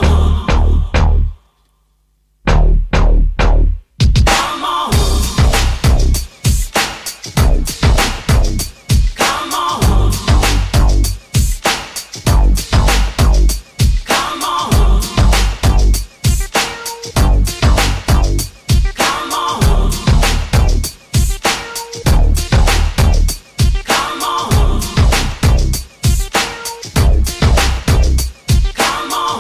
come on, come on, come on, come on, come on, come on.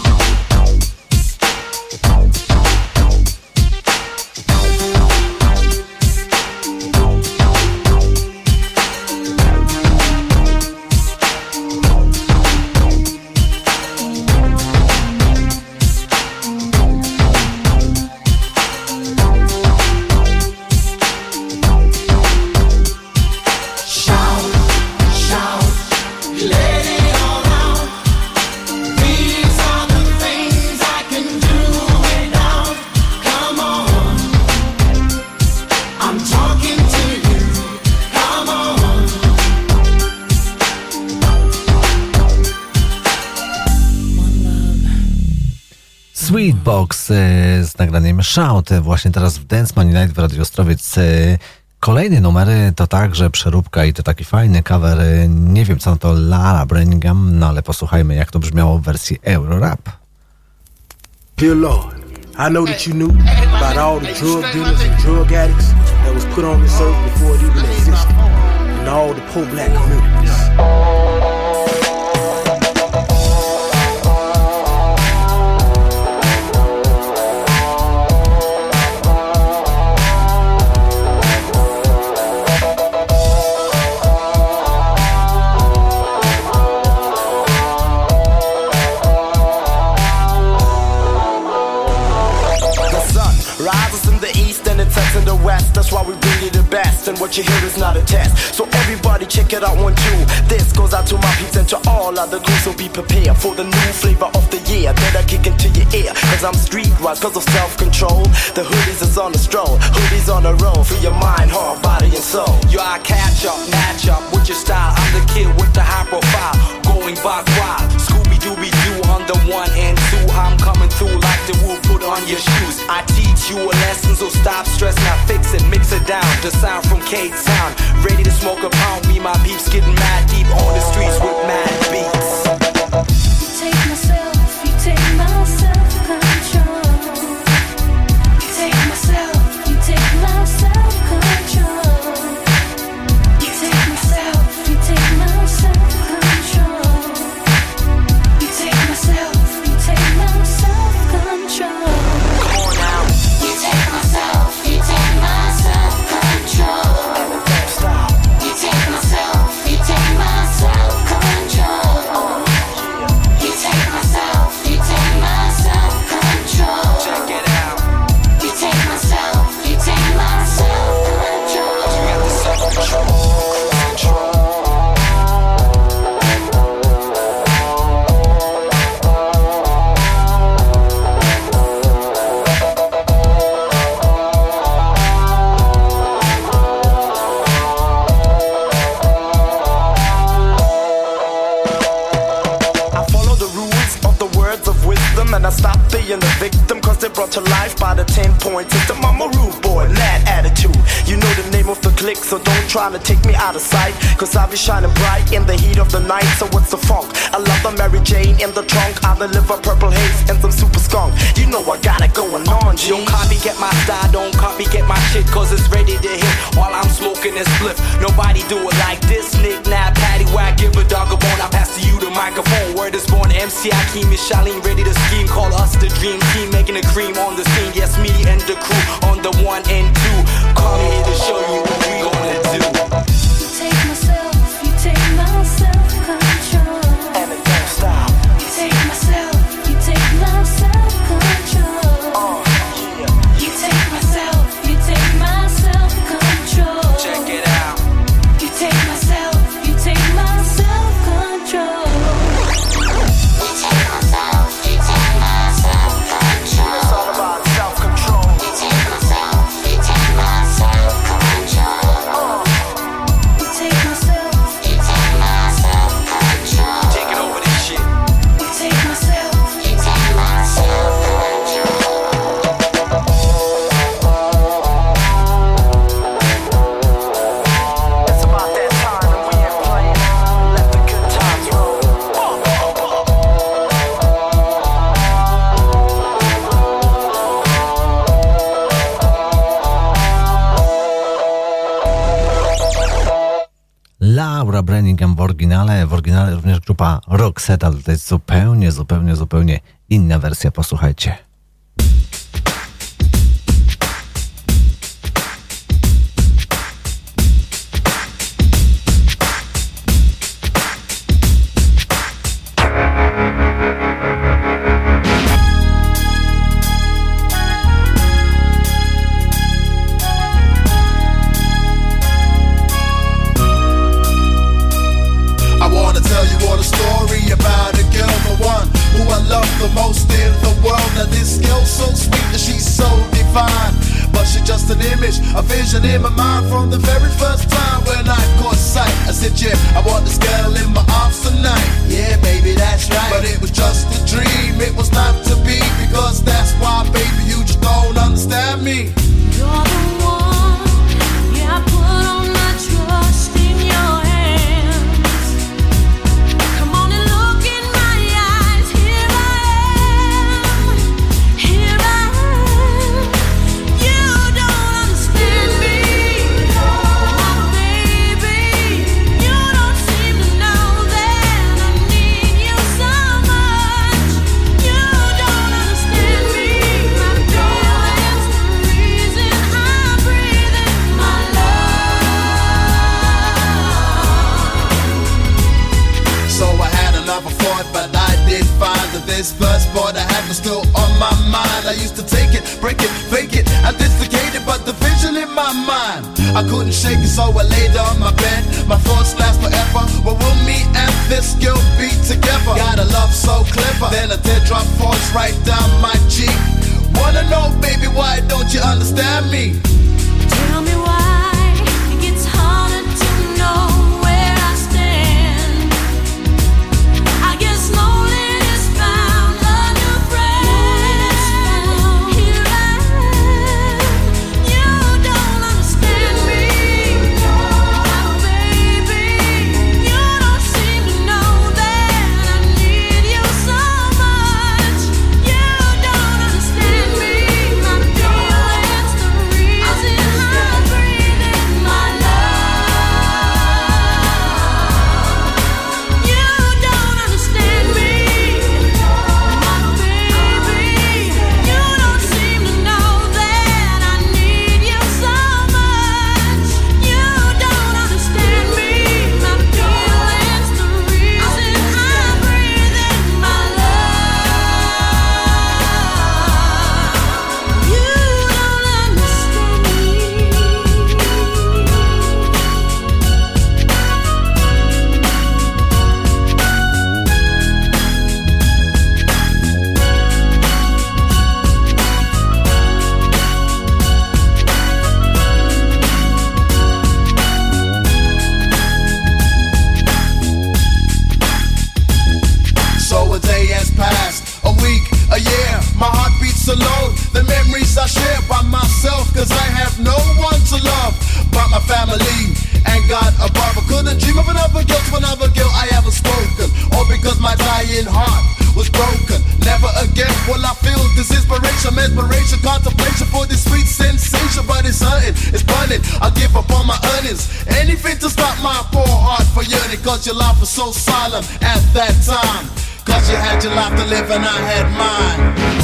Shout, shout, let it all out. These are the things I can do without. Come on, I'm talking to you. Come on, Sweetbox e, z nagraniem Shout e, właśnie teraz w Dance Money Night w Radio Ostrowiec. E, Kolejny numer e, to także przeróbka i to taki fajny cover. e, Nie wiem co to Lara Brenningham, no ale posłuchajmy jak to brzmiało w wersji Eurorap. Dear Lord, I know that you knew about all the drug dealers and drug addicts that was put on this earth before it even existed, and all the poor black communities. Rises in the east and it sets in the west. That's why we bring you the best. And what you hear is not a test. So everybody check it out one, two. This goes out to my peeps and to all other crews. So be prepared for the new flavor of the year that I kick into your ear. Cause I'm streetwise, cause of self-control. The hoodies is on the stroll, hoodies on the road. For your mind, heart, body and soul. Yo, I catch up, match up with your style. I'm the kid with the high profile, going back wild. Scooby-Dooby-Doo on the one and two. I'm coming through like the wolf, put on your shoes. I teach you a lesson, so stop stress, now fix it. Mix it down. The sound from K-Town, ready to smoke a pound. Me, my peeps getting mad deep on the streets with mad beats. You take myself, you take my self-control. You take myself, you take my self-control. You take myself, you take my self-control. You take myself, you take my self-control. Come on now. You take myself, you take my self-control. Don't stop. You take myself, you take my self-control. You take myself, you take my self-control. Check it out. You take myself, you take my self-control. You got the self-control. Control. I follow the rules of the words of wisdom, and I stop being the victim, cause they're brought to life by the ten point system. I'm a rude boy, mad attitude. You know the name of the clique, so don't try to take me out of sight, cause I'll be shining bright in the heat of the night. So what's the funk? I love the Mary Jane in the trunk. I deliver purple haze and some super skunk. You know I got it going on, G. Don't copycat my style, don't copycat my shit, cause it's ready to hit while I'm smoking this spliff. Nobody do it like this, Nick, Nab, Patty, Whack, give a dog a bone. I pass to you the microphone. Word is born, M C Akeem is Shaleen, ready to scheme. Call us the dream team, making the cream on the scene. Yes, me and the crew on the one and two. Call me here to show you what we gonna do. You take myself, you take my self-control. And it don't stop. You take myself, you take my self-control. Uh, yeah. You take myself, you take my self-control. Check it out. You take myself, you take my self-control. You take myself, you take my self-control. It's all about self-control. You take myself, you take my self-control. Uh, You take myself, you take my self-control. taking over this shit. You take myself, you take my self-control. It's about that time and we ain't playing. Let the good times roll. Laura Branningham w oryginale, w oryginale również grupa Roxette, ale to jest zupełnie, zupełnie, zupełnie inna wersja, posłuchajcie. I wanna tell you all a story about a girl, the one who I love the most in the world. Now this girl's so sweet and she's so divine, but she's just an image, a vision in my mind from the very first time when I caught sight. I said, yeah, I want this girl in my arms tonight. Yeah, baby, that's right. But it was just a dream, it was not to be, because that's why, baby, you just don't understand me. You're the one, yeah, I put all my trust in your hands. Come on and look in my eyes, here I am, here I am. You don't understand me, my baby. You don't seem to know that I need you so much. You don't understand me, my feelings, the reason I breathe in my love. So I had another thought, but I did find that this first boy I had was still on my mind. I used to take it, break it, fake it, and dislocate it, but the vision in my mind, I couldn't shake it, so I laid on my bed. My thoughts last forever. Well, will me and this girl be together? Got a love so clever. Then a teardrop falls right down my cheek. Wanna know, baby, why don't you understand me? Tell me why it gets harder to know where I stand. I guess loneliness found a new friend. Here I am. You don't understand desperation, contemplation for this sweet sensation. But it's hunting, it's bunning, I give up on my earnings. Anything to stop my poor heart for yearning. Cause your life was so solemn at that time. Cause you had your life to live and I had mine.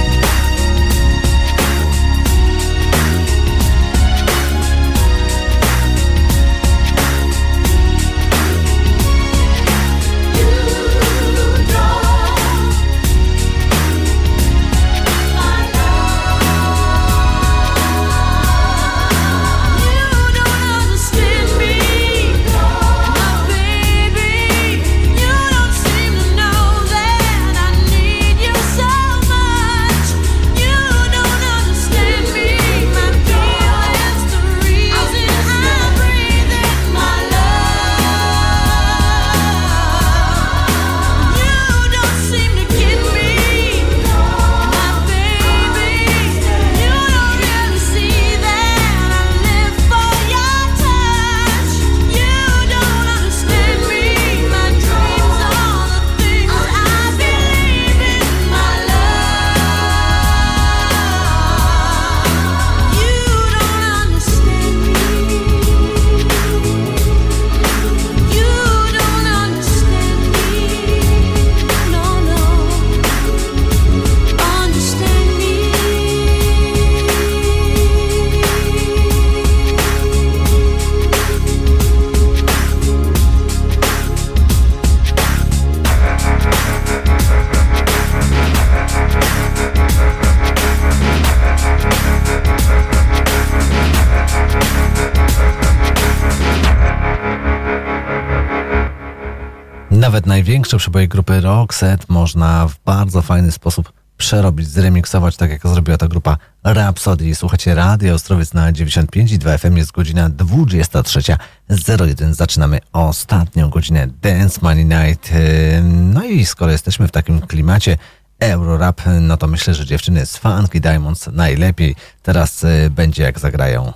Nawet największe przeboje grupy Roxette można w bardzo fajny sposób przerobić, zremiksować, tak jak zrobiła ta grupa Rhapsody. Słuchacie Radio Ostrowiec na dziewięćdziesiąt pięć i dwa F M, jest godzina dwudziesta trzecia zero jeden. Zaczynamy ostatnią godzinę Dance Money Night. No i skoro jesteśmy w takim klimacie Eurorap, no to myślę, że dziewczyny z Funky Diamonds najlepiej. Teraz będzie jak zagrają.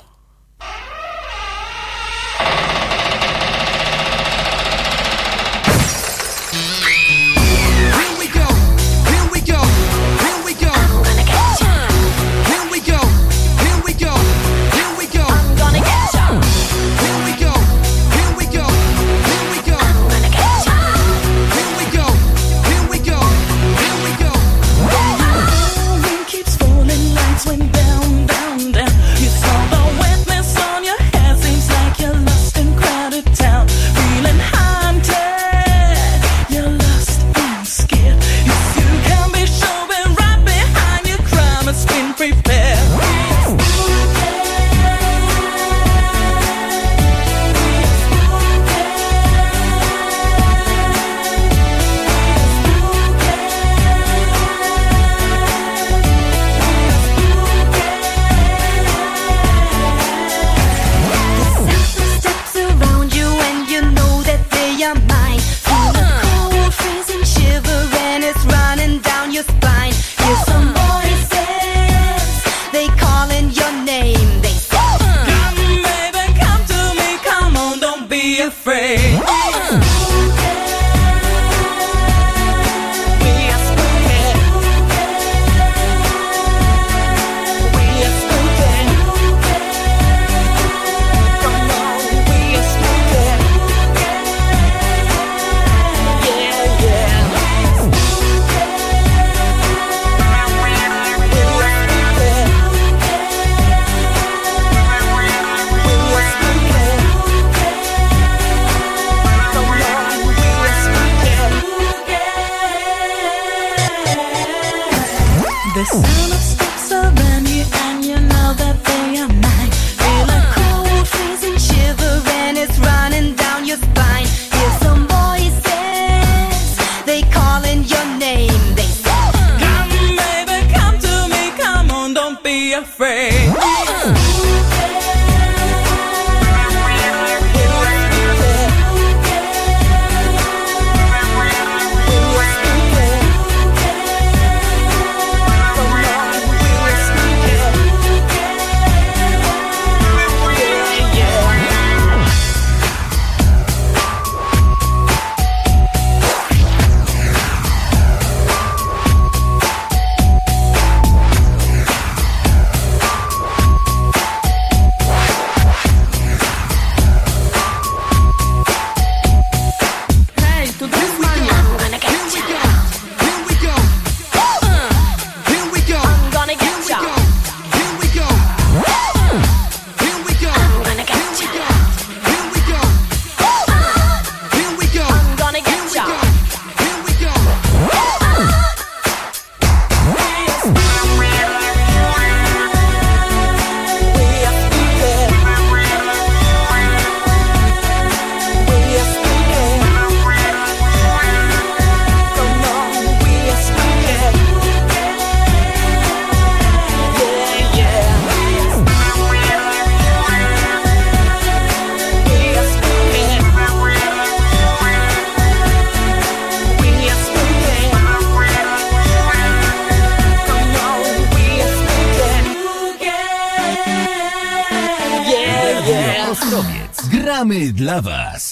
gramy dla was.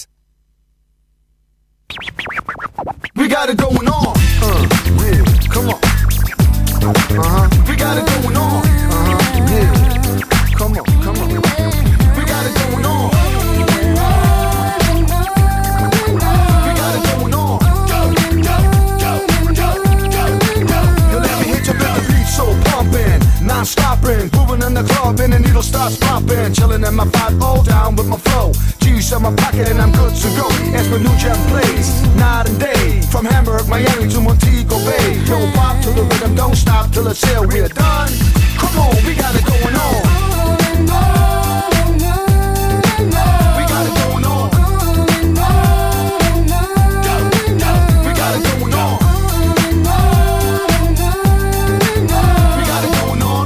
We got it going on. Uh, yeah, come on. Uh-huh. We got it going on. Uh-huh. Yeah. Come on, come on. We got it going on. We got it going on. You let me hit you with the beat so pumping, non-stopping, moving in the club and the needle starts popping, chilling in my five oh down with my flow. G's in my pocket and I'm good to go. As my new jam plays, night and day, from Hamburg, Miami to Montego Bay. Yo, pop to the rhythm, don't stop till it's here. We're done. Come on, we got it going on. We got it going on. We got it going on. We got it going on.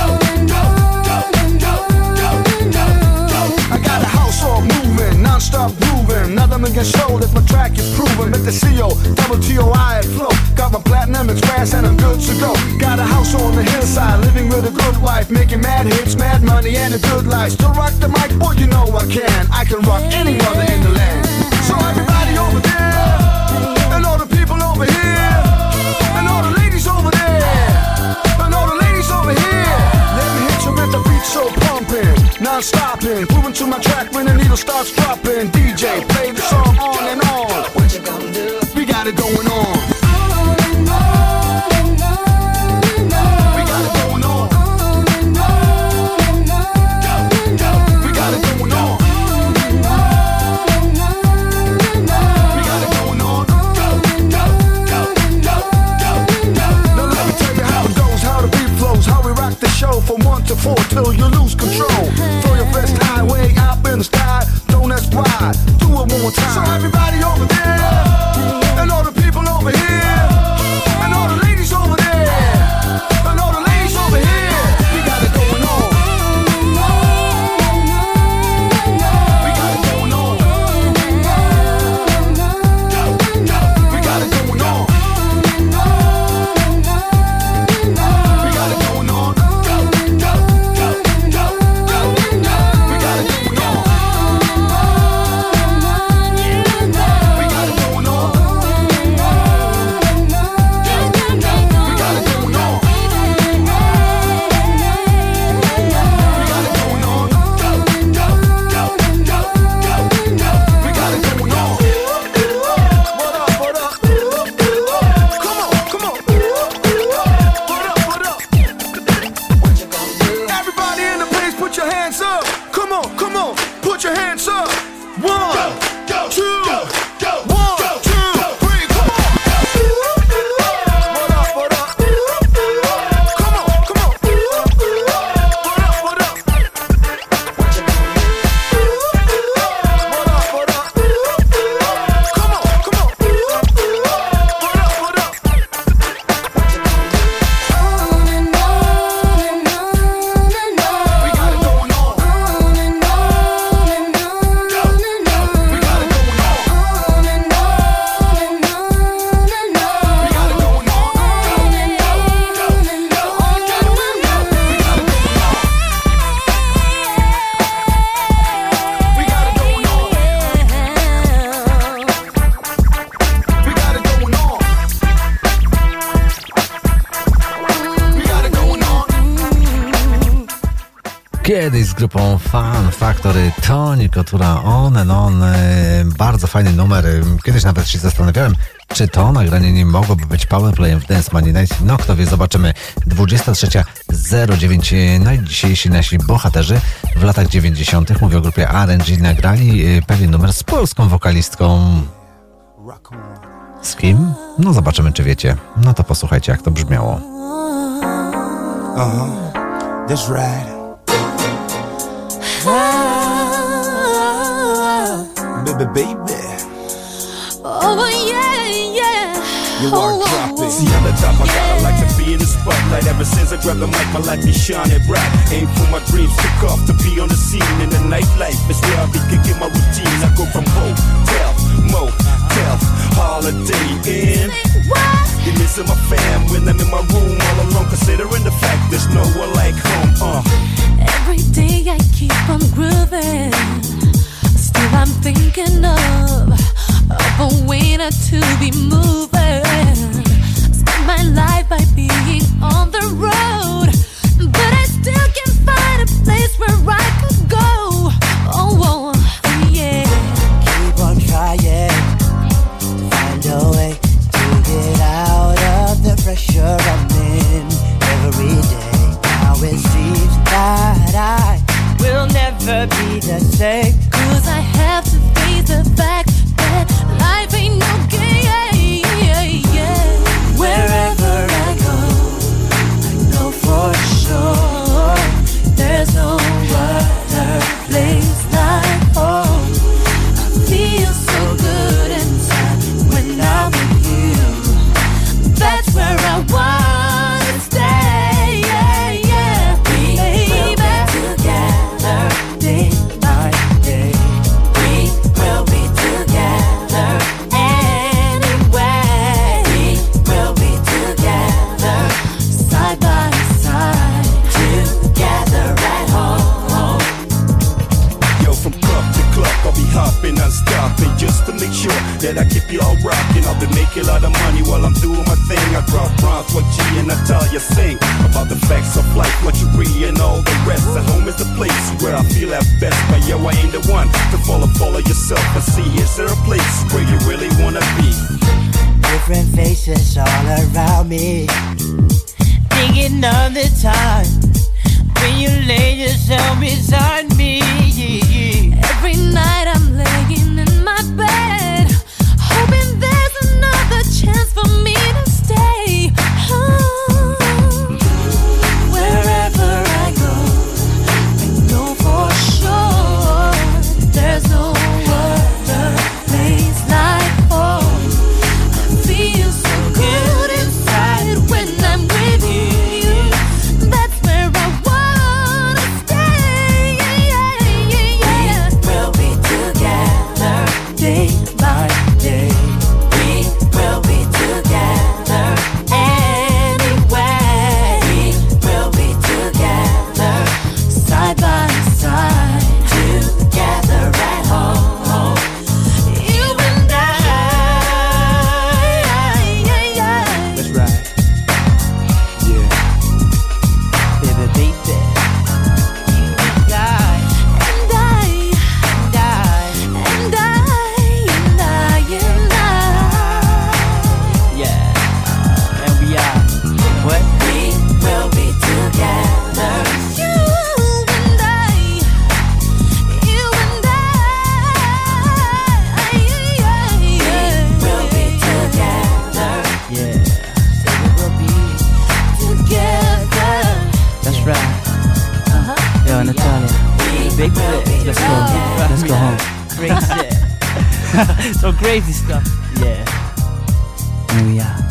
I got a house all moving, non-stop grooving. Nothing against show that my track is proven. With the C O, double T O I at flow. Got my platinum express and I'm good to go. Got a house on the hillside, living with a good wife, making mad hits, mad money and a good life. Still rock the mic, boy, you know I can. I can rock any mother in the land. So everybody over there, and all the people over here, and all the ladies over there, and all the ladies over here. Let me hit you with the beat so pumping, non-stopping, moving to my track when the needle starts dropping. D J, play the song on and on. What you gonna do? We got it going on. From one to four till you lose control. Throw your best high way up in the sky. Don't ask why. Do it one more time. So everybody over there, and all the people over here, and all the ladies over there, and all the ladies over here. We got it going on. We got it going on. We got it going on. We got it going on. Kiedyś z grupą Fun Factory, Toni Kotura, On and On, bardzo fajny numer. Kiedyś nawet się zastanawiałem, czy to nagranie nie mogłoby być powerplayem w Dance Money Night. No kto wie, zobaczymy. dwudziesta trzecia zero dziewięć. No i dzisiejsi nasi bohaterzy w latach dziewięćdziesiątych, mówię o grupie R and G, nagrali pewien numer z polską wokalistką. Z kim? No zobaczymy, czy wiecie. No to posłuchajcie, jak to brzmiało. Uh-huh. That's right. Baby, baby. Oh, yeah, yeah. You are oh, dropping. Oh, See, I'm the top, I gotta like to be in the spotlight. Ever since I grabbed the mic, my life is shining bright. Aim for my dreams, took off to be on the scene. In the nightlife, it's where I be kicking my routines. I go from hotel, motel, holiday in. What? You missing my fam when I'm in my room all alone, considering the fact there's no one like home. Uh. Every day I keep on grooving. Still I I'm thinking of, of a way not to be moving. Spend my life by being on the road, but I still can't find a place where I could go. Oh, oh yeah. Keep on trying, find a way to get out of the pressure I'm in every day. Now it seems that I will never be the same, 'cause I have to face the fact that life ain't no game. Wherever I go, I know for sure there's no other place like home. I feel so good inside when I'm with you. That's where I wanna stay. Yeah, yeah. We will be together day by day. We will be together anyway. We will be together side by side, together at home. Yo, from club to club, I'll be hopping and stopping just to make sure that I keep you all rocking. I'll be making a lot of money while I'm doing my thing. I drop rhymes what G and Natalia sing about the facts of life, what you read and all the rest. At home is the place where I feel at best. But yo, I ain't the one to follow, follow yourself and see, is there a place where you really wanna be? different faces all around me, thinking of the time when you lay yourself beside me. Every night I'm laying in my bed, hoping there's another chance for me to stay. Oh, wherever I go, I know for sure there's no other place like home. I feel so good inside when I'm with you. That's where I wanna stay. We'll be together day by day. We will be together anyway. We will be together side by side, together at home. You and I. That's right. Yeah. Baby, baby. You and I. And I, And I. and I, and I, and I. Yeah. And we are. What? We will be together. You and I, you and I. We will be together, Yeah. Say we will be. together. That's right. Uh-huh. Yo, Natalia. Big flip. Let's go. Let's go home. Crazy. So crazy stuff. Yeah. And we are.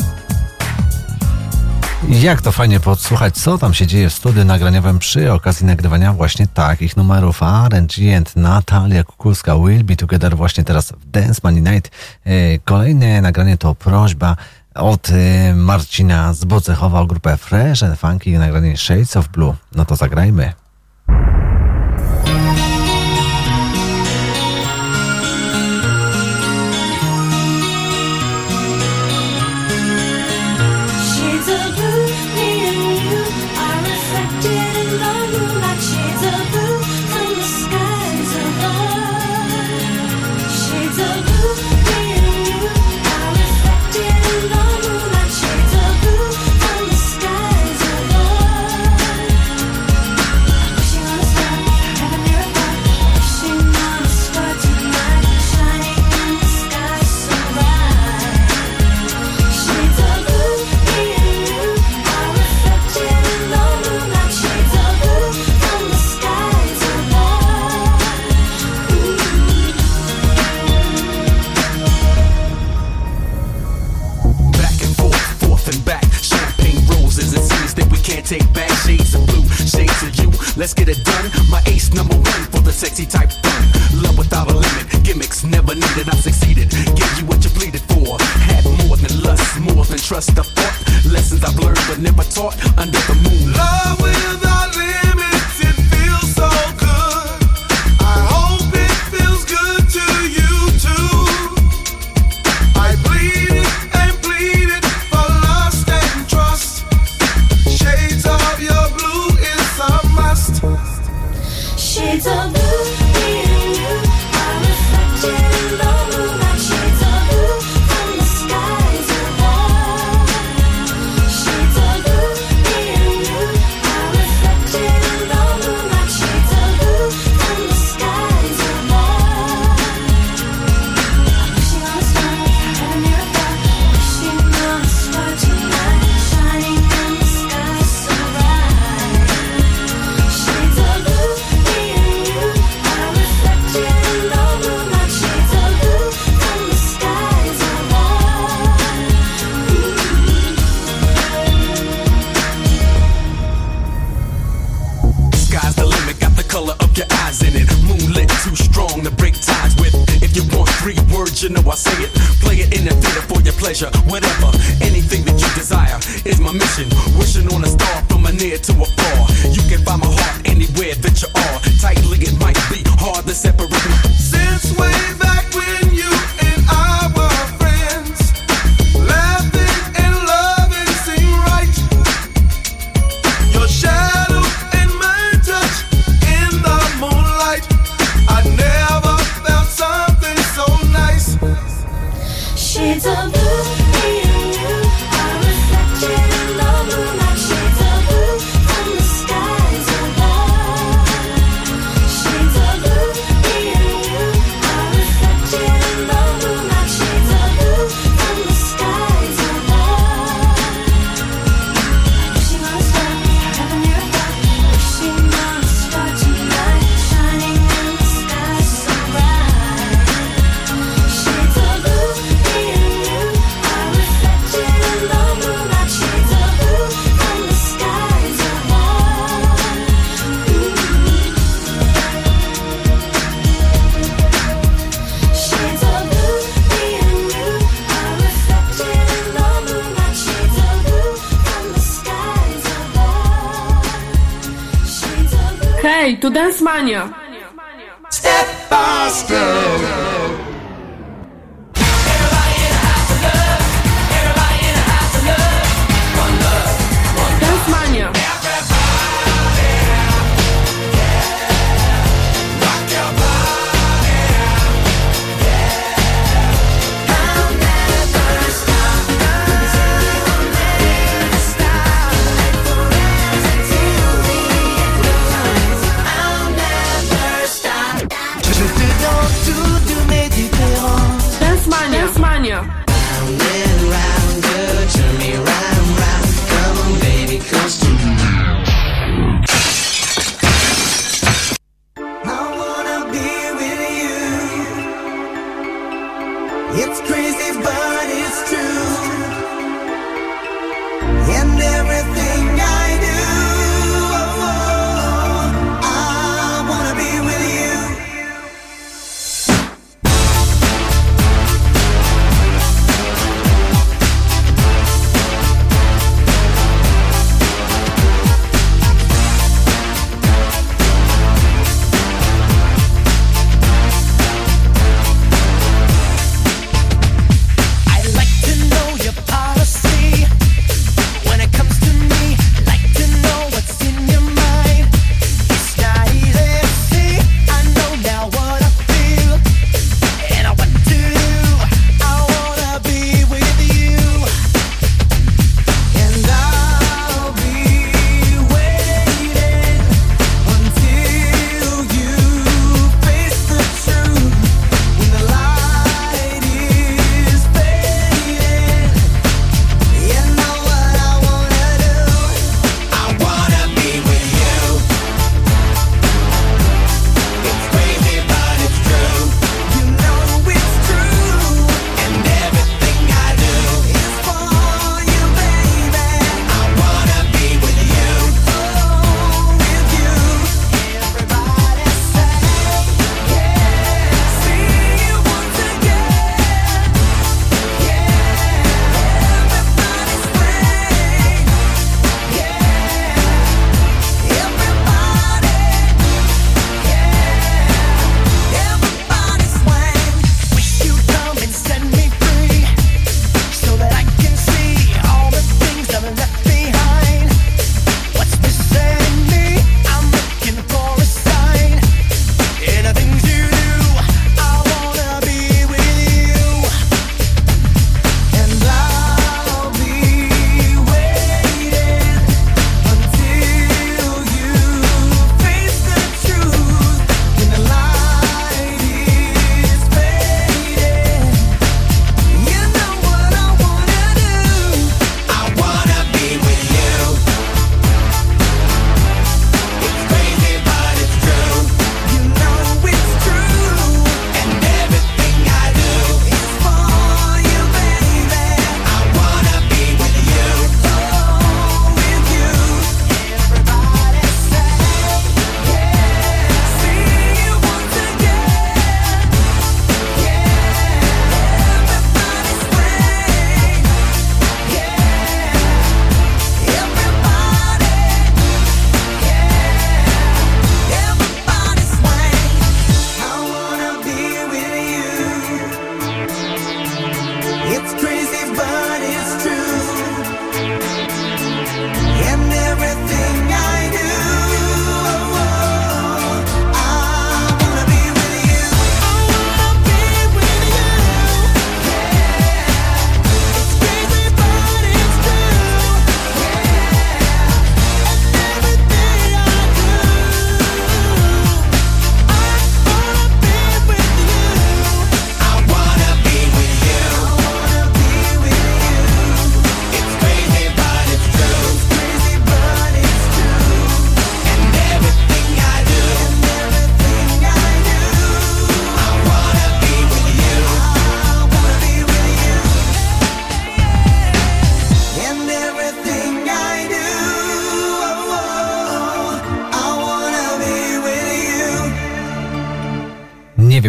Jak to fajnie podsłuchać, co tam się dzieje w studiu nagraniowym przy okazji nagrywania właśnie takich numerów. R and G and Natalia Kukulska Will Be Together właśnie teraz w Dance Money Night. E, Kolejne nagranie to prośba od e, Marcina z Bocechowa o grupę Fresh and Funky, nagranie Shades of Blue. No to zagrajmy. Shades of blue, me and you are reflected in the moonlight. Shades of blue from the skies above. Shades of blue, me and you are reflected in the moonlight. Shades of blue from the skies above. Wishing on a star, heaven near above. Wishing on a star tonight, shining in the sky so bright. Shades of blue, me and you are reflected in the moonlight. Shades of blue from the skies above. Back and forth, forth and back. Champagne roses, it seems that we can't take back. Shades of blue, shades of you. Let's get it done. My ace number one for the sexy type fun. Love without a limit, gimmicks never needed. I succeeded, gave you what you pleaded for. Had more than lust, more than trust. I thought lessons I've learned but never taught under the moon. Love without limits, it feels so good. I hope it feels good too. pleasure, whatever, anything that you desire is my mission. Wishing on a star from a near to a far. You can find my heart anywhere that you are. Tightly it might be hard to separate me. Since way back when you and I were friends, laughing and loving seemed right. Your shadow and my touch in the moonlight, I never felt something so nice. Shades of blue, me and you are reflected in the moonlight. Shades of blue from the skies above. Shades of blue, me and you are reflected in the moonlight. Shades of blue from the skies above. Wishing on a star, heaven near a thought. Wishing on a star tonight, shining in the sky so bright. Shades of blue, me and you are reflected in the moonlight. Shades of blue from the skies above. Shades of blue, me and you are reflected in the moonlight. Shades of blue from the skies above. Shades of blue. Hej, tu Dance Mania! Step by step. Dance Mania! Dance Mania! Dance Mania! I wanna be with you. It's crazy, but it's true. And everything I do, oh, I wanna be with you.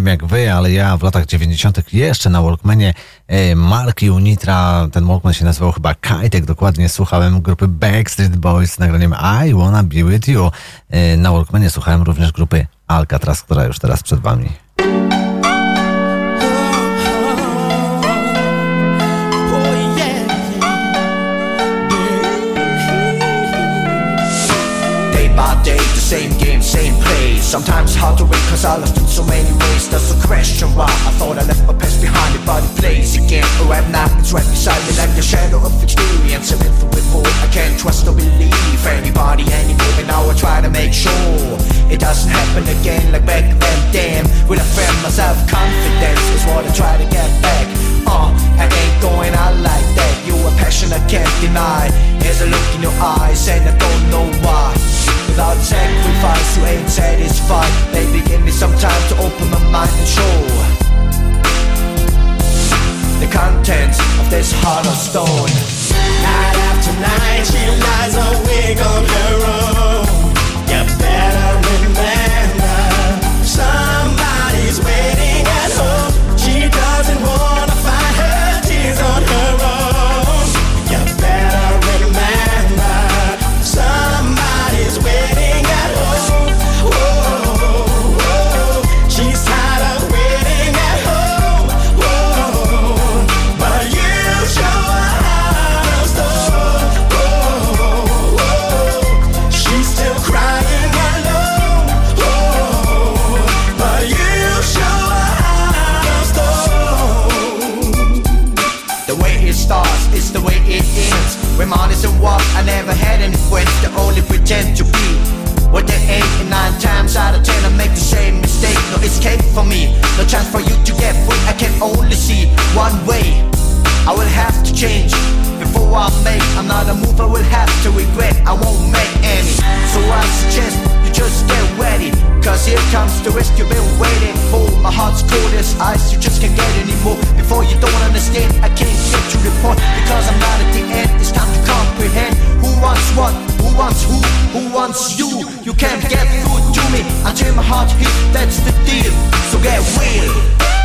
wiem jak wy, ale ja w latach dziewięćdziesiątych jeszcze na Walkmanie e, marki Unitra, ten Walkman się nazywał chyba Kajtek, dokładnie słuchałem grupy Backstreet Boys z nagraniem I Wanna Be With You. E, na Walkmanie słuchałem również grupy Alcatraz, która już teraz przed wami. Same game, same place. Sometimes hard to wait cause I lost in so many ways. That's the question why I thought I left my past behind it, but it plays again. Oh, right now it's right beside me like the shadow of experience. I've been through before, I can't trust or believe anybody anymore. And now I try to make sure it doesn't happen again like back then. Damn, will I find myself confidence is what I try to get back. Uh, I ain't going out like that. You a passion I can't deny. There's a look in your eyes and I don't know why. Without sacrifice, you ain't satisfied. Baby, give me some time to open my mind and show the contents of this heart of stone. Night after night, she lies awake on her own. You better remember, somebody's waiting at home. She doesn't wanna find her tears on her own. You better remember, somebody's waiting at home. Whoa, whoa, she's tired of waiting at home. Whoa, but you show her how to stone. Whoa, whoa, she's still crying alone. Whoa, but you show her how to stone. The way it starts is the way it ends. Reminiscing what I never had any friends. They only pretend to be what they ain't. And nine times out of ten I make the same mistake. No escape for me, no chance for you to get free. I can only see one way. I will have to change before I make another move. I will have to regret, I won't make any. So I suggest you just get ready, cause here comes the risk you've been waiting for. My heart's cold as ice, you just can't get anymore. Before you don't understand, I can't get to the point, because I'm not at the end. It's time to comprehend who wants what, who wants who, who wants you. You can't get through to me until my heart hits, that's the deal. So get real.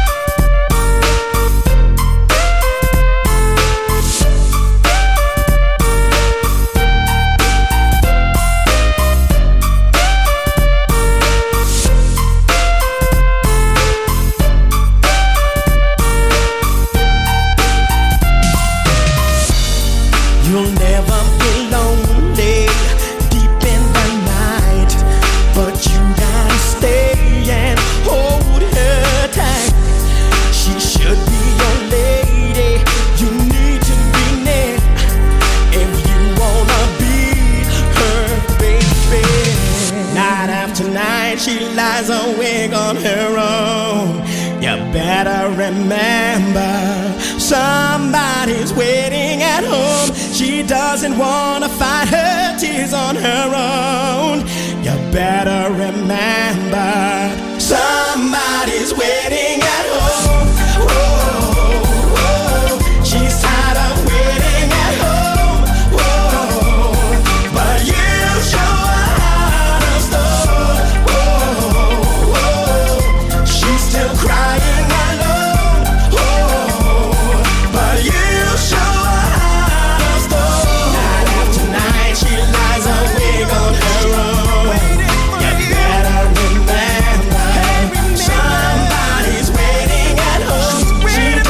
You'll never be lonely deep in the night, but you gotta stay and hold her tight. She should be your lady, you need to be near if you wanna be her baby. Night after night she lies awake on her own. You better remember, somebody's waiting at home. She doesn't wanna fight her tears on her own. You better remember, somebody's waiting at home. Whoa, whoa, she's tired of waiting at home. Whoa, but you show her how to stone. Whoa, whoa, she's still crying alone. Whoa, but you show her how to stone. Night after night she lies awake on her own. You better remember, somebody's waiting at home. She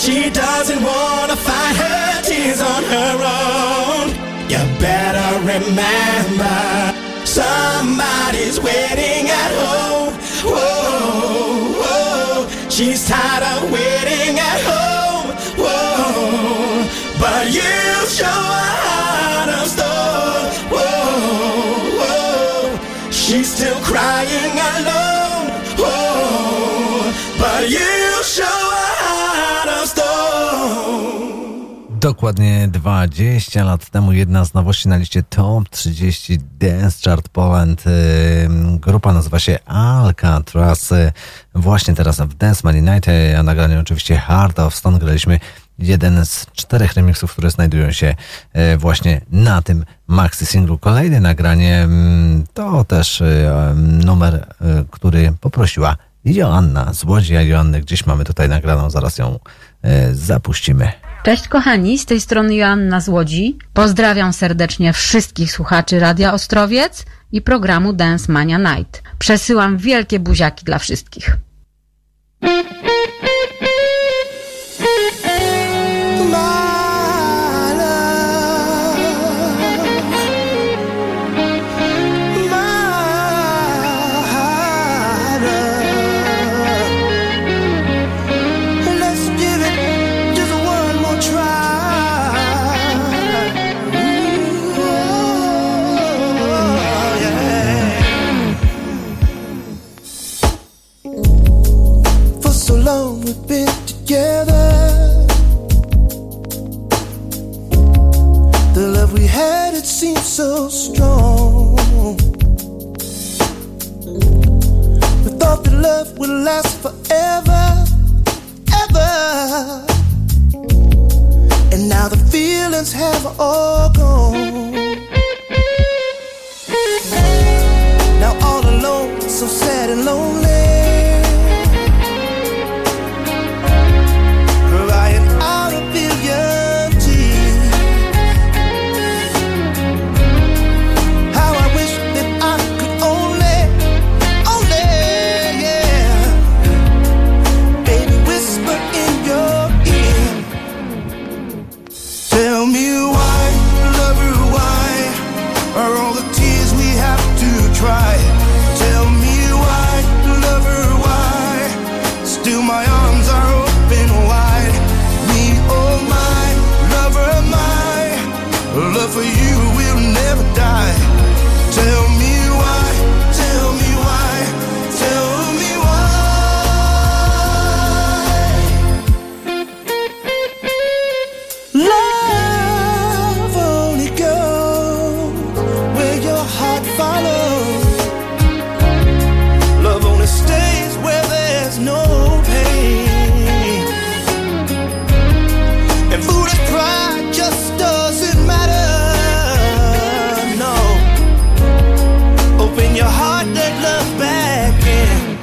She doesn't wanna fight her tears on her own. You better remember, somebody's waiting at home. Whoa, whoa. She's tired of waiting at home. Whoa, but you show her heart of stone. Whoa, whoa. She's still crying alone. Whoa, but you show her heart of stone. Dokładnie dwadzieścia lat temu jedna z nowości na liście Top trzydzieści Dance Chart Poland. Grupa nazywa się Alcatraz. Właśnie teraz w Dance Money Night, a nagranie oczywiście Heart of Stone, graliśmy jeden z czterech remixów, które znajdują się właśnie na tym maxi singlu. Kolejne nagranie to też numer, który poprosiła Joanna z Łodzi, a Joannę gdzieś mamy tutaj nagraną, zaraz ją zapuścimy. Cześć kochani, z tej strony Joanna z Łodzi. Pozdrawiam serdecznie wszystkich słuchaczy Radia Ostrowiec i programu Dance Mania Night. Przesyłam wielkie buziaki dla wszystkich. We've been together. The love we had, it seemed so strong. We thought that love would last forever, ever. And now the feelings have all gone. Now all alone, so sad and lonely. For you will never die. Tell me why, tell me why, tell me why. Love only goes where your heart follows. Love only stays where there's no pain. And foolish pride just doesn't matter. Open your heart, let love back in.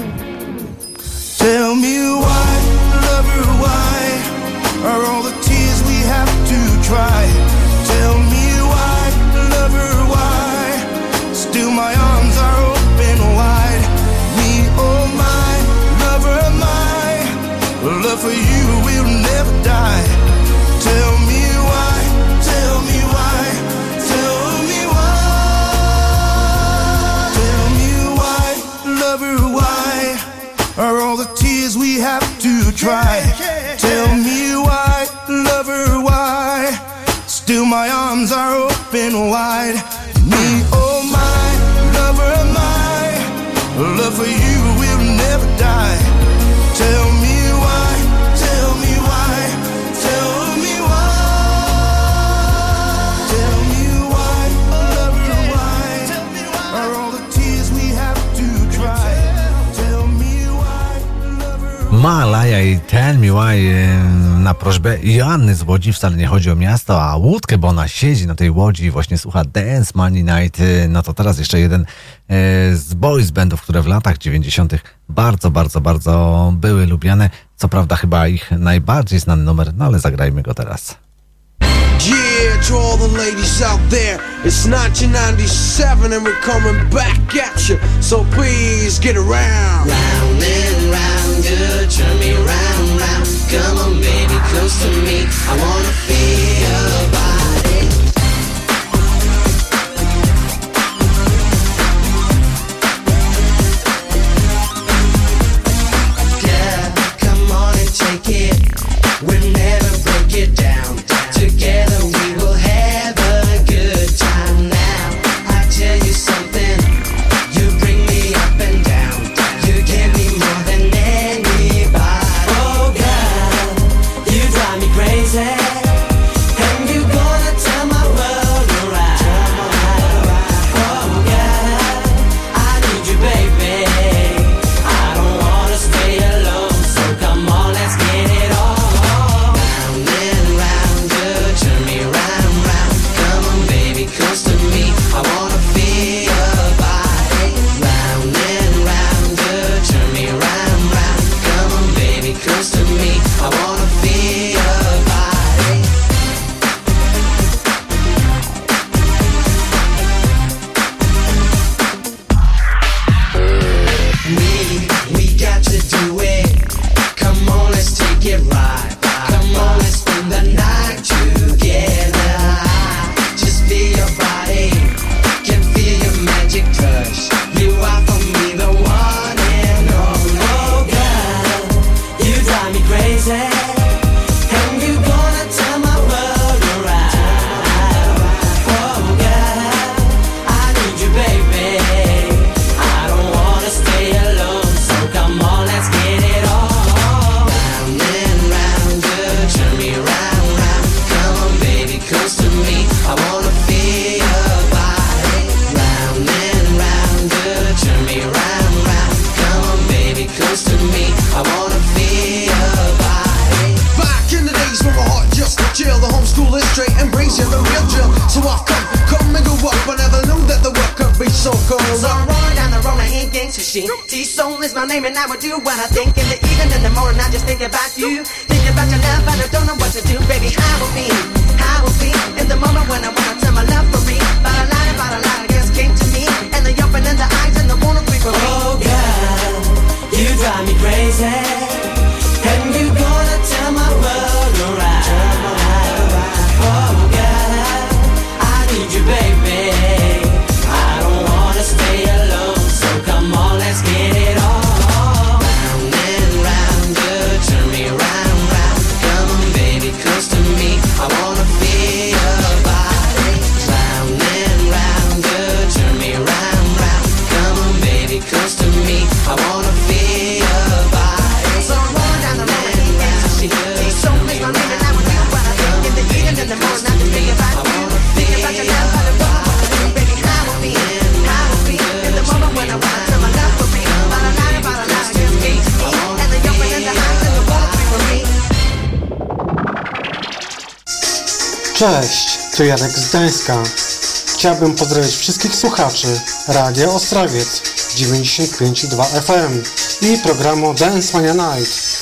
Tell me why, lover, why are all the tears we have to cry? Tell me why, lover, why still my arms are open wide. Me, oh my, lover, my love for you will never die. Tell me why, tell me why, tell me why. Why are all the tears we have to try? Tell me why, lover, why still my arms are open wide. Me, oh my, lover, my love for you will never die. Tell me why, tell me why, tell me why. Tell me why, lover, why are all the tears we have to try? Malaja i Tell Me Why na prośbę Joanny z Łodzi. Wcale nie chodzi o miasto, a łódkę, bo ona siedzi na tej łodzi i właśnie słucha Dance Money Night. No to teraz jeszcze jeden z boys bandów, które w latach dziewięćdziesiątych bardzo, bardzo, bardzo były lubiane. Co prawda chyba ich najbardziej znany numer, no ale zagrajmy go teraz. Yeah, to all the ladies out there, it's nineteen ninety-seven and we're coming back at you, so please get around. Round and round, good, turn me round, round, come on, baby. close to me. I wanna feel your body. Back in the days when my heart just chill, the homeschool is straight, embrace you, the real drill. So I've come, come and go up. I never knew that the work could be so cold. So I'm rolling down the road, I ain't gangsta shit. T-Soul is my name and I would do what I think. In the evening, in the morning, I just think about you. Think about your love, but I don't know what to do. Baby, how will be, how will be in the moment when I wanna tell my love for me. But a lot, about a lot, I guess came to me. And the open in the eyes and the wanna be for me. Oh girl, you drive me crazy. And you gonna tell my world alright. Oh girl, I need you baby. I don't wanna stay alone, so come on, let's get it on. Round and round, good, turn me round, round. Come on baby, close to me, I wanna feel your body. Round and round, good, turn me round, round. Come on baby, close to me, I wanna feel your body. So I'm rolling down the road, I ain't gangsta shit. T-Soul is my name and I would do what I think. In the evening, in the morning, I just think about you. Think about your love, but I don't know what to do. Baby, how will be, how will be in the moment when I wanna tell my love for me. About a lot, about a lot, I guess came to me. And the open in the eyes and the wanna be for me. Cześć, tu Jarek z Gdańska. Chciałbym pozdrowić wszystkich słuchaczy Radia Ostrowiec dziewięćdziesiąt pięć i dwa F M i programu Dance Mania Night.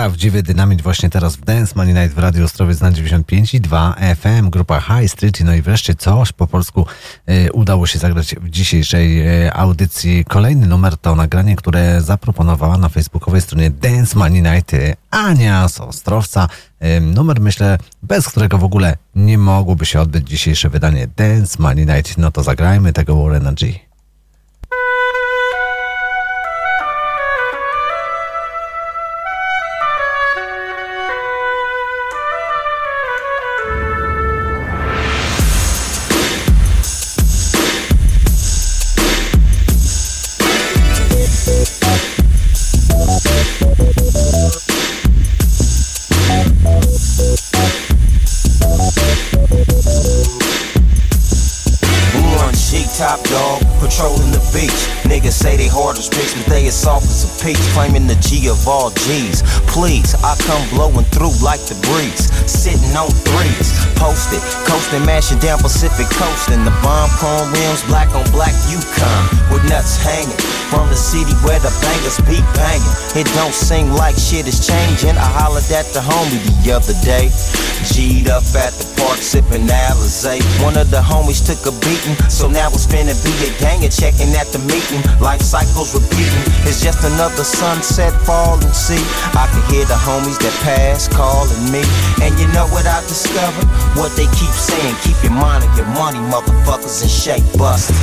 Prawdziwy dynamit właśnie teraz w Dance Money Night w Radiu Ostrowiec na dziewięćdziesiąt pięć i dwa F M, grupa High Street. No i wreszcie coś po polsku e, udało się zagrać w dzisiejszej e, audycji. Kolejny numer to nagranie, które zaproponowała na facebookowej stronie Dance Money Night e, Ania z Ostrowca. E, numer, myślę, bez którego w ogóle nie mogłoby się odbyć dzisiejsze wydanie Dance Money Night. No to zagrajmy tego Warrena G. Top dog, patrolling the beach. Niggas say they hard as bricks, but they as soft as a peach. Claiming the G of all G's. Please, I come blowing through like the breeze. Sitting on threes, posted, coasting, mashing down Pacific coast. And the bomb chrome rims, black on black Yukon, with nuts hanging. From the city where the bangers be banging. It don't seem like shit is changing. I hollered at the homie the other day. G'd up at the park, sipping Alizé. One of the homies took a beating, so now it's finna be a gang and checking at the meeting. Life cycles repeating, it's just another sunset falling. See, I can hear the homies that pass calling me. And you know what I discovered? What they keep saying, keep your mind on your money, motherfuckers, and shake busters.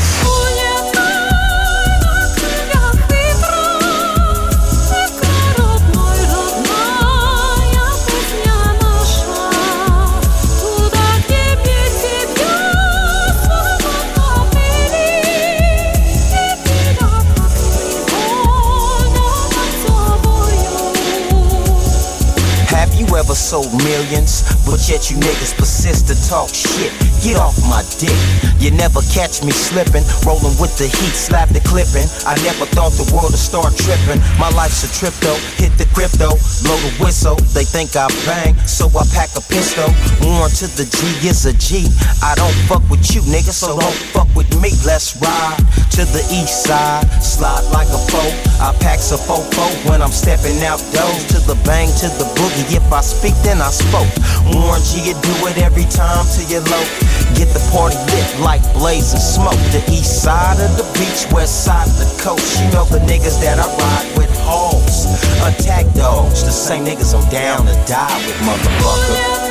Ever sold millions, but yet you niggas persist to talk shit. Get off my dick. You never catch me slipping, rolling with the heat, slap the clipping. I never thought the world would start tripping. My life's a trip though, hit the crypto, blow the whistle. They think I bang, so I pack a pistol. Warn to the G is a G. I don't fuck with you, nigga, so don't fuck with me. Let's ride to the east side, slide like a foe. I pack a fofo when I'm stepping out doors. To the bang, to the boogie. If I speak, then I spoke. Warn G, you do it every time till you're low. Get the party lit like blazing smoke. The east side of the beach, west side of the coast. You know the niggas that I ride with, hoes, attack dogs. The same niggas I'm down to die with, motherfucker.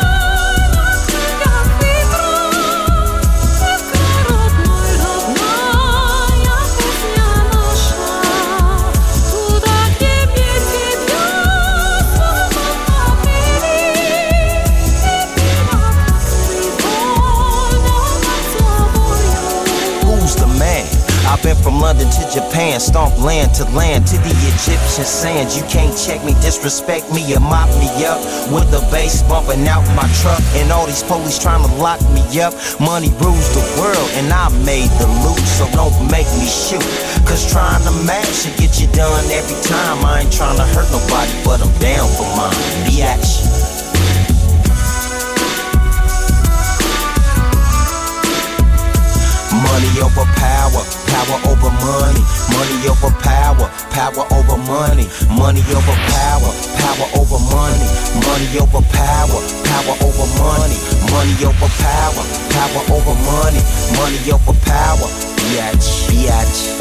I've been from London to Japan, stomp land to land to the Egyptian sands. You can't check me, disrespect me, or mop me up with the bass bumping out my truck. And all these police trying to lock me up. Money rules the world and I made the loot, so don't make me shoot. Cause trying to match and get you done every time. I ain't trying to hurt nobody, but I'm down for mine. Biatch. Money over power, power over money. Money over power, power over money. Money over power, power over money. Money over power, power over money. Money over power, power over money. Money over power, biatch, biatch.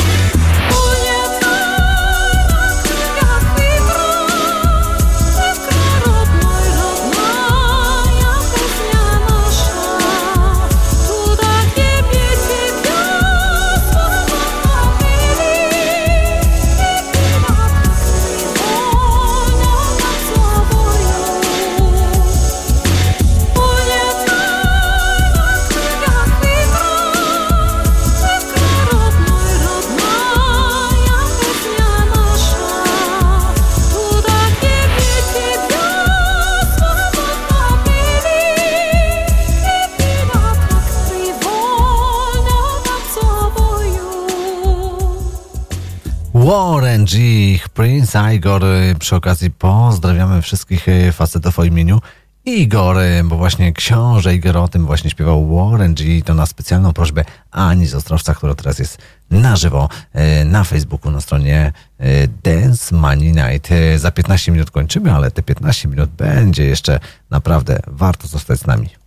Warren G, Prince Igor. Przy okazji pozdrawiamy wszystkich facetów o imieniu Igor, bo właśnie książę Igor o tym właśnie śpiewał Warren G. To na specjalną prośbę Ani z Ostrowca, która teraz jest na żywo na Facebooku, na stronie Dance Money Night. Za piętnaście minut kończymy, ale te piętnaście minut będzie jeszcze naprawdę warto zostać z nami.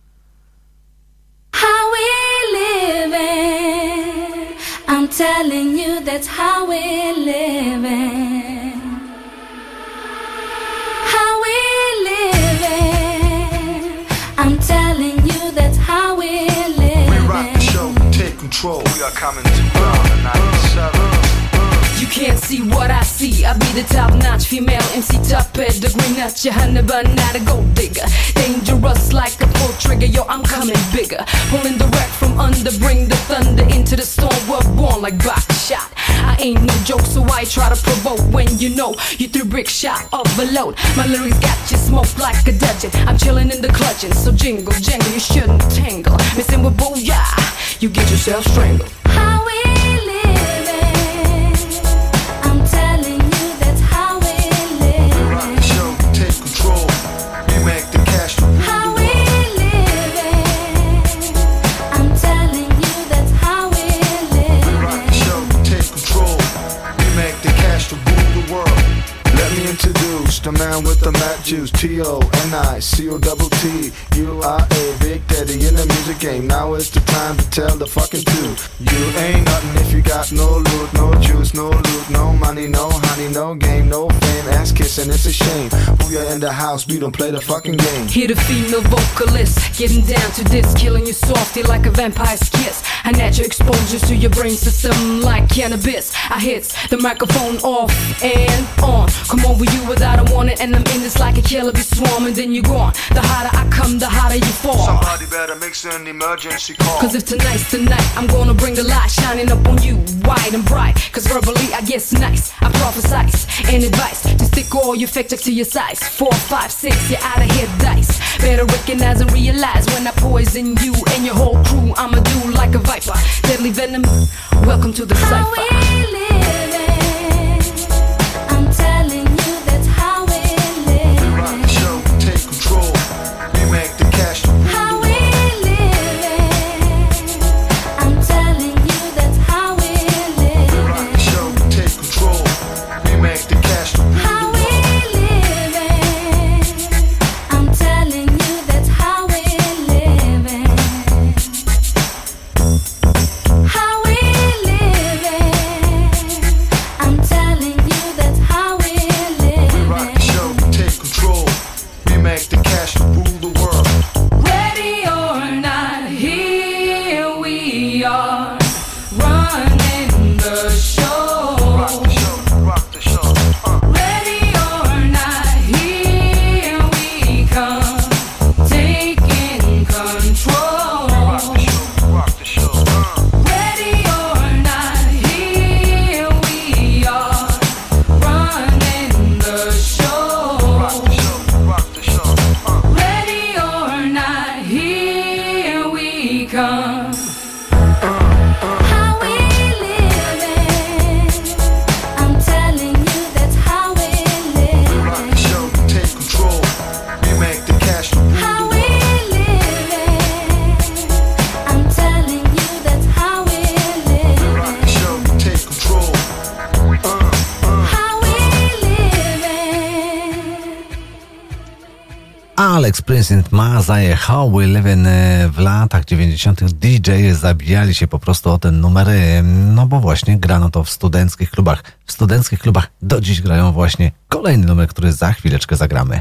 How we living, I'm telling you that's how we living. How we living, I'm telling you that's how we living. We rock the show, take control. We are coming to ground ninety-seven. You can't see what I see. I be the top-notch female M C, top pedigree, not your honey, but not a gold digger. Dangerous like a full trigger, yo, I'm coming bigger. Pulling the wreck from under, bring the thunder into the storm. We're born like box shot. I ain't no joke, so I try to provoke when you know you threw brick shot of a load. My lyrics got you smoked like a dungeon. I'm chilling in the clutching, so jingle, jangle, you shouldn't tangle. Missing with booyah, you get yourself strangled. How we introduce the man with the mad juice, T O N I C O double T U R A, Big Daddy in the music game. Now is the time to tell the fucking truth. You ain't nothing if you got no loot, no juice, no loot, no money, no honey, no game, no fame, ass kissing, it's a shame. Booyah in the house, we don't play the fucking game. Hear the female vocalist getting down to this, killing you softly like a vampire's kiss. I natural exposure to your brain system like cannabis. I hits the microphone off and on. Come over you without a warning, and I'm in this like a killer be swarming. Then you're gone. The harder I come, the harder you fall. Somebody better mix an emergency call. Cause if tonight's the night, I'm gonna bring the light shining up on you, wide and bright. Cause verbally I guess nice, I prophesize and advice to stick all your facts to your size. Four, five, six, you're out of here dice. Better recognize and realize when I poison you and your whole crew. I'ma do like a viper, deadly venom. Welcome to the how cypher. We living, I'm telling you that's how we live. We rock the show, take control. We make the cash to rule How the we world. living, I'm telling you that's how we live. We rock the show, take control. We make the cash to rule How the we world. living, I'm telling you that's how we living. How we living, I'm telling you that's how we We rock the living. show, take control. We make the cash to rule the world. Ready or not, here we are, running the show. Rock the show, rock the show. Uh. Ready or not, here we come, taking control. Rock the show, rock the show. Uh. Ready or not, here we are, running the show. Rock the show, rock the show. Uh. Ready or not, here we come. How we living, I'm telling you that's how we We rock the living. show, take control. We make the cash to rule How the we world. living, I'm telling you that's how we We rock the living. show, take control. Uh, uh. How we living. Alex Prince and Mazaje, How We Living. W latach dziewięćdziesiątych D J zabijali się po prostu o ten numer, no bo właśnie grano to w studenckich klubach. W studenckich klubach do dziś grają właśnie kolejny numer, który za chwileczkę zagramy.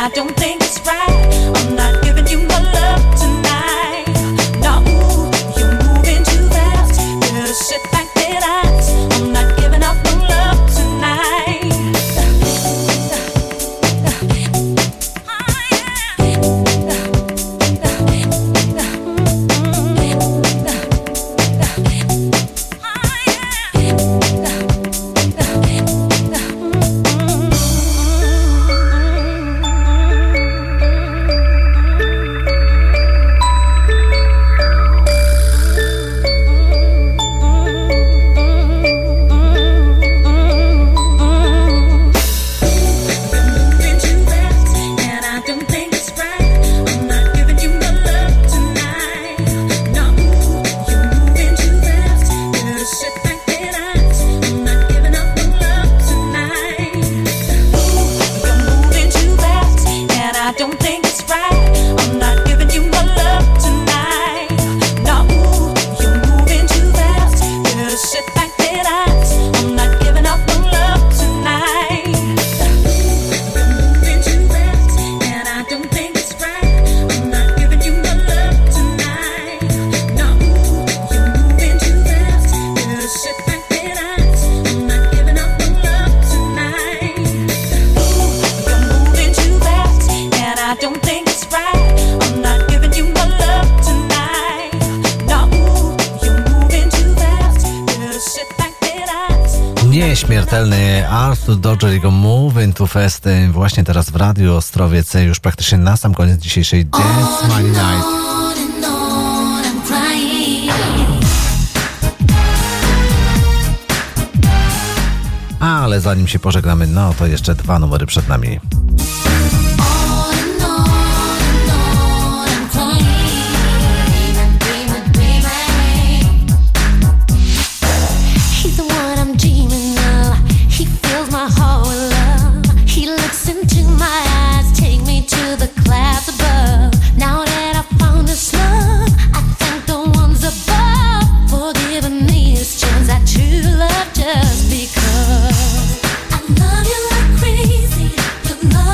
Nieśmiertelny Arthur Dodger, jego Move Into Fest właśnie teraz w Radiu Ostrowiec, już praktycznie na sam koniec dzisiejszej Dance Money Night. Ale zanim się pożegnamy, no to jeszcze dwa numery przed nami. Just because I love you like crazy, you love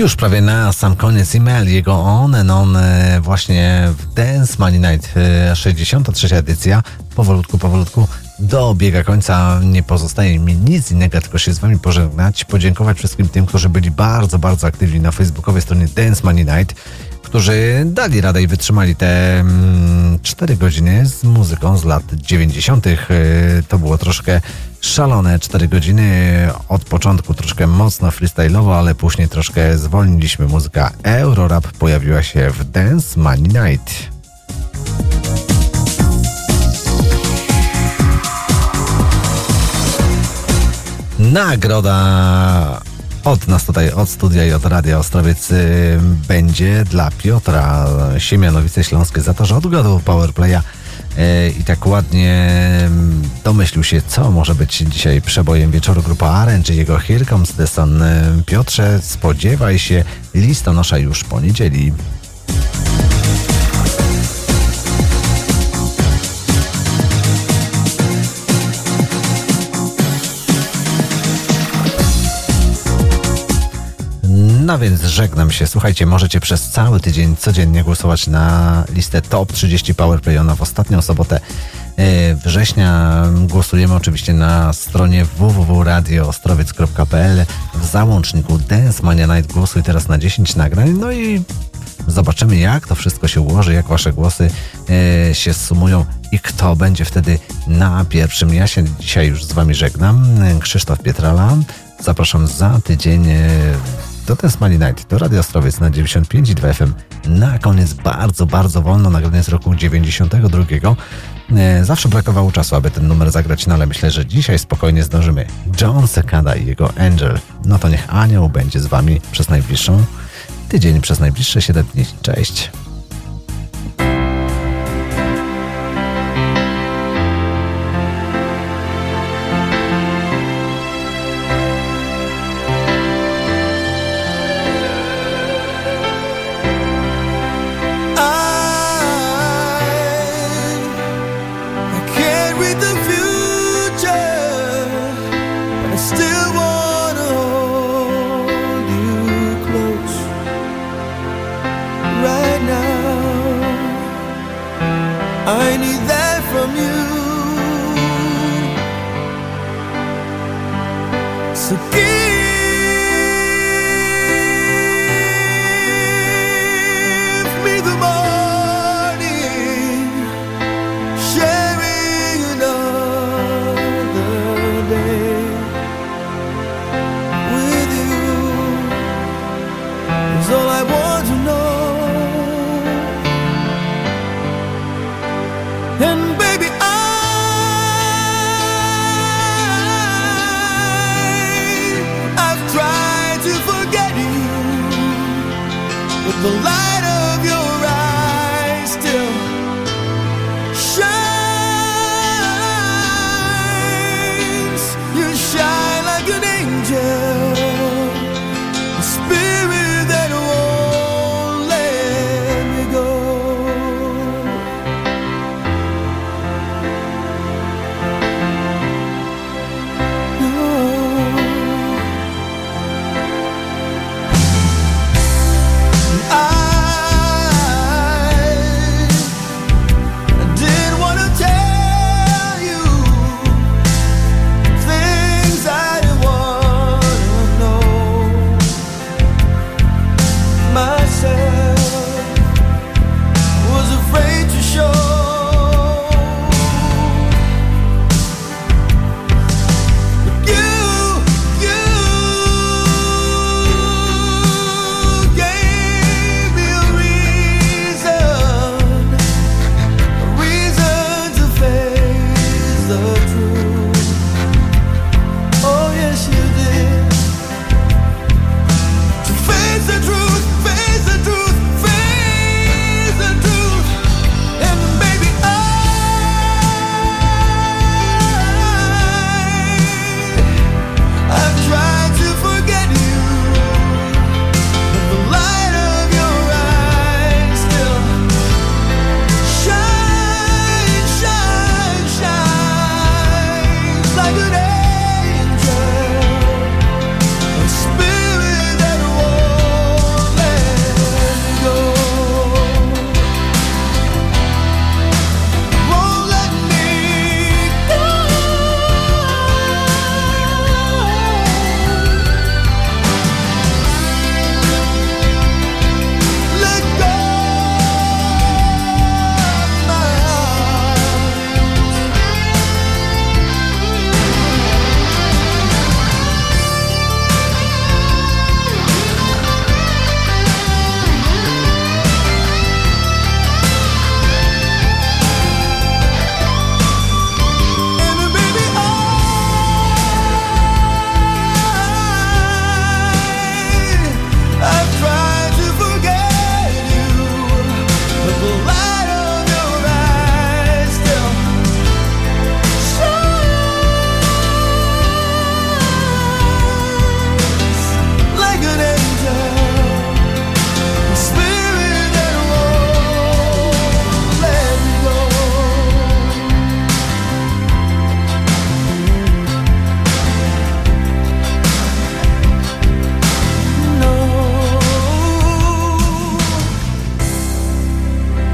Już prawie na sam koniec e-mail, jego on and on właśnie w Dance Money Night, sześćdziesiąta trzecia edycja. Powolutku, powolutku dobiega końca. Nie pozostaje mi nic innego, tylko się z wami pożegnać, podziękować wszystkim tym, którzy byli bardzo, bardzo aktywni na facebookowej stronie Dance Money Night, którzy dali radę i wytrzymali te mm, cztery godziny z muzyką z lat dziewięćdziesiątych. To było troszkę szalone cztery godziny. Od początku troszkę mocno freestyle'owo, ale później troszkę zwolniliśmy. Muzyka Eurorap pojawiła się w Dance Money Night. Nagroda od nas tutaj, od studia i od Radia Ostrowiec y, będzie dla Piotra Siemianowice Śląskie za to, że odgadł Powerplaya y, i tak ładnie domyślił się, co może być dzisiaj przebojem wieczoru. Grupa Orange i jego Here Comes the Sun. Piotrze, spodziewaj się listonosza już poniedzieli. No więc żegnam się. Słuchajcie, możecie przez cały tydzień codziennie głosować na listę Top trzydzieści Powerplay. Ona w ostatnią sobotę września. Głosujemy oczywiście na stronie w w w kropka radio ostrowiec kropka p l. W załączniku Dance Mania Night głosuj teraz na dziesięć nagrań. No i zobaczymy, jak to wszystko się ułoży, jak wasze głosy e, się sumują i kto będzie wtedy na pierwszym. Ja się dzisiaj już z wami żegnam. Krzysztof Pietrala. Zapraszam za tydzień e, do Dance Money Night, do Radio Ostrowiec na dziewięćdziesiąt pięć i dwa F M. Na koniec bardzo, bardzo wolno nagranie z roku dziewięćdziesiątego drugiego. E, zawsze brakowało czasu, aby ten numer zagrać, no ale myślę, że dzisiaj spokojnie zdążymy. John Cicada i jego Angel. No to niech anioł będzie z wami przez najbliższą tydzień, przez najbliższe siedem dni. Cześć! I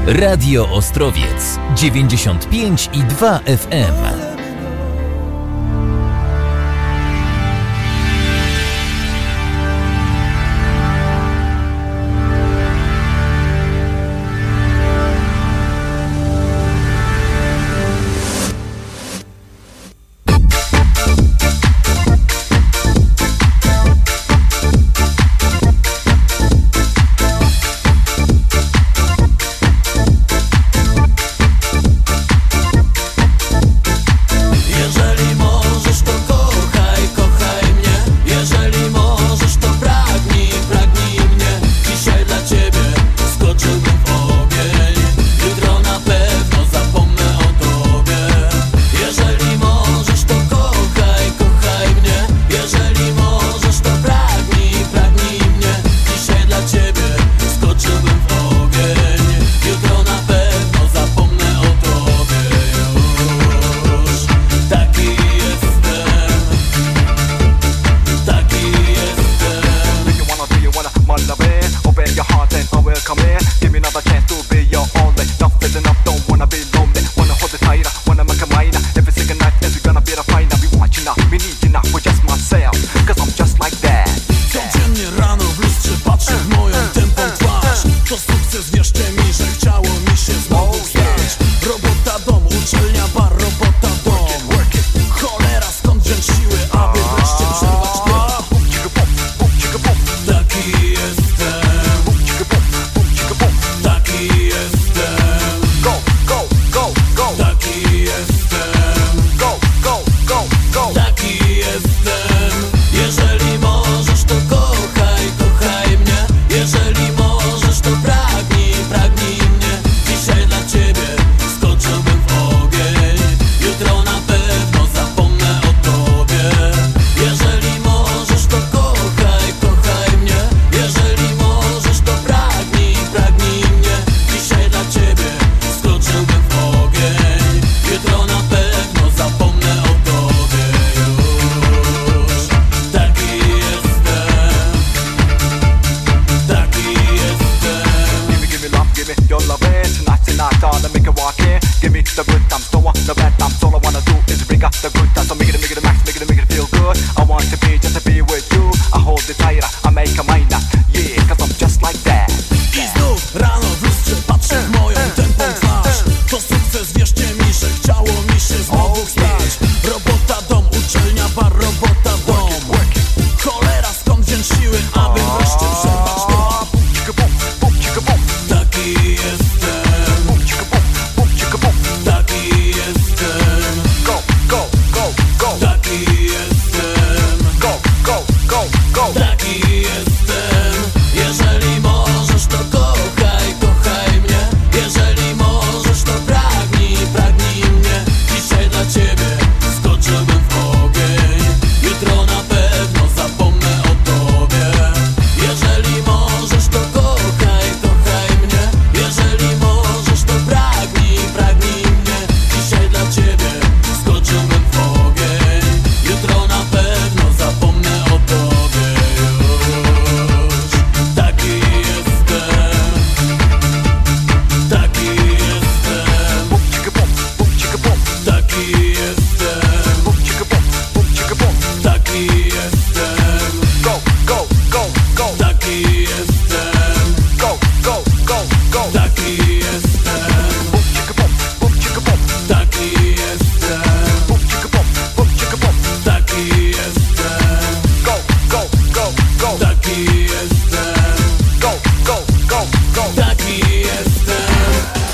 Radio Ostrowiec dziewięćdziesiąt pięć i dwa F M. To sukces, wierzcie mi, że chciało mi się znowu stać.